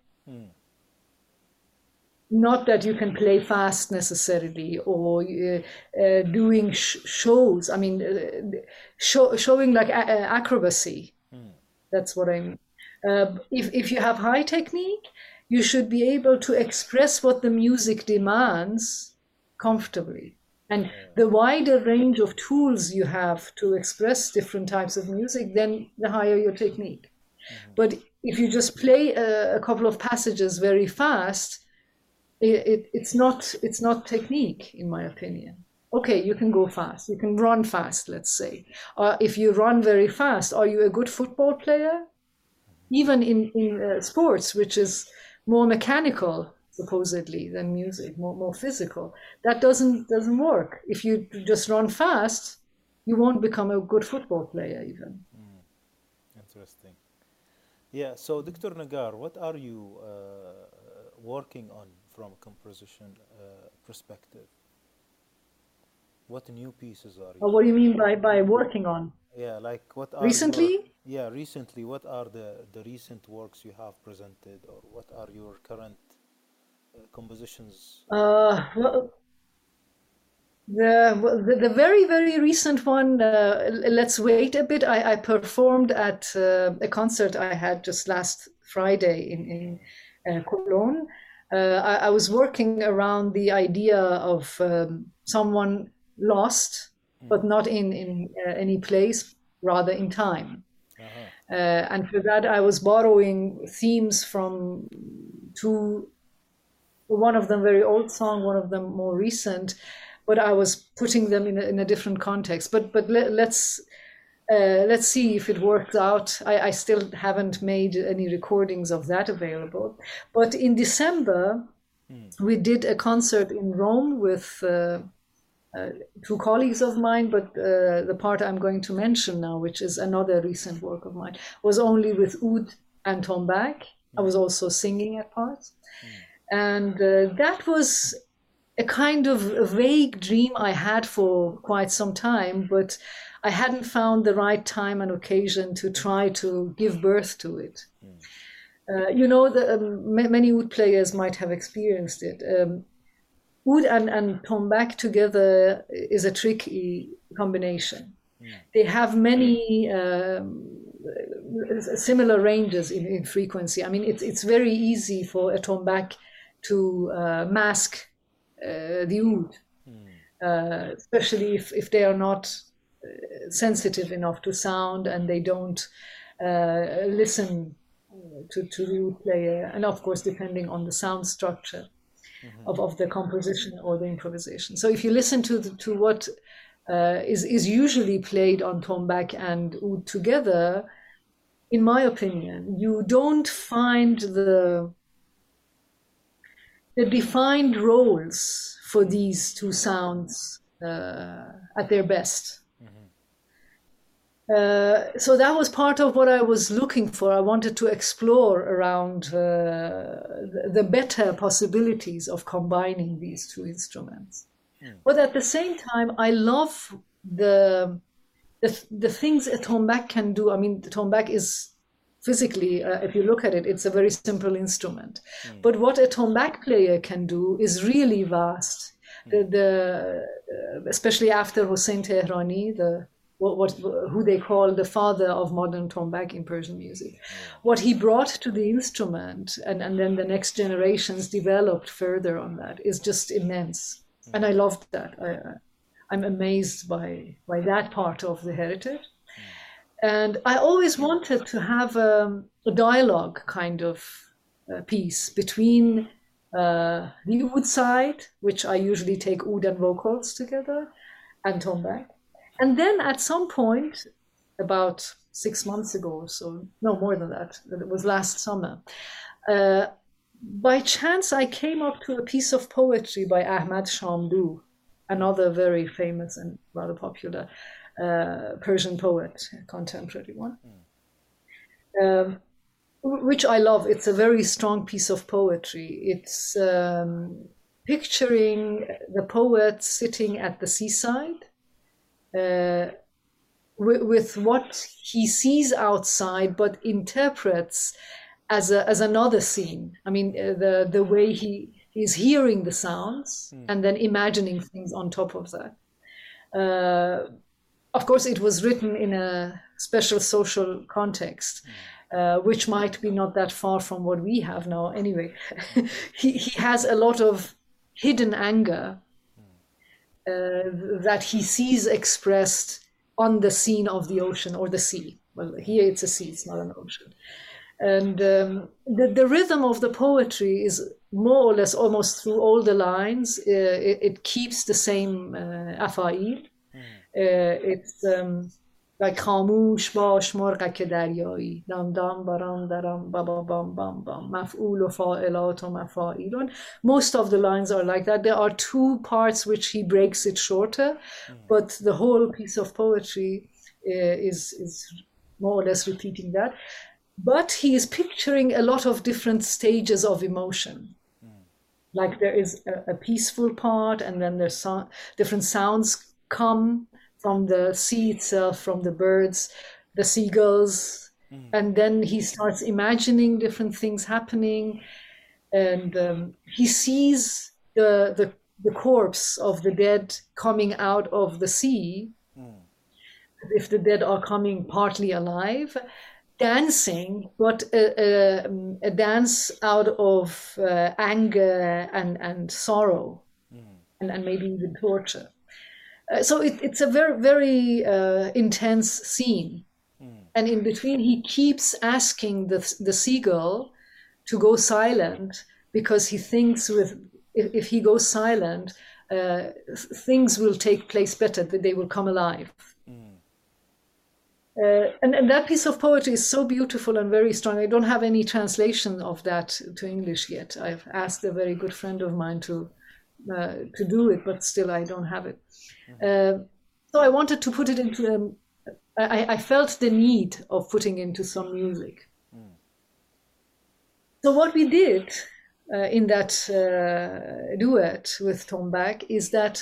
Not that you can play fast necessarily, or doing shows. I mean, showing like acrobacy. That's what I mean. If you have high technique, you should be able to express what the music demands comfortably. And the wider range of tools you have to express different types of music, then the higher your technique. But if you just play a couple of passages very fast, it's not technique, in my opinion. Okay, you can go fast, you can run fast, let's say. If you run very fast, are you a good football player? Even in sports, which is more mechanical, supposedly, than music, more physical, that doesn't work. If you just run fast, you won't become a good football player even. Interesting. Yeah, so Dr. Nagar, what are you working on from a composition perspective? What new pieces are you? What do you mean by working on? Yeah, like what are Recently? recently, what are the recent works you have presented, or what are your current compositions? Well, the very, very recent one, let's wait a bit. I performed at a concert I had just last Friday in Cologne. I was working around the idea of someone lost, but not in any place, rather in time. And for that, I was borrowing themes from two, one of them very old song, one of them more recent, but I was putting them in a different context. But let's see if it works out. I still haven't made any recordings of that available. But in December, we did a concert in Rome with two colleagues of mine, but the part I'm going to mention now, which is another recent work of mine, was only with oud and tombak. I was also singing at parts. And that was a kind of a vague dream I had for quite some time, but I hadn't found the right time and occasion to try to give birth to it. Many oud players might have experienced it. Oud and tombak together is a tricky combination. They have many similar ranges in frequency. I mean, it's very easy for a tombak to mask the oud, especially if they are not sensitive enough to sound and they don't listen to the oud player, and of course depending on the sound structure of the composition or the improvisation. So if you listen to what is usually played on tombak and oud together, in my opinion, you don't find the defined roles for these two sounds at their best. So that was part of what I was looking for. I wanted to explore around the better possibilities of combining these two instruments. But at the same time, I love the things a tombak can do. I mean, the tombak is physically, if you look at it, it's a very simple instrument. But what a tombak player can do is really vast. Especially after Hossein Tehrani, who they call the father of modern tombak in Persian music. What he brought to the instrument, and then the next generations developed further on that, is just immense. And I loved that. I'm amazed by that part of the heritage. And I always wanted to have a dialogue kind of piece between the oud side, which I usually take oud and vocals together, and tombak. And then at some point, about 6 months ago or so, no more than that, it was last summer, by chance I came up to a piece of poetry by Ahmad Shamdou, another very famous and rather popular Persian poet, contemporary one, which I love. It's a very strong piece of poetry. It's picturing the poet sitting at the seaside, with what he sees outside, but interprets as another scene. I mean, the way he is hearing the sounds and then imagining things on top of that. Of course, it was written in a special social context, which might be not that far from what we have now. Anyway, he has a lot of hidden anger that he sees expressed on the scene of the ocean or the sea. Well, here it's a sea, it's not an ocean. And the rhythm of the poetry is more or less almost through all the lines. It keeps the same afail. It's like خاموش باش مرغک دریایی دم دم برام درم بابا بام بام بام مفعول و فاعلات و مفاعیلون. Most of the lines are like that. There are two parts which he breaks it shorter, but the whole piece of poetry is more or less repeating that. But he is picturing a lot of different stages of emotion. Like there is a peaceful part, and then there's different sounds come from the sea itself, from the birds, the seagulls, and then he starts imagining different things happening, and he sees the corpse of the dead coming out of the sea, if the dead are coming partly alive, dancing, but a dance out of anger and sorrow, and maybe even torture. So it's a very, very intense scene. And in between, he keeps asking the seagull to go silent, because he thinks if he goes silent, things will take place better, that they will come alive. And that piece of poetry is so beautiful and very strong. I don't have any translation of that to English yet. I've asked a very good friend of mine to do it, but still I don't have it. So I wanted to put it into I felt the need of putting into some music. So what we did in that duet with Tombak is that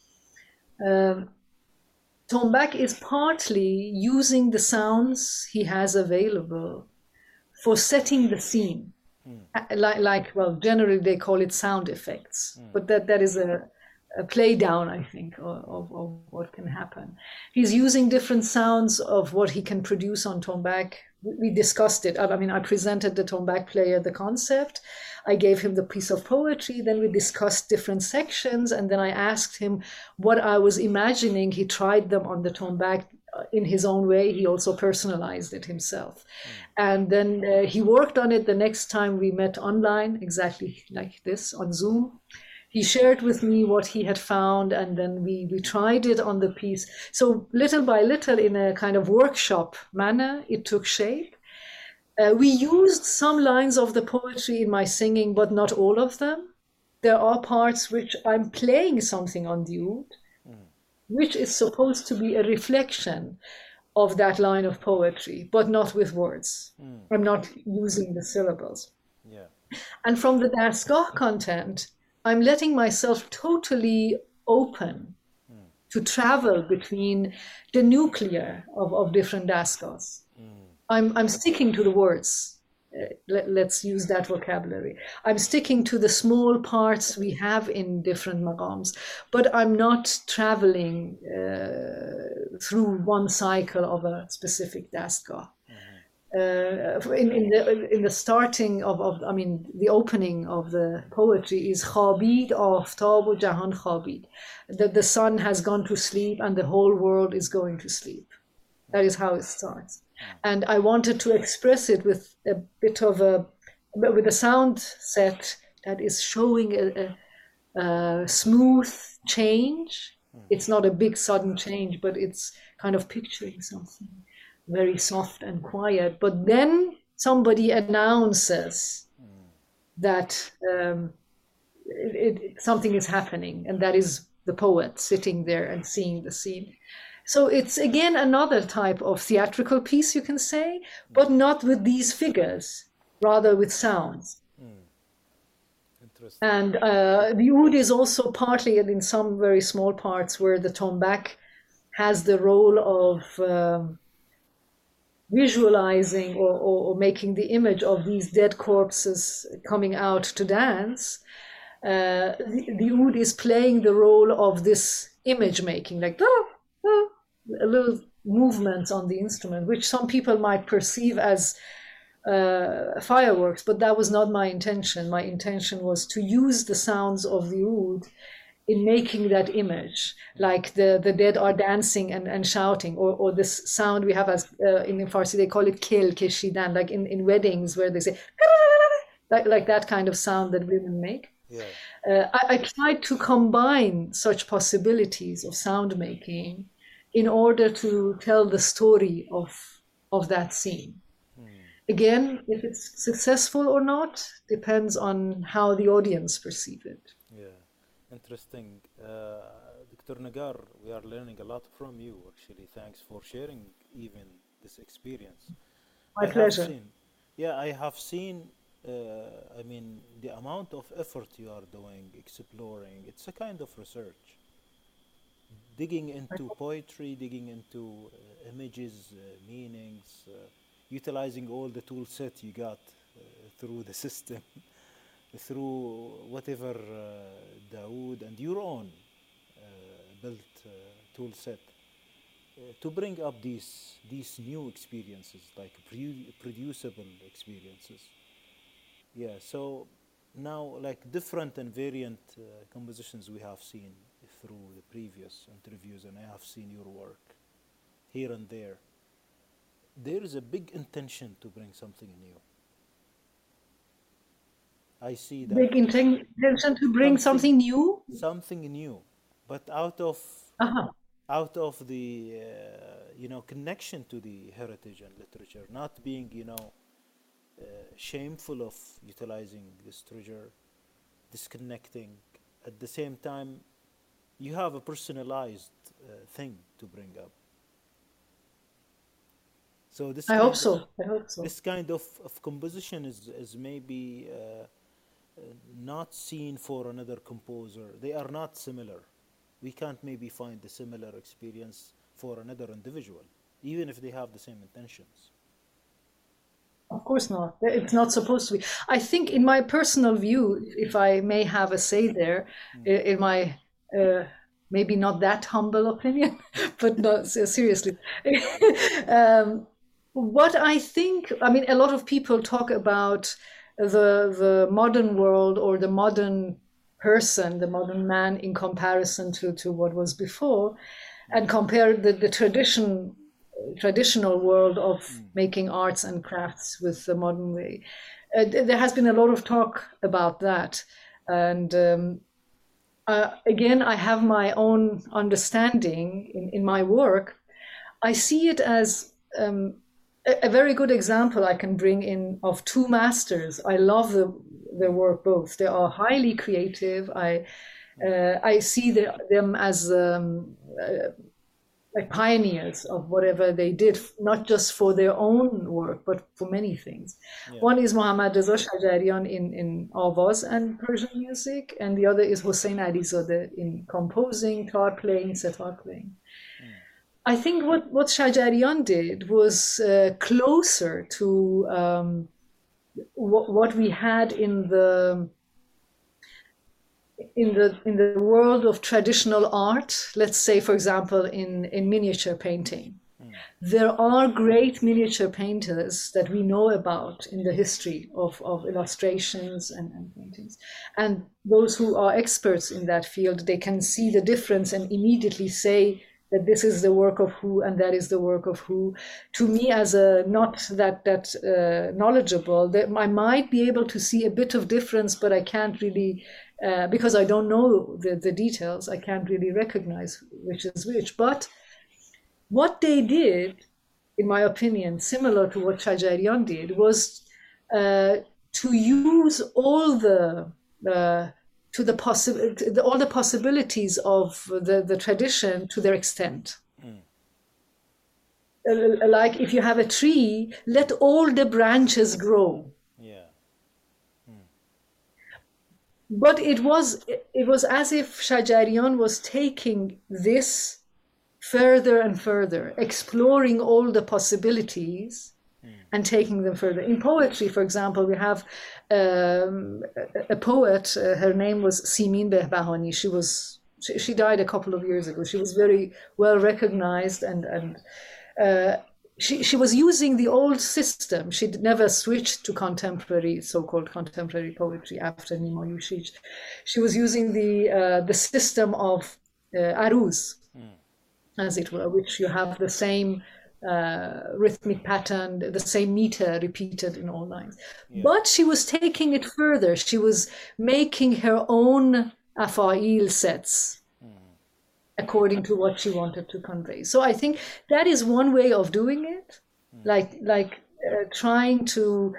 Tombak is partly using the sounds he has available for setting the scene. Well, generally they call it sound effects, but that is a play down, I think, of what can happen. He's using different sounds of what he can produce on tombak. We discussed it. I mean, I presented the tombak player the concept. I gave him the piece of poetry. Then we discussed different sections. And then I asked him what I was imagining. He tried them on the tombak in his own way. He also personalized it himself. And then he worked on it the next time we met online, exactly like this on Zoom. He shared with me what he had found, and then we tried it on the piece. So little by little, in a kind of workshop manner, it took shape. We used some lines of the poetry in my singing, but not all of them. There are parts which I'm playing something on the oud, which is supposed to be a reflection of that line of poetry, but not with words. I'm not using the syllables. Yeah. And from the Dastgah content, I'm letting myself totally open to travel between the nuclear of different Dastgahs. I'm sticking to the words. Let's use that vocabulary. I'm sticking to the small parts we have in different maqams, but I'm not traveling through one cycle of a specific Dastgah. In the starting of I mean, the opening of the poetry is Khabid aftab u jahan khabid. The sun has gone to sleep and the whole world is going to sleep. That is how it starts. And I wanted to express it with a bit of with a sound set that is showing a smooth change. It's not a big sudden change, but it's kind of picturing something very soft and quiet. But then somebody announces that something is happening, and that is the poet sitting there and seeing the scene. So it's again another type of theatrical piece, you can say, but not with these figures, rather with sounds. Interesting. And the oud is also partly, and in some very small parts, where the tombak has the role of visualizing or making the image of these dead corpses coming out to dance. The oud is playing the role of this image making, like a little movements on the instrument, which some people might perceive as fireworks, but that was not my intention. My intention was to use the sounds of the oud in making that image, like the dead are dancing and shouting, or this sound we have as in Farsi they call it kel keshidan, like in weddings where they say like that kind of sound that women make. Yeah. I tried to combine such possibilities of sound making in order to tell the story of that scene. Again, if it's successful or not depends on how the audience perceive it. Yeah. Interesting. Dr. Nagar, we are learning a lot from you, actually. Thanks for sharing even this experience. My pleasure. I have seen, I mean, the amount of effort you are doing, exploring, it's a kind of research. Digging into poetry, digging into images, meanings, utilizing all the tool set you got through the system. Through whatever Dawood and your own built tool set to bring up these new experiences, like producible experiences. Yeah, so now like different and variant compositions we have seen through the previous interviews, and I have seen your work here and there. There is a big intention to bring something new. I see that Big intention to bring something new. something new, but Uh-huh. out of the connection to the heritage and literature, not being shameful of utilizing this treasure, disconnecting. At the same time, you have a personalized thing to bring up. So this I hope kind of so. I hope so. this kind of composition is maybe not seen for another composer. They are not similar. We can't maybe find the similar experience for another individual, even if they have the same intentions. Of course not. It's not supposed to be. I think, in my personal view, if I may have a say there, in my maybe not that humble opinion, but not seriously. What I think, I mean, a lot of people talk about the modern world or the modern person, the modern man, in comparison to what was before, and compare the traditional world of making arts and crafts with the modern way. There has been a lot of talk about that, and again, I have my own understanding in my work. I see it as a very good example I can bring in of two masters. I love their work both. They are highly creative. I see them as like pioneers of whatever they did, not just for their own work, but for many things. Yeah. One is Mohammad Reza Shajarian in Avaz and Persian music, and the other is Hossein Alizadeh in composing, tar playing, setar playing. I think what Shajarian did was closer to what we had in the world of traditional art. Let's say, for example, in miniature painting. There are great miniature painters that we know about in the history of illustrations and paintings. And those who are experts in that field, they can see the difference and immediately say that this is the work of who and that is the work of who. To me, as a not that knowledgeable, that I might be able to see a bit of difference, but I can't really, because I don't know the details, I can't really recognize which is which. But what they did, in my opinion, similar to what Shajarian did, was to use all the possibilities of the tradition to their extent. Like if you have a tree, let all the branches grow. Yeah. But it was as if Shajarian was taking this further and further, exploring all the possibilities and taking them further. In poetry, for example, we have a poet, her name was Simin Behbahani. She died a couple of years ago. She was very well recognized, and she was using the old system. She never switched to contemporary, so-called contemporary poetry after Nima Yushij. She was using the system of aruz, as it were, which you have the same rhythmic pattern, the same meter repeated in all lines. Yeah. But she was taking it further. She was making her own afa'il sets according to what she wanted to convey. So I think that is one way of doing it, like trying to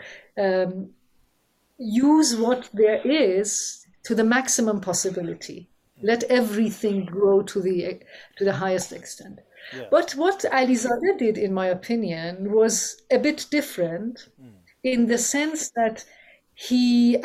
use what there is to the maximum possibility. Let everything grow to the highest extent. Yeah. But what Alizadeh did, in my opinion, was a bit different in the sense that he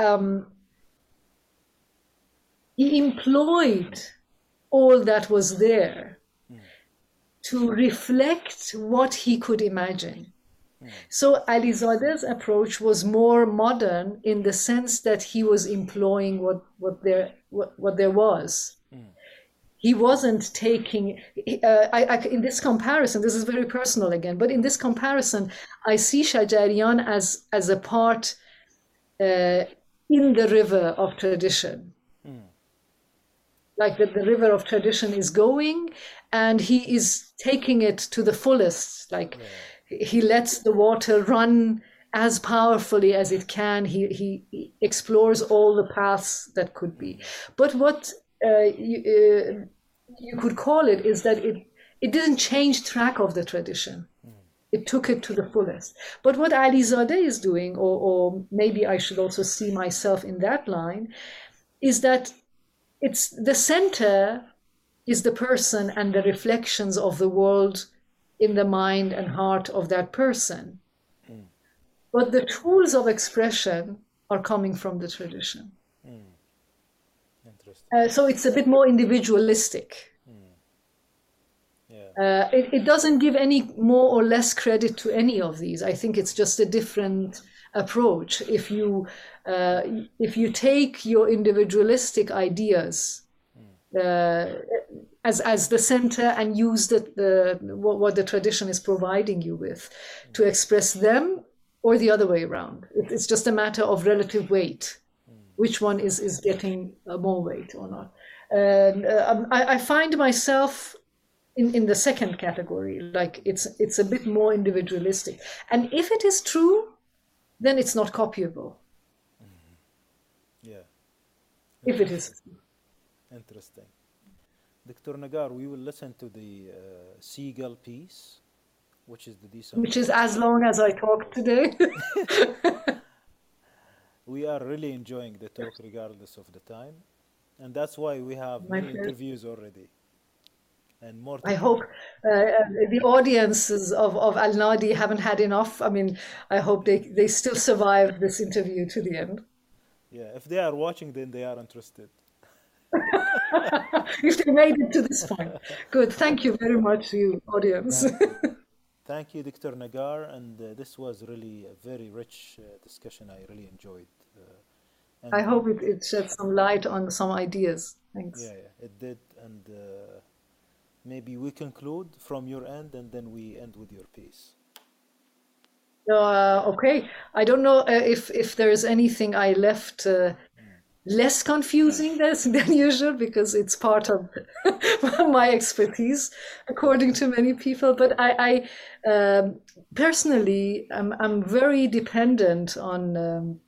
employed all that was there to reflect what he could imagine. So Alizadeh's approach was more modern in the sense that he was employing what there was. He wasn't taking, in this comparison, this is very personal again, but in this comparison, I see Shajarian as a part in the river of tradition. Like that the river of tradition is going and he is taking it to the fullest. Like he lets the water run as powerfully as it can. He explores all the paths that could be. But what you could call it is that it didn't change track of the tradition. It took it to the fullest. But what Alizadeh is doing, or maybe I should also see myself in that line, is that it's the center is the person and the reflections of the world in the mind and heart of that person. But the tools of expression are coming from the tradition. Interesting. So it's a bit more individualistic. Yeah. It doesn't give any more or less credit to any of these. I think it's just a different approach. If you take your individualistic ideas as the center and use what the tradition is providing you with to express them, or the other way around, it's just a matter of relative weight. Which one is getting more weight or not? And I find myself in the second category, like it's a bit more individualistic. And if it is true, then it's not copyable. Yeah. If it is. Interesting. Dr. Nagar, we will listen to the Seagull piece, which is the decent. Which is as long as I talk today. We are really enjoying the talk regardless of the time. And that's why we have My many pleasure. interviews already. And more to I come. hope the audiences of Al Nadi haven't had enough. I mean, I hope they still survive this interview to the end. Yeah, if they are watching, then they are interested. If they made it to this point. Good. Thank you very much, you audience. Thank you, Dr. Nagar. And this was really a very rich discussion. I really enjoyed. And I hope it sheds some light on some ideas. Thanks. yeah, it did. And maybe we conclude from your end and then we end with your piece. Okay. I don't know if there is anything I left less confusing than usual, because it's part of my expertise, according to many people. But I personally, I'm very dependent on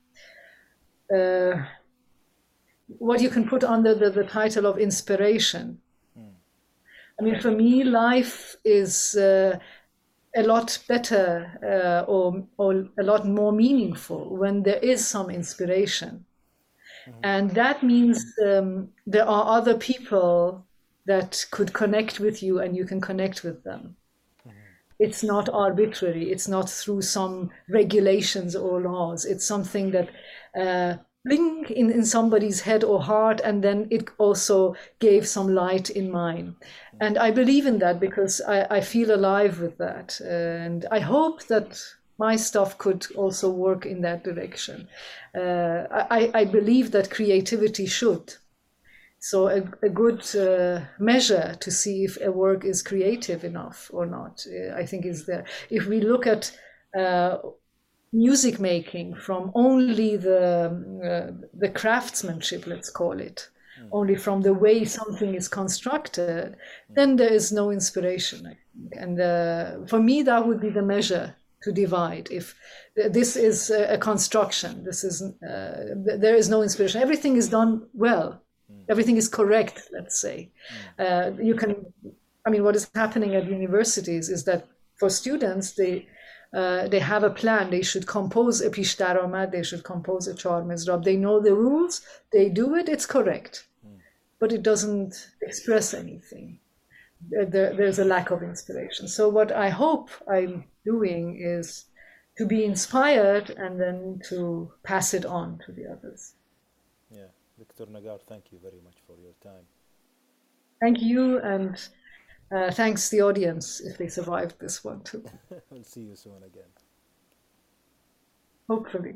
what you can put under the title of inspiration. I mean, for me, life is a lot better or a lot more meaningful when there is some inspiration. And that means there are other people that could connect with you and you can connect with them. It's not arbitrary. It's not through some regulations or laws. It's something that bling in somebody's head or heart, and then it also gave some light in mine. And I believe in that because I feel alive with that. And I hope that my stuff could also work in that direction. I believe that creativity should. So a good measure to see if a work is creative enough or not, I think is there. If we look at music making from only the craftsmanship, let's call it, only from the way something is constructed, then there is no inspiration, I think. And for me, that would be the measure to divide. If this is a construction, this is there is no inspiration. Everything is done well. Everything is correct, let's say. You can, I mean, what is happening at universities is that for students, they have a plan. They should compose a pish daromad, they should compose a char mizrab. They know the rules, they do it, it's correct. But it doesn't express anything. There's a lack of inspiration. So what I hope I'm doing is to be inspired and then to pass it on to the others. Yeah, Dr. Nagar, thank you very much for your time. Thank you, and thanks the audience if they survived this one too. We'll see you soon again. Hopefully.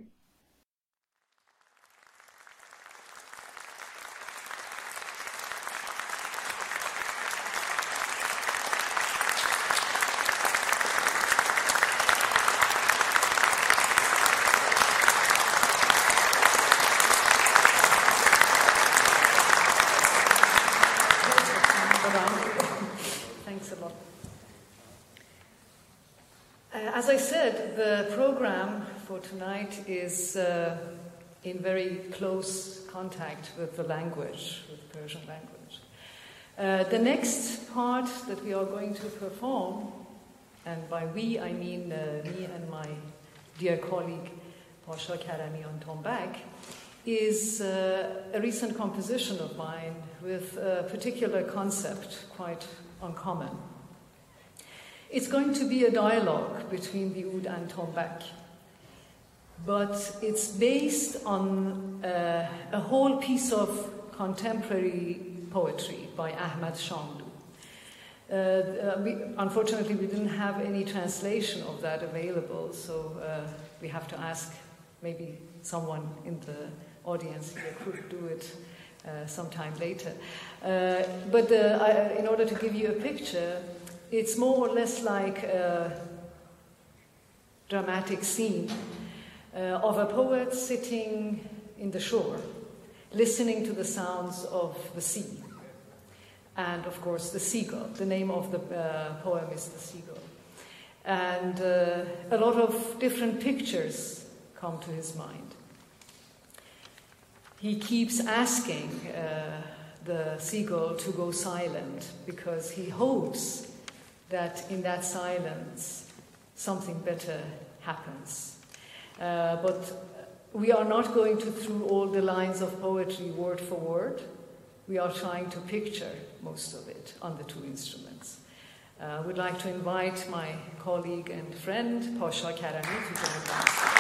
Thanks a lot. As I said, the program for tonight is in very close contact with the language, with Persian language. The next part that we are going to perform, and by we I mean me and my dear colleague Pasha Karami on tombak, is a recent composition of mine with a particular concept, quite uncommon. It's going to be a dialogue between the oud and Tombak, but it's based on a whole piece of contemporary poetry by Ahmad Shamlu. Unfortunately, we didn't have any translation of that available, so we have to ask maybe someone in the audience here could do it sometime later. But in order to give you a picture, it's more or less like a dramatic scene of a poet sitting in the shore, listening to the sounds of the sea. And, of course, the seagull. The name of the poem is The Seagull. And a lot of different pictures come to his mind. He keeps asking the seagull to go silent because he hopes that in that silence something better happens. But we are not going to through all the lines of poetry word for word. We are trying to picture most of it on the two instruments. I would like to invite my colleague and friend, Pasha Karami, to join us.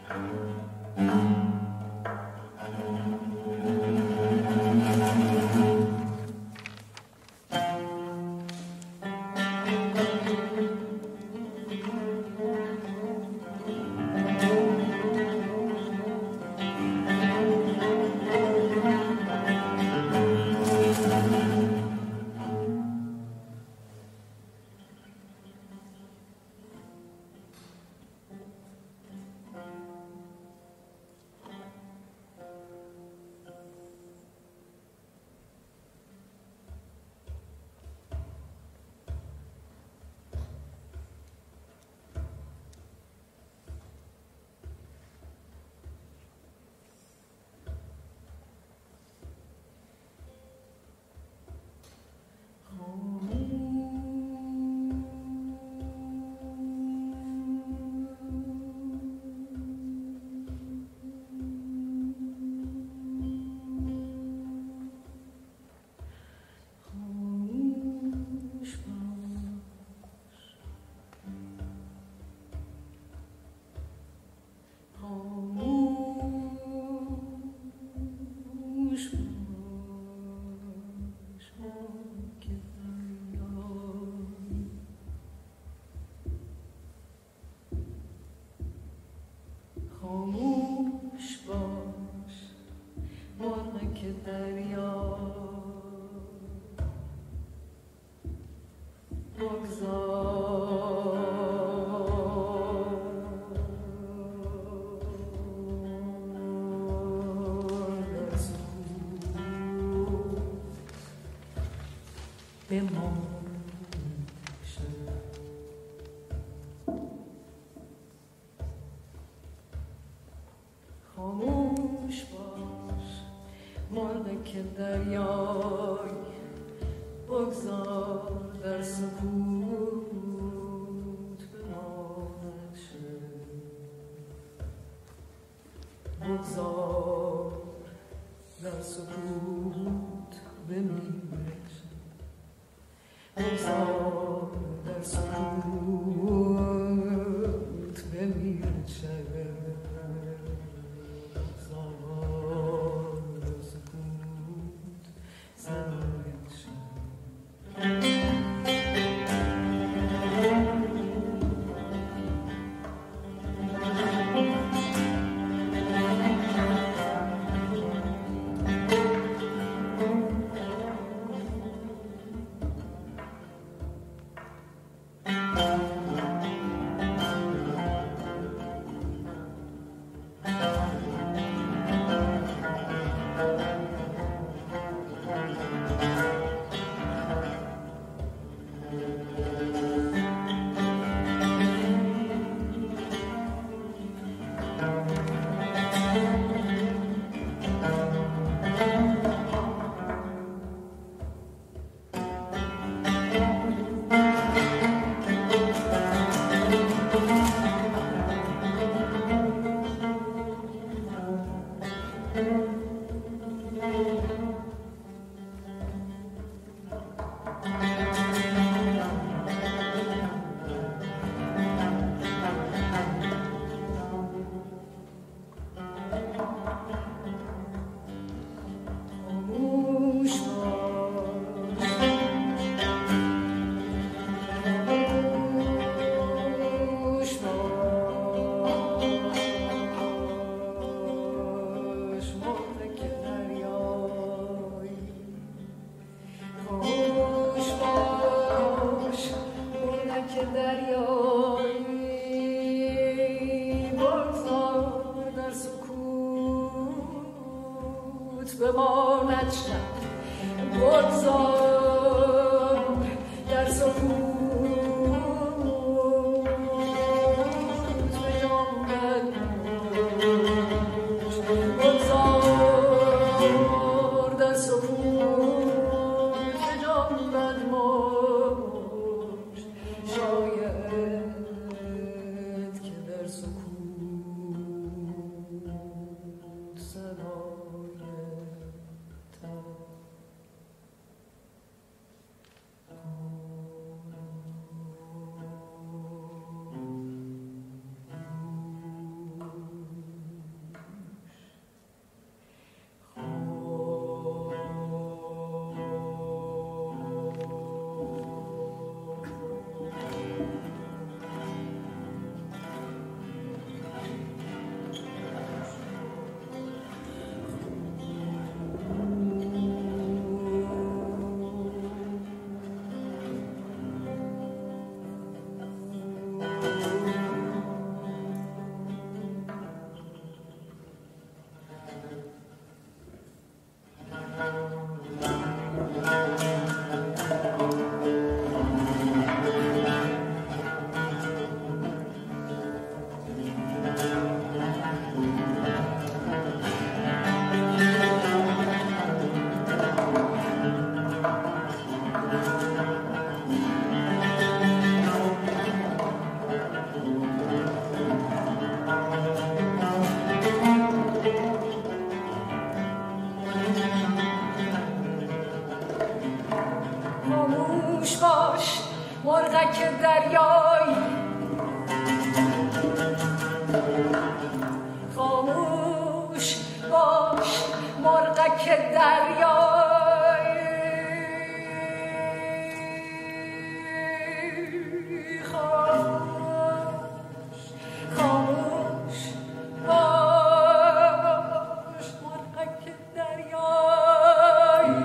خاموش باش مالک دریای بگذار در سکوت بماند شد بگذار در سکوت بمیرد بگذار در سکوت بمیرد شد بماند شد بگذار در سکوت به جانب بگذار در سکوت به جانب موج شاید که در سکوت صدای دریایی خاموش خاموش باش مرغک دریایی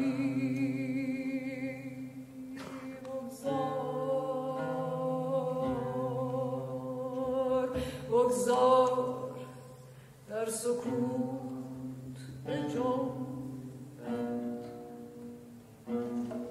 بگذار در سکوت بجنبد